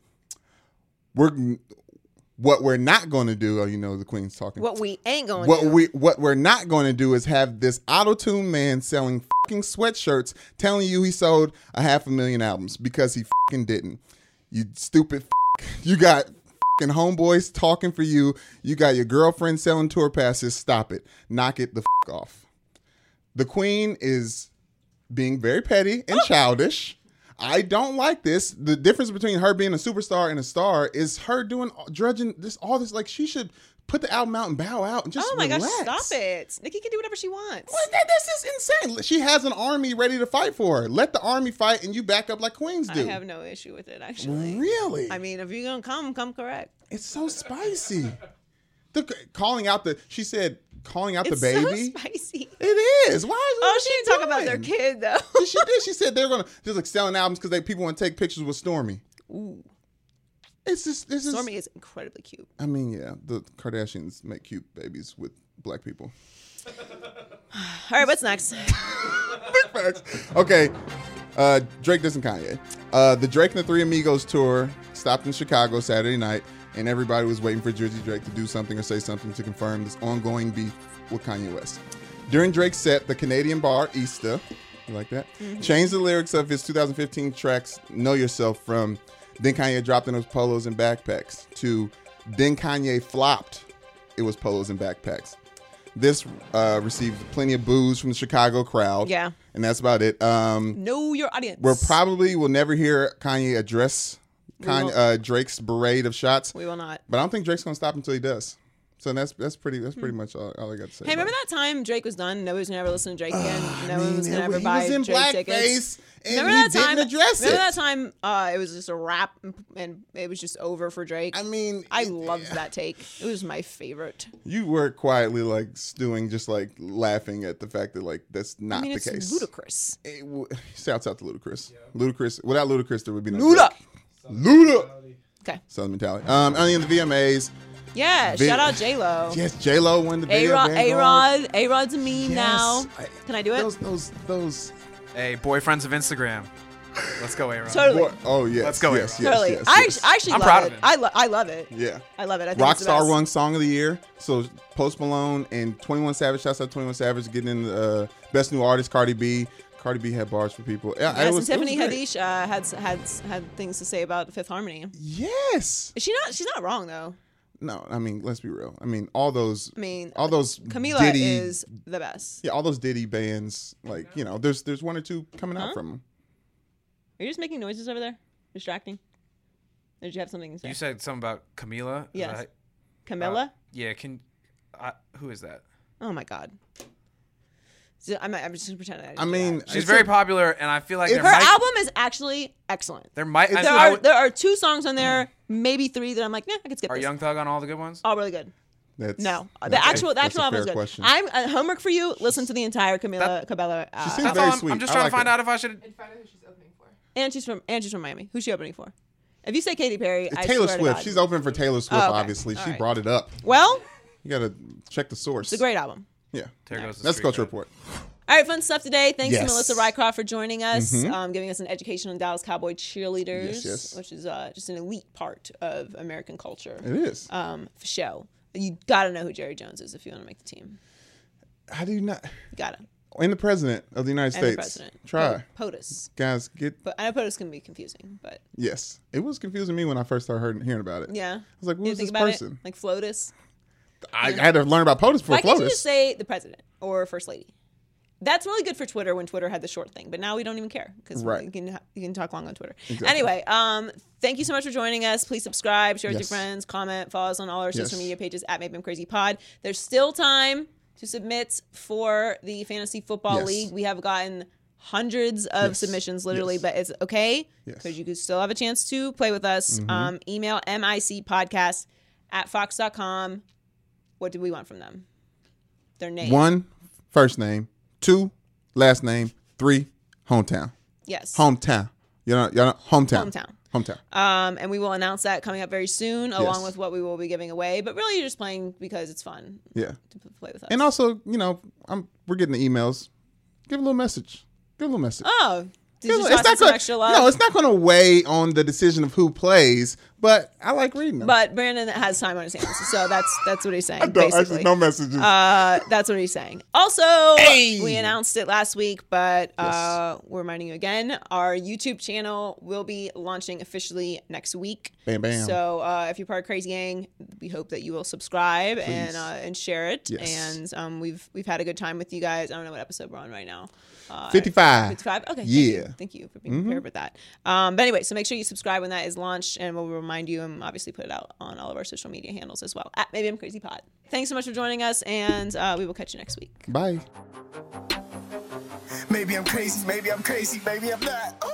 [SPEAKER 3] what we're not going to do, the Queen's talking.
[SPEAKER 2] What we ain't going to do.
[SPEAKER 3] What we're not going to do is have this auto-tune man selling fucking sweatshirts telling you he sold 500,000 albums because he fucking didn't. You stupid f***. You got fucking homeboys talking for you. You got your girlfriend selling tour passes. Stop it. Knock it the f*** off. The Queen is being very petty and childish. I don't like this. The difference between her being a superstar and a star is her drudging all this. Like, she should put the album out and bow out and just relax.
[SPEAKER 2] Gosh, stop it. Nikki can do whatever she wants.
[SPEAKER 3] This is insane. She has an army ready to fight for her. Let the army fight and you back up like queens do.
[SPEAKER 2] I have no issue with it, actually.
[SPEAKER 3] Really?
[SPEAKER 2] I mean, if you're going to come correct.
[SPEAKER 3] It's so spicy. Calling out the baby.
[SPEAKER 2] So spicy.
[SPEAKER 3] It is. Why is
[SPEAKER 2] she didn't talk about their kid, though.
[SPEAKER 3] She did. She said they're going to just like selling albums because people want to take pictures with Stormy.
[SPEAKER 2] Ooh.
[SPEAKER 3] Stormy
[SPEAKER 2] is incredibly cute.
[SPEAKER 3] I mean, yeah, the Kardashians make cute babies with black people.
[SPEAKER 2] All right, what's next?
[SPEAKER 3] Big facts. Okay, Drake dissing Kanye. The Drake and the Three Amigos tour stopped in Chicago Saturday night, and everybody was waiting for Jersey Drake to do something or say something to confirm this ongoing beef with Kanye West. During Drake's set, the Canadian bar Easter, you like that, changed the lyrics of his 2015 tracks Know Yourself from Then Kanye dropped in those polos and backpacks to Then Kanye flopped, it was polos and backpacks. This received plenty of boos from the Chicago crowd.
[SPEAKER 2] Yeah.
[SPEAKER 3] And that's about it.
[SPEAKER 2] Know your audience.
[SPEAKER 3] We'll never hear Kanye address Drake's parade of shots.
[SPEAKER 2] We will not.
[SPEAKER 3] But I don't think Drake's going to stop until he does. So that's pretty much all I got to say.
[SPEAKER 2] Hey, remember that time Drake was done? Nobody was gonna ever listen to Drake again. No one was gonna ever buy Drake tickets.
[SPEAKER 3] Remember that time? Address
[SPEAKER 2] remember that time? It was just a rap, and it was just over for Drake.
[SPEAKER 3] I mean,
[SPEAKER 2] I loved that take. It was my favorite.
[SPEAKER 3] You were quietly like stewing, just like laughing at the fact that like that's not the
[SPEAKER 2] it's
[SPEAKER 3] case.
[SPEAKER 2] Ludacris.
[SPEAKER 3] Shouts out to Ludacris. Ludacris. Without Ludacris, there would be no
[SPEAKER 2] Luda.
[SPEAKER 3] Luda.
[SPEAKER 2] Okay.
[SPEAKER 3] Southern mentality. Only in the VMAs.
[SPEAKER 2] Yeah, shout out J-Lo.
[SPEAKER 3] Yes, J-Lo won the video.
[SPEAKER 2] A-Rod's a meme now. Can I do it?
[SPEAKER 3] Those.
[SPEAKER 8] Hey, boyfriends of Instagram. Let's go, A-Rod.
[SPEAKER 2] Totally.
[SPEAKER 3] Oh, yes.
[SPEAKER 8] Let's go,
[SPEAKER 3] yes,
[SPEAKER 8] A-Rod.
[SPEAKER 2] Totally.
[SPEAKER 3] Yes,
[SPEAKER 2] I
[SPEAKER 3] yes.
[SPEAKER 2] actually
[SPEAKER 8] I'm
[SPEAKER 2] love
[SPEAKER 8] proud
[SPEAKER 2] it.
[SPEAKER 8] of him.
[SPEAKER 2] I love it.
[SPEAKER 3] Yeah.
[SPEAKER 2] I love it. I think it's the
[SPEAKER 3] Rockstar
[SPEAKER 2] best.
[SPEAKER 3] won Song of the Year. So Post Malone and 21 Savage. Shouts out to 21 Savage getting in the Best New Artist, Cardi B. Cardi B had bars for people.
[SPEAKER 2] Yes, and Tiffany Haddish had things to say about Fifth Harmony.
[SPEAKER 3] Yes.
[SPEAKER 2] She's not wrong though.
[SPEAKER 3] No, I mean, let's be real. I mean, all those
[SPEAKER 2] Camila
[SPEAKER 3] Diddy,
[SPEAKER 2] is the best.
[SPEAKER 3] Yeah, all those Diddy bands, like, you know, there's one or two coming out from them.
[SPEAKER 2] Are you just making noises over there? Distracting? Or did you have something to say?
[SPEAKER 8] You said something about Camila?
[SPEAKER 2] Yes. Camilla?
[SPEAKER 8] Yeah, who is that?
[SPEAKER 2] Oh my God. So I'm just pretending.
[SPEAKER 3] I mean,
[SPEAKER 8] she's very popular, and I feel like
[SPEAKER 2] her album is actually excellent.
[SPEAKER 8] There
[SPEAKER 2] are 2 songs on there, maybe 3 that I'm like, I could skip.
[SPEAKER 8] Are
[SPEAKER 2] this.
[SPEAKER 8] Young Thug on all the good ones?
[SPEAKER 2] All really good.
[SPEAKER 3] The
[SPEAKER 2] actual album is good.
[SPEAKER 3] Question.
[SPEAKER 2] I'm homework for you. Listen to the entire Camila Cabello.
[SPEAKER 3] She seems very sweet.
[SPEAKER 8] I'm just trying to find out if I should.
[SPEAKER 7] And find out who she's opening for.
[SPEAKER 2] And she's from Miami. Who's she opening for? If you say Katy Perry,
[SPEAKER 3] it's
[SPEAKER 2] I
[SPEAKER 3] Taylor
[SPEAKER 2] swear to
[SPEAKER 3] Swift.
[SPEAKER 2] God.
[SPEAKER 3] She's opening for Taylor Swift.
[SPEAKER 2] Okay.
[SPEAKER 3] Obviously,
[SPEAKER 2] All
[SPEAKER 3] she
[SPEAKER 2] right.
[SPEAKER 3] brought it up.
[SPEAKER 2] Well,
[SPEAKER 3] you gotta check the source.
[SPEAKER 2] It's a great album.
[SPEAKER 3] Yeah.
[SPEAKER 8] Let's
[SPEAKER 3] go to report.
[SPEAKER 2] All right, fun stuff today. Thanks to
[SPEAKER 3] Yes.
[SPEAKER 2] Melissa Rycroft for joining us, giving us an education on Dallas Cowboy cheerleaders,
[SPEAKER 3] Yes.
[SPEAKER 2] which is just an elite part of American culture.
[SPEAKER 3] It is.
[SPEAKER 2] For show. You got to know who Jerry Jones is if you want to make the team.
[SPEAKER 3] How do you not?
[SPEAKER 2] You got to.
[SPEAKER 3] And the president of the United
[SPEAKER 2] And the
[SPEAKER 3] States.
[SPEAKER 2] president.
[SPEAKER 3] Try.
[SPEAKER 2] POTUS.
[SPEAKER 3] Guys,
[SPEAKER 2] But I know POTUS can be confusing, but.
[SPEAKER 3] Yes. It was confusing me when I first started hearing about it.
[SPEAKER 2] Yeah.
[SPEAKER 3] I was like, who's this
[SPEAKER 2] about
[SPEAKER 3] person?
[SPEAKER 2] Like FLOTUS.
[SPEAKER 3] I had to learn about POTUS before
[SPEAKER 2] Why can't you
[SPEAKER 3] FLOTUS.
[SPEAKER 2] just say the president or first lady? That's really good for Twitter when Twitter had the short thing, but now we don't even care because you can talk long on Twitter.
[SPEAKER 3] Exactly.
[SPEAKER 2] Anyway, thank you so much for joining us. Please subscribe, share with your
[SPEAKER 3] Yes.
[SPEAKER 2] friends, comment, follow us on all our social
[SPEAKER 3] Yes.
[SPEAKER 2] media pages at Maybe I'm Crazy Pod. There's still time to submit for the Fantasy Football
[SPEAKER 3] Yes.
[SPEAKER 2] League. We have gotten hundreds of
[SPEAKER 3] Yes.
[SPEAKER 2] submissions, literally,
[SPEAKER 3] Yes.
[SPEAKER 2] but it's okay
[SPEAKER 3] Yes.
[SPEAKER 2] because you can still have a chance to play with us. Email micpodcast@fox.com. What do we want from them? Their name.
[SPEAKER 3] 1, first name. 2, last name. 3, hometown.
[SPEAKER 2] Yes.
[SPEAKER 3] Hometown. You know, hometown.
[SPEAKER 2] Hometown. And we will announce that coming up very soon, along with what we will be giving away. But really, you're just playing because it's fun.
[SPEAKER 3] Yeah.
[SPEAKER 2] To play with us.
[SPEAKER 3] And also, you know, we're getting the emails. Give a little message.
[SPEAKER 2] Oh, did you
[SPEAKER 3] It's
[SPEAKER 2] toss in some extra love?
[SPEAKER 3] No, it's not going to weigh on the decision of who plays, but I like reading them.
[SPEAKER 2] But Brandon has time on his hands, so that's what he's saying.
[SPEAKER 3] I don't,
[SPEAKER 2] basically.
[SPEAKER 3] actually, no messages.
[SPEAKER 2] That's what he's saying. Also, we announced it last week, but we're reminding you again. Our YouTube channel will be launching officially next week.
[SPEAKER 3] Bam, bam.
[SPEAKER 2] So if you're part of Crazy Gang, we hope that you will subscribe and share it.
[SPEAKER 3] Yes.
[SPEAKER 2] And we've had a good time with you guys. I don't know what episode we're on right now.
[SPEAKER 3] 55.
[SPEAKER 2] 55? Okay.
[SPEAKER 3] Yeah.
[SPEAKER 2] Thank you for being prepared with that. But anyway, so make sure you subscribe when that is launched, and we'll remind you and obviously put it out on all of our social media handles as well. At Maybe I'm Crazy Pod. Thanks so much for joining us, and we will catch you next week.
[SPEAKER 3] Bye.
[SPEAKER 4] Maybe I'm crazy, maybe I'm crazy, maybe I'm not.